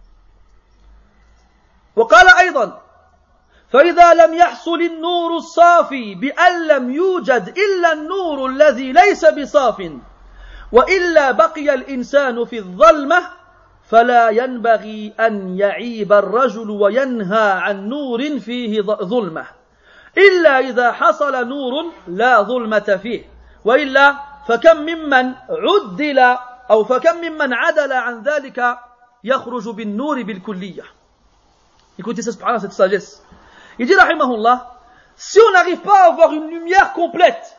وقال أيضا فإذا لم يحصل النور الصافي بأن لم يوجد إلا النور الذي ليس بصاف وإلا بقي الإنسان في الظلمة فلا ينبغي أن يعيب الرجل وينهى عن نور فيه ظلمة إلا إذا حصل نور لا ظلمة فيه وإلا فكم ممن عدل فكم ممن عدل عن ذلك يخرج بالنور بالكلية. Écoutez ça, subhanallah, cette sagesse. Il dit, rahimahullah, si on n'arrive pas à avoir une lumière complète,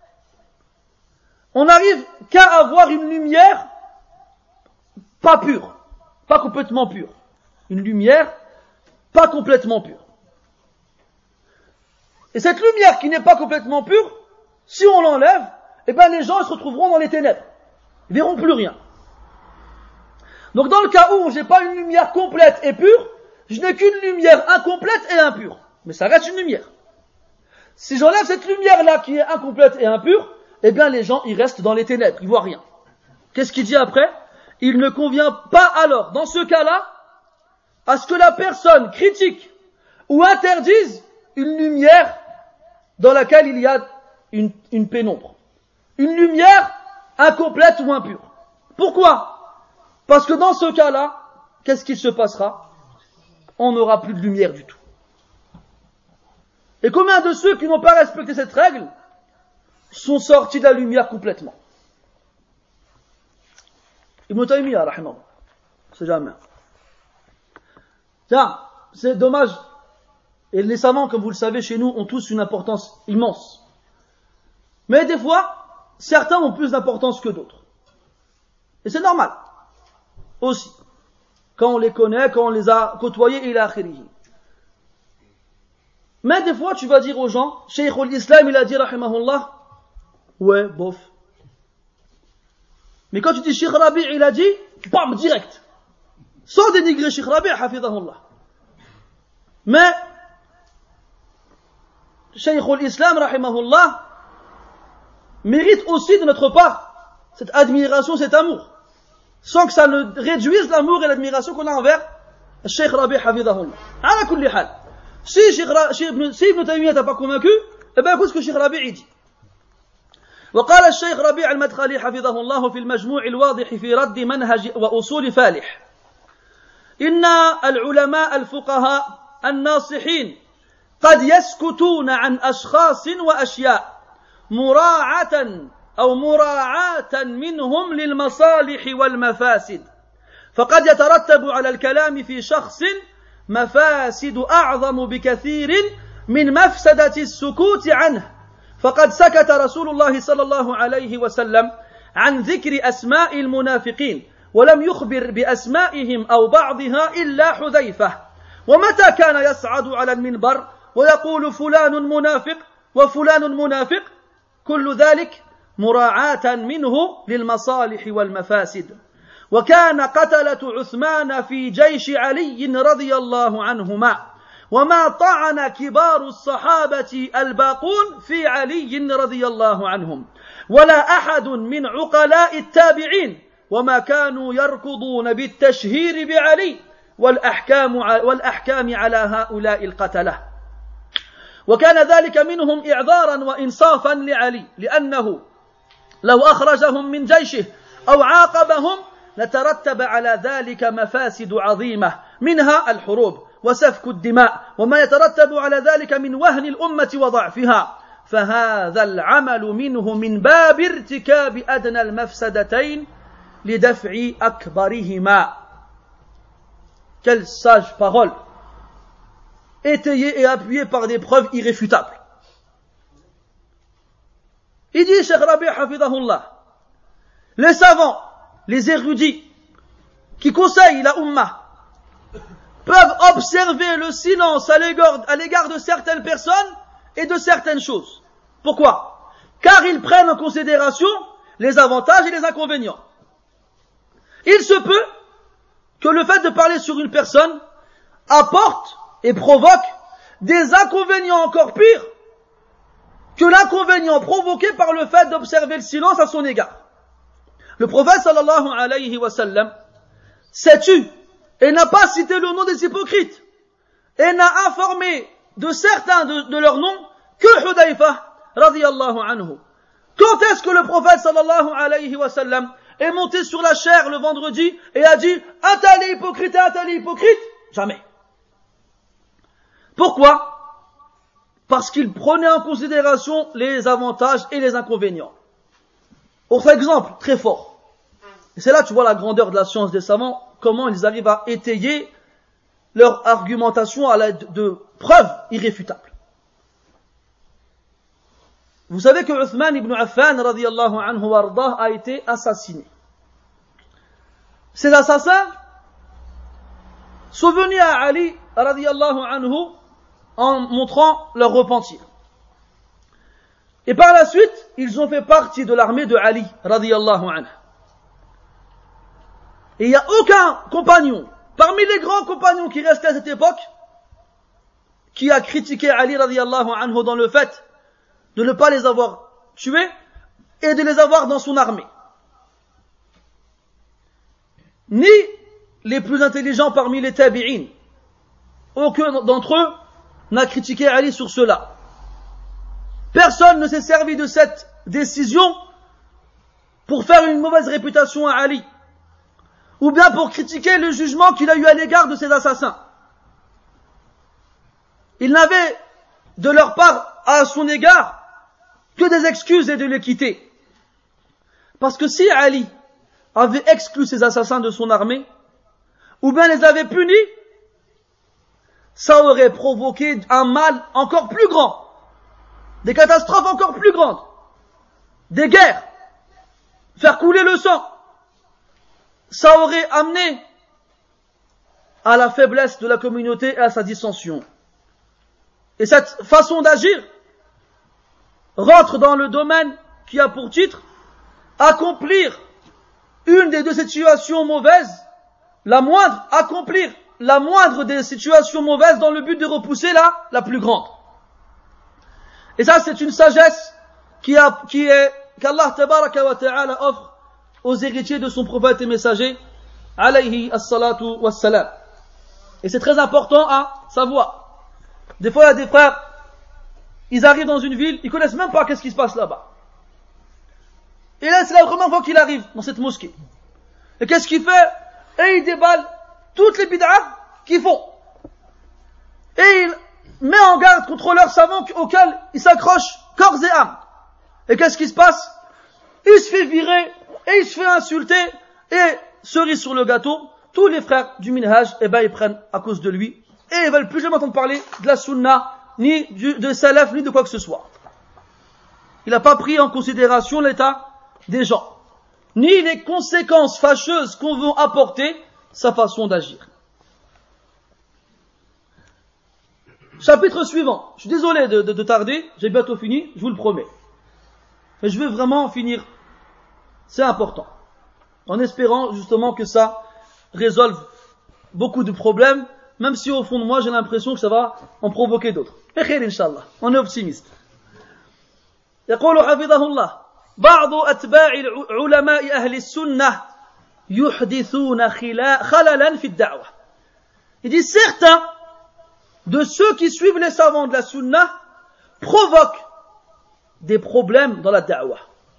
on n'arrive qu'à avoir une lumière pas pure, pas complètement pure. Une lumière pas complètement pure. Et cette lumière qui n'est pas complètement pure, si on l'enlève, eh ben les gens ils se retrouveront dans les ténèbres. Ils verront plus rien. Donc dans le cas où j'ai pas une lumière complète et pure, je n'ai qu'une lumière incomplète et impure. Mais ça reste une lumière. Si j'enlève cette lumière-là qui est incomplète et impure, eh bien les gens ils restent dans les ténèbres, ils voient rien. Qu'est-ce qu'il dit après? Il ne convient pas alors, dans ce cas-là, à ce que la personne critique ou interdise une lumière dans laquelle il y a une pénombre. Une lumière incomplète ou impure. Pourquoi? Parce que dans ce cas-là, qu'est-ce qui se passera? On n'aura plus de lumière du tout. Et combien de ceux qui n'ont pas respecté cette règle sont sortis de la lumière complètement? Ibn Taymiyyah, rahimahullah. C'est jamais. Tiens, c'est dommage. Et les savants, comme vous le savez, chez nous, ont tous une importance immense. Mais des fois, certains ont plus d'importance que d'autres. Et c'est normal. Aussi. Quand on les connaît, quand on les a côtoyés, ila akhirihi. Mais des fois, tu vas dire aux gens, Cheikh al-Islam, il a dit, rahimahullah, ouais, bof. Mais quand tu dis Cheikh Rabi', il a dit, bam, direct. Sans dénigrer Cheikh Rabi', hafidahullah. Mais, Cheikh al-Islam, rahimahullah, mérite aussi de notre part cette admiration, cet amour. Sans que ça ne réduise l'amour et l'admiration qu'on a envers Cheikh Rabi', hafidahullah. Ala kulli hal. Si Ibn Taymiyyah t'a pas convaincu, eh bien écoute ce que Cheikh Rabi' dit. وقال الشيخ ربيع المدخلي حفظه الله في المجموع الواضح في رد منهج وأصول فالح إن العلماء الفقهاء الناصحين قد يسكتون عن أشخاص وأشياء مراعاة منهم للمصالح والمفاسد فقد يترتب على الكلام في شخص مفاسد أعظم بكثير من مفسدة السكوت عنه فقد سكت رسول الله صلى الله عليه وسلم عن ذكر أسماء المنافقين ولم يخبر بأسمائهم أو بعضها إلا حذيفة ومتى كان يصعد على المنبر ويقول فلان منافق وفلان منافق كل ذلك مراعاة منه للمصالح والمفاسد وكان قتلة عثمان في جيش علي رضي الله عنهما وما طعن كبار الصحابة الباقون في علي رضي الله عنهم ولا أحد من عقلاء التابعين وما كانوا يركضون بالتشهير بعلي والأحكام على هؤلاء القتلة وكان ذلك منهم إعذارا وإنصافا لعلي لأنه لو أخرجهم من جيشه أو عاقبهم لترتب على ذلك مفاسد عظيمة منها الحروب وسفك الدماء وما يترتب على ذلك من وهن الأمة وضعفها فهذا العمل منه من باب ارتكاب أدنى المفسدتين لدفع أكبرهما. Quelle sage parole, étayée et appuyée par des preuves irréfutables. Il dit, Cheikh Rabi' hafidahullah, les savants, les érudits, qui conseillent la Ummah, peuvent observer le silence à l'égard de certaines personnes et de certaines choses. Pourquoi? Car ils prennent en considération les avantages et les inconvénients. Il se peut que le fait de parler sur une personne apporte et provoque des inconvénients encore pires que l'inconvénient provoqué par le fait d'observer le silence à son égard. Le prophète sallallahu alayhi wa sallam s'est tu et n'a pas cité le nom des hypocrites et n'a informé de certains de leurs noms que Hudayfa radiyallahu anhu. Quand est-ce que le prophète sallallahu alayhi wa sallam est monté sur la chair le vendredi et a dit un tel est hypocrite et un tel est hypocrite? Jamais. Pourquoi? Parce qu'il prenait en considération les avantages et les inconvénients. Autre exemple très fort. Et c'est là tu vois la grandeur de la science des savants, comment ils arrivent à étayer leur argumentation à l'aide de preuves irréfutables. Vous savez que Uthman ibn Affan radiyallahu anhu wardah a été assassiné. Ces assassins sont venus à Ali radiyallahu anhu en montrant leur repentir. Et par la suite, ils ont fait partie de l'armée de Ali radiyallahu anhu. Et il n'y a aucun compagnon, parmi les grands compagnons qui restaient à cette époque, qui a critiqué Ali radiyallahu anhu dans le fait de ne pas les avoir tués et de les avoir dans son armée. Ni les plus intelligents parmi les tabi'in. Aucun d'entre eux n'a critiqué Ali sur cela. Personne ne s'est servi de cette décision pour faire une mauvaise réputation à Ali, ou bien pour critiquer le jugement qu'il a eu à l'égard de ses assassins. Il n'avait de leur part à son égard que des excuses et de l'équité. Parce que si Ali avait exclu ses assassins de son armée, ou bien les avait punis, ça aurait provoqué un mal encore plus grand, des catastrophes encore plus grandes, des guerres, faire couler le sang. Ça aurait amené à la faiblesse de la communauté et à sa dissension. Et cette façon d'agir rentre dans le domaine qui a pour titre accomplir une des deux situations mauvaises, accomplir la moindre des situations mauvaises dans le but de repousser la plus grande. Et ça, c'est une sagesse qu'Allah tabaraka wa ta'ala offre aux héritiers de son prophète et messager, alayhi as-salatu was-salam. Et c'est très important à savoir. Des fois, il y a des frères, ils arrivent dans une ville, ils connaissent même pas qu'est-ce qui se passe là-bas. Et là, c'est la première fois qu'il arrive dans cette mosquée. Et qu'est-ce qu'il fait? Et il déballe toutes les bid'ah qu'ils font. Et il met en garde contre leurs savants auxquels il s'accroche corps et âme. Et qu'est-ce qui se passe? Il se fait virer, et il se fait insulter, et cerise sur le gâteau, tous les frères du minhaj, ils prennent à cause de lui, et ils veulent plus jamais entendre parler de la sunna, ni de salaf, ni de quoi que ce soit. Il n'a pas pris en considération l'état des gens, ni les conséquences fâcheuses qu'on veut apporter sa façon d'agir. Chapitre suivant. Je suis désolé de tarder, j'ai bientôt fini, je vous le promets. Mais je veux vraiment finir. C'est important. En espérant justement que ça résolve beaucoup de problèmes, même si au fond de moi j'ai l'impression que ça va en provoquer d'autres. Mais khair, Inch'Allah. On est optimiste. يقول حفظه الله بعض أتباع علماء أهل السنة يحدثون خللا في الدعوة. Il dit certains de ceux qui suivent les savants de la sunna provoquent des problèmes dans la da'wah.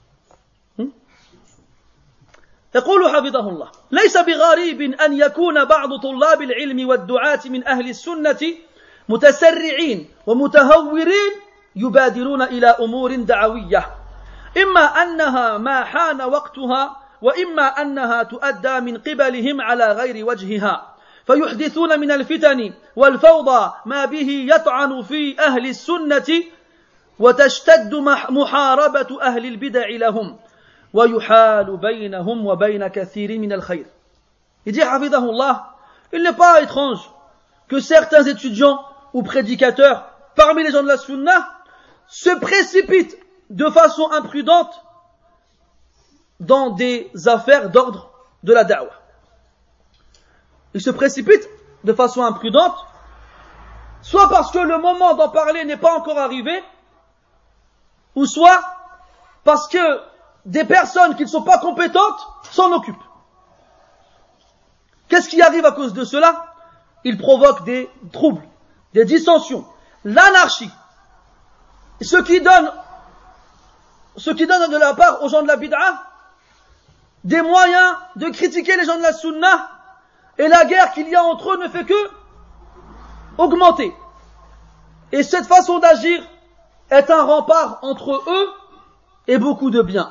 يقول حفظه الله ليس بغريب أن يكون بعض طلاب العلم والدعاة من أهل السنة متسرعين ومتهورين يبادرون إلى أمور دعوية إما أنها ما حان وقتها وإما أنها تؤدى من قبلهم على غير وجهها فيحدثون من الفتن والفوضى ما به يطعن في أهل السنة وتشتد محاربة أهل البدع لهم ويحال بينهم وبين كثير من الخير. Il dit حفظه الله, il n'est pas étrange que certains étudiants ou prédicateurs parmi les gens de la sunna se précipitent de façon imprudente dans des affaires d'ordre de la da'wah. Ils se précipitent de façon imprudente, soit parce que le moment d'en parler n'est pas encore arrivé, ou soit parce que des personnes qui ne sont pas compétentes s'en occupent. Qu'est-ce qui arrive à cause de cela? Ils provoquent des troubles, des dissensions, l'anarchie. Ce qui donne de la part aux gens de la bid'ah des moyens de critiquer les gens de la sunna, et la guerre qu'il y a entre eux ne fait que augmenter. Et cette façon d'agir est un rempart entre eux et beaucoup de bien.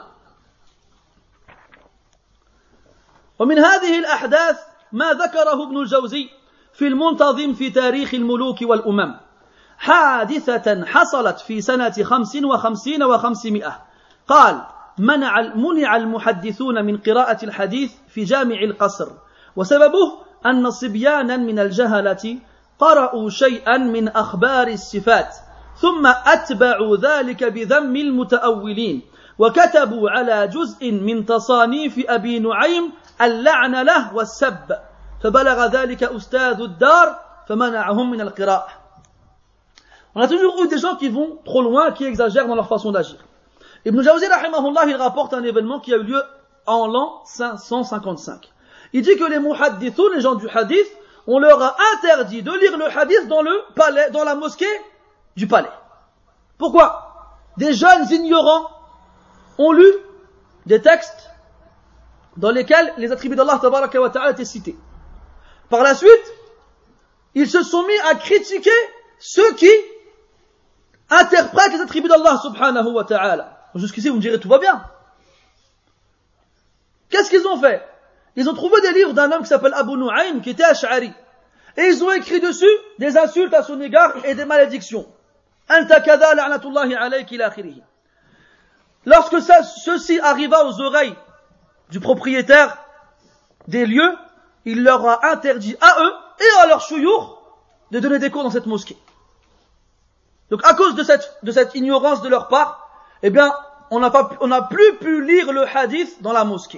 ومن هذه الأحداث ما ذكره ابن الجوزي في المنتظم في تاريخ الملوك والأمم حادثة حصلت في سنة 55 و500. قال: منع المحدثون من قراءة الحديث في جامع القصر، وسببه أن صبيانا من الجهلة قرأوا شيئا من أخبار الصفات ثم أتبعوا ذلك بذم المتأولين، وكتبوا على جزء من تصانيف أبي نعيم اللعن له والسب، فبلغ ذلك أستاذ الدار فمنعهم من القراءة. On a toujours eu des gens qui vont trop loin, qui exagèrent dans leur façon d'agir. Ibn Jawzi rahimahullah, il rapporte un événement qui a eu lieu en l'an 555. Il dit que les muhaddithun, les gens du hadith, on leur a interdit de lire le hadith dans le palais, dans la mosquée du palais. Pourquoi? Des jeunes ignorants ont lu des textes dans lesquels les attributs d'Allah tabaraka wa ta'ala étaient cités. Par la suite, ils se sont mis à critiquer ceux qui interprètent les attributs d'Allah subhanahu wa ta'ala. Jusqu'ici, vous me direz, tout va bien. Qu'est-ce qu'ils ont fait? Ils ont trouvé des livres d'un homme qui s'appelle Abu Nu'aym, qui était Ash'ari. Et ils ont écrit dessus des insultes à son égard et des malédictions. Anta kada la'natullahi alayk ila akhirih. Lorsque ceci arriva aux oreilles du propriétaire des lieux, il leur a interdit à eux et à leurs chouyours de donner des cours dans cette mosquée. Donc à cause de cette ignorance de leur part, eh bien, on n'a plus pu lire le hadith dans la mosquée.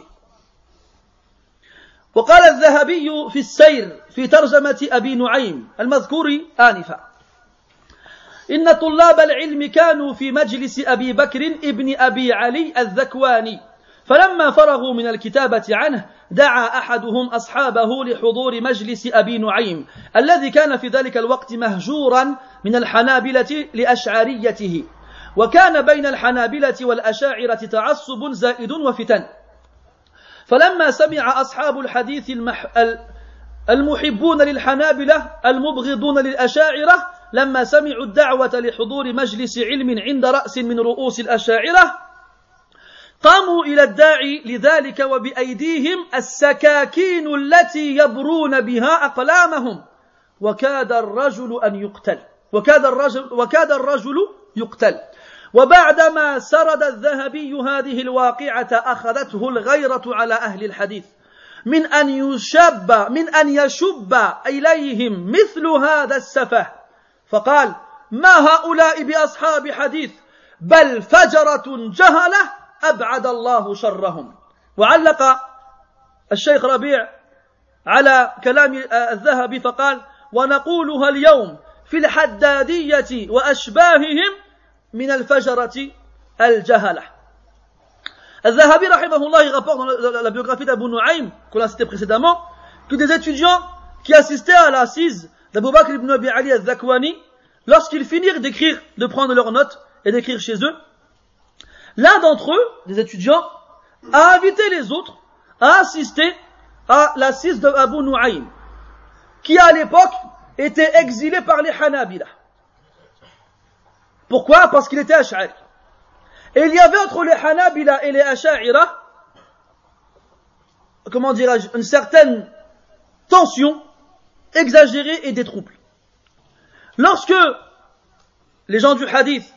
وقال الذهبي في السير في ترجمة أبي نعيم المذكور آنفا: إن طلاب العلم كانوا في مجلس أبي بكر ابن أبي علي الذكواني، فلما فرغوا من الكتابة عنه دعا أحدهم أصحابه لحضور مجلس أبي نعيم الذي كان في ذلك الوقت مهجورا من الحنابلة لأشعريته، وكان بين الحنابلة والأشاعرة تعصب زائد وفتن. فلما سمع أصحاب الحديث المحبون للحنابلة المبغضون للأشاعرة لما سمعوا الدعوة لحضور مجلس علم عند رأس من رؤوس الأشاعرة قاموا إلى الداعي لذلك وبأيديهم السكاكين التي يبرون بها أقلامهم، وكاد الرجل يقتل. وبعدما سرد الذهبي هذه الواقعة أخذته الغيرة على أهل الحديث من أن يشب إليهم مثل هذا السفه، فقال: ما هؤلاء بأصحاب حديث بل فجرة جهلة أبعد الله شرهم. وعلق الشيخ ربيع على كلام الذهبي فقال: ونقولها اليوم في الحدادية وأشباههم من الفجرة الجهلة. الذهبي rahimahullah, il rapporte dans la biographie d'Abu Nu'aym, qu'on a cité précédemment, que des étudiants qui assistaient à l'assise d'Abu Bakr ibn Abi Ali al-Dhakwani, lorsqu'ils finirent d'écrire, de prendre leurs notes et d'écrire chez eux, l'un d'entre eux, des étudiants, a invité les autres à assister à l'assise d'Abu Nu'aym, qui à l'époque était exilé par les Hanabila. Pourquoi? Parce qu'il était Ash'ari. Et il y avait entre les Hanabila et les Ash'ira, comment dirais-je, une certaine tension exagérée et des troubles. Lorsque les gens du hadith,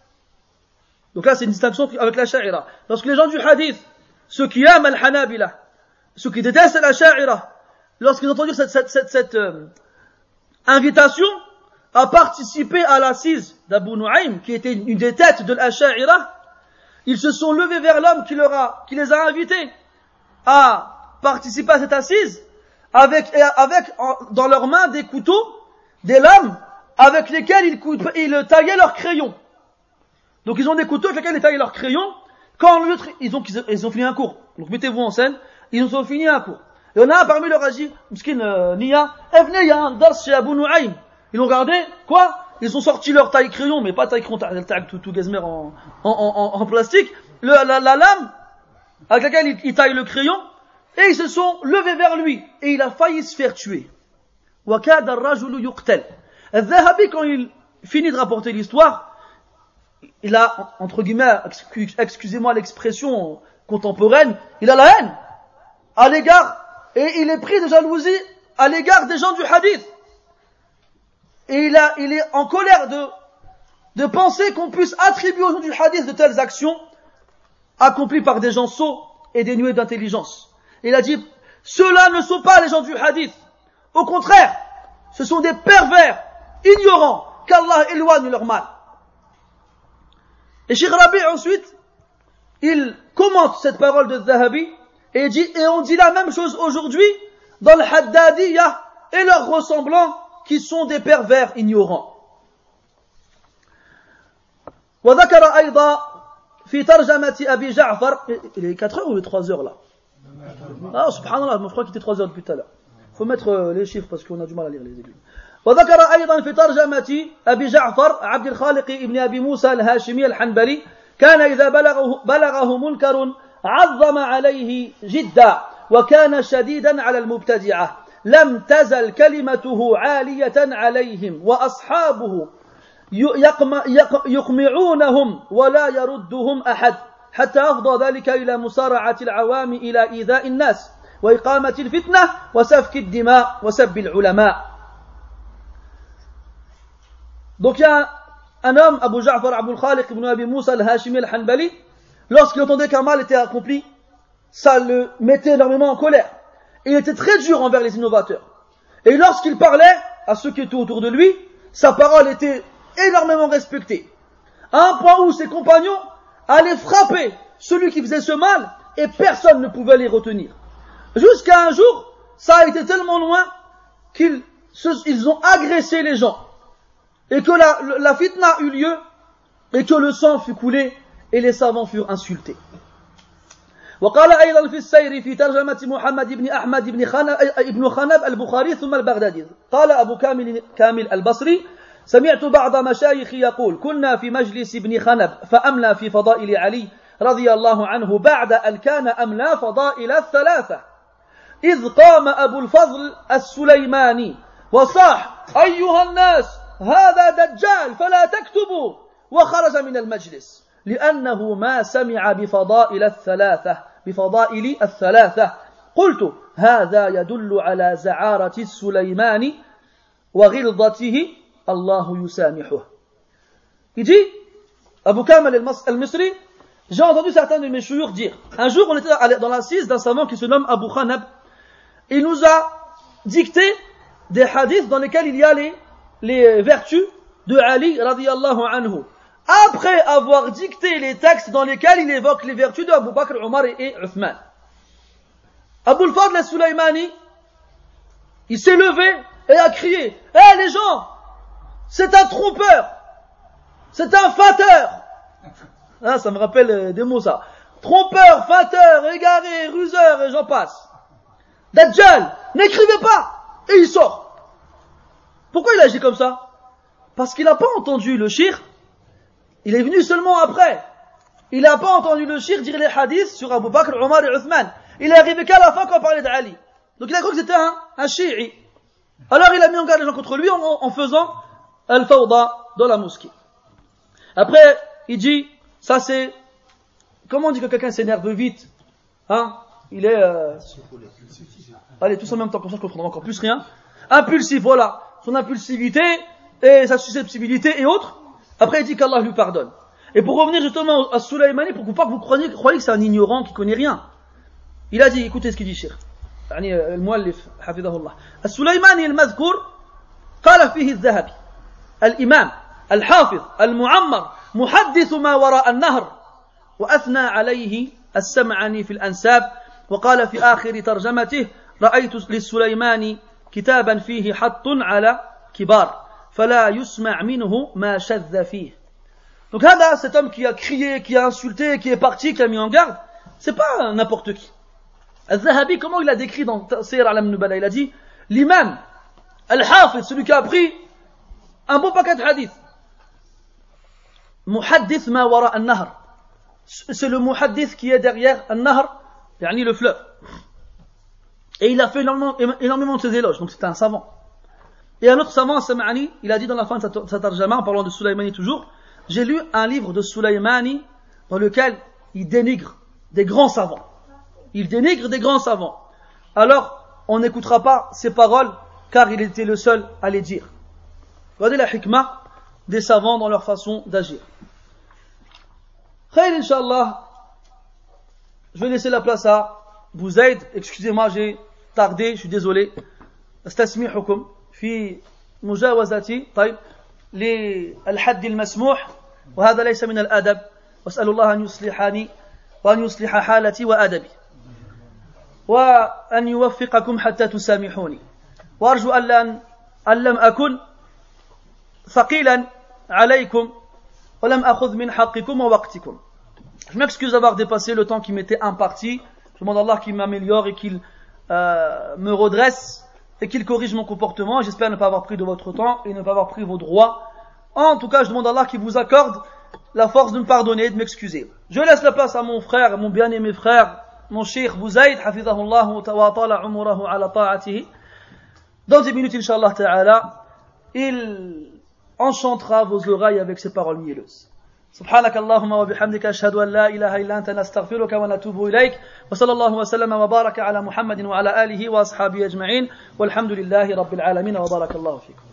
donc là c'est une distinction avec l'Ash'ira, lorsque les gens du hadith, ceux qui aiment al-Hanabila, ceux qui détestent l'Ash'ira, lorsqu'ils ont entendu cette invitation à participer à l'assise d'Abu Nu'aym, qui était une des têtes de l'Ash'ira, ils se sont levés vers l'homme qui les a invités à participer à cette assise, avec dans leurs mains des couteaux, des lames, avec lesquelles ils taillaient leurs crayons. Donc ils ont des couteaux avec lesquels ils taillaient leurs crayons. Quand ils ont fini un cours. Donc mettez-vous en scène, ils ont fini un cours. Et on a un parmi leur a dit, Mskin Nia, venez, il y a un dars chez Abu Nu'aym. Ils l'ont regardé, quoi? Ils ont sorti leur taille crayon, mais pas taille crayon, tout gazmer en plastique, la lame, avec laquelle ils taillent le crayon, et ils se sont levés vers lui, et il a failli se faire tuer. وَكَادَ الرَّجُلُ يُقْتَلْ. Al-Dhahabi, quand il finit de rapporter l'histoire, il a, entre guillemets, excusez-moi l'expression contemporaine, il a la haine à l'égard, et il est pris de jalousie à l'égard des gens du hadith. et il est en colère de penser qu'on puisse attribuer au nom du hadith de telles actions accomplies par des gens sots et dénués d'intelligence. Il a dit, ceux-là ne sont pas les gens du hadith. Au contraire, ce sont des pervers, ignorants, qu'Allah éloigne leur mal. Et Cheikh Rabi' ensuite, il commente cette parole de Zahabi et dit, et on dit la même chose aujourd'hui dans le Haddadiyya et leurs ressemblants qui sont des pervers ignorants. وذكر أيضا في ترجمة أبي جعفر, il est 4 heures ou 3 heures là? Ah, subhanallah, je crois qu'il était 3 heures depuis tout à l'heure. Il faut mettre les chiffres parce qu'on a du mal à lire les aiguilles. وذكر أيضا في ترجمة أبي جعفر عبد الخالق ابن أبي موسى الهاشمي الحنبلي كان إذا بلغه منكر عظم عليه جدا وكان شديدا على المبتدعة لم تزل كلمته عالية عليهم وأصحابه يقمعونهم ولا يردهم أحد حتى أفضى ذلك إلى مسارعة العوام إلى إيذاء الناس وإقامة الفتنة وسفك الدماء وسب العلماء. Donc il y a un homme, Abu Ja'far Abul Khaliq ibn Abi Musa al-Hashimi al-Hanbali, lorsqu'il entendait qu'un mal était accompli, ça le mettait énormément en colère. Et il était très dur envers les innovateurs. Et lorsqu'il parlait à ceux qui étaient autour de lui, sa parole était énormément respectée. À un point où ses compagnons allaient frapper celui qui faisait ce mal et personne ne pouvait les retenir. Jusqu'à un jour, ça a été tellement loin qu'ils ont agressé les gens. Et que la fitna eut lieu, et que le sang fut coulé, et les savants furent insultés. وقال أيضا في السير في ترجمة محمد بن أحمد بن خنب البخاري ثم البغدادي قال أبو كامل البصري سمعت بعض مشايخي يقول كنا في مجلس ابن خنب فأملى في فضائل علي رضي الله عنه بعد أن كان أملى فضائل الثلاثة إذ قام أبو الفضل السليماني وصاح أيها الناس هذا دجال فلا تكتبوا وخرج من المجلس لأنه ما سمع بفضائل الثلاثة قلت هذا يدل على زعارة السليمان وغلظته الله يسامحه. Il dit, Abu Kamal al-Misri, j'ai entendu certains de mes chouyours dire, un jour on était dans l'assise d'un savant qui se nomme Abu Khanab, il nous a dicté des hadiths dans lesquels il y a les vertus de Ali radiyallahu anhu, après avoir dicté les textes dans lesquels il évoque les vertus de Abu Bakr, Omar et Uthman. Abu al-Fadl al-Sulaymani, il s'est levé et a crié, hé les gens, c'est un trompeur, c'est un feinteur. Ah, ça me rappelle des mots ça. Trompeur, feinteur, égaré, ruseur et j'en passe. Dajjal, n'écrivez pas. Et il sort. Pourquoi il agit comme ça? Parce qu'il n'a pas entendu le shir. Il est venu seulement après. Il n'a pas entendu le shir dire les hadiths sur Abu Bakr, Omar et Uthman. Il est arrivé qu'à la fin quand on parlait d'Ali. Donc il a cru que c'était un chi'i. Alors il a mis en garde les gens contre lui en faisant al-fawda dans la mosquée. Après, il dit, ça c'est, comment on dit que quelqu'un s'énerve vite? Hein? Il est, allez, tous en même temps, comme ça je comprendrai encore plus rien. Impulsif, voilà. Son impulsivité et sa susceptibilité et autres. Après, il dit qu'Allah lui pardonne. Et pour revenir justement à Sulaymani, pour pas que vous croyez que c'est un ignorant qui connaît rien. Il a dit, écoutez ce qu'il dit, Cheikh. يعني المؤلف حفظه الله. السليماني المذكور قال فيه الذهبي الإمام الحافظ المعمر محدث ما وراء النهر وأثنى عليه السمعاني في الأنساب وقال في آخر ترجمته رأيت للسليماني كتابا فيه حط على كبار فلا يسمع منه ما شذ فيه. Donc هذا cet homme qui a crié, qui a insulté, qui est parti, qui a mis en garde, c'est pas n'importe qui. Al-Zahabi, comment il a décrit dans Siyar A'lam Nubala? Il a dit l'imam, al-hafiz, celui qui a appris un bon paquet de hadith. Muhaddith ma wara al-nahr. C'est le muhaddith qui est derrière al-nahr, yani le fleuve. Et il a fait énormément de ses éloges, donc c'était un savant. Et un autre savant, Sam'ani, il a dit dans la fin de sa tarjama, en parlant de Sulaymani toujours, j'ai lu un livre de Sulaymani dans lequel il dénigre des grands savants. Il dénigre des grands savants. Alors, on n'écoutera pas ses paroles, car il était le seul à les dire. Regardez la hikmah des savants dans leur façon d'agir. Khayr, Inch'Allah, je vais laisser la place à Bouzaïd. Excusez-moi, j'ai tardé, je suis désolé. استسمحكم في مجاوزتي طيب للحد المسموح وهذا ليس من الأدب وأسأل الله أن يصلحني وأن يصلح حالتي وأدبي وأن يوفقكم حتى تسامحوني وأرجو أن لم أكن ثقيلا عليكم ولم أخذ من حقكم ووقتكم. Je m'excuse d'avoir dépassé le temps qui m'était imparti. Je demande à Allah qu'il m'améliore et qu'il me redresse et qu'il corrige mon comportement. J'espère ne pas avoir pris de votre temps et ne pas avoir pris vos droits. En tout cas, je demande à Allah qu'il vous accorde la force de me pardonner et de m'excuser. Je laisse la place à mon frère, mon bien-aimé frère, mon cheikh Bouzaïd, hafidhahullah wa ta'ala umurahu ala ta'atihi. Dans 10 minutes, Inch'Allah ta'ala, il enchantera vos oreilles avec ses paroles mielleuses. سبحانك اللهم وبحمدك أشهد أن لا إله إلا أنت نستغفرك ونتوب إليك وصلى الله وسلم وبارك على محمد وعلى آله وأصحابه أجمعين والحمد لله رب العالمين وبارك الله فيكم.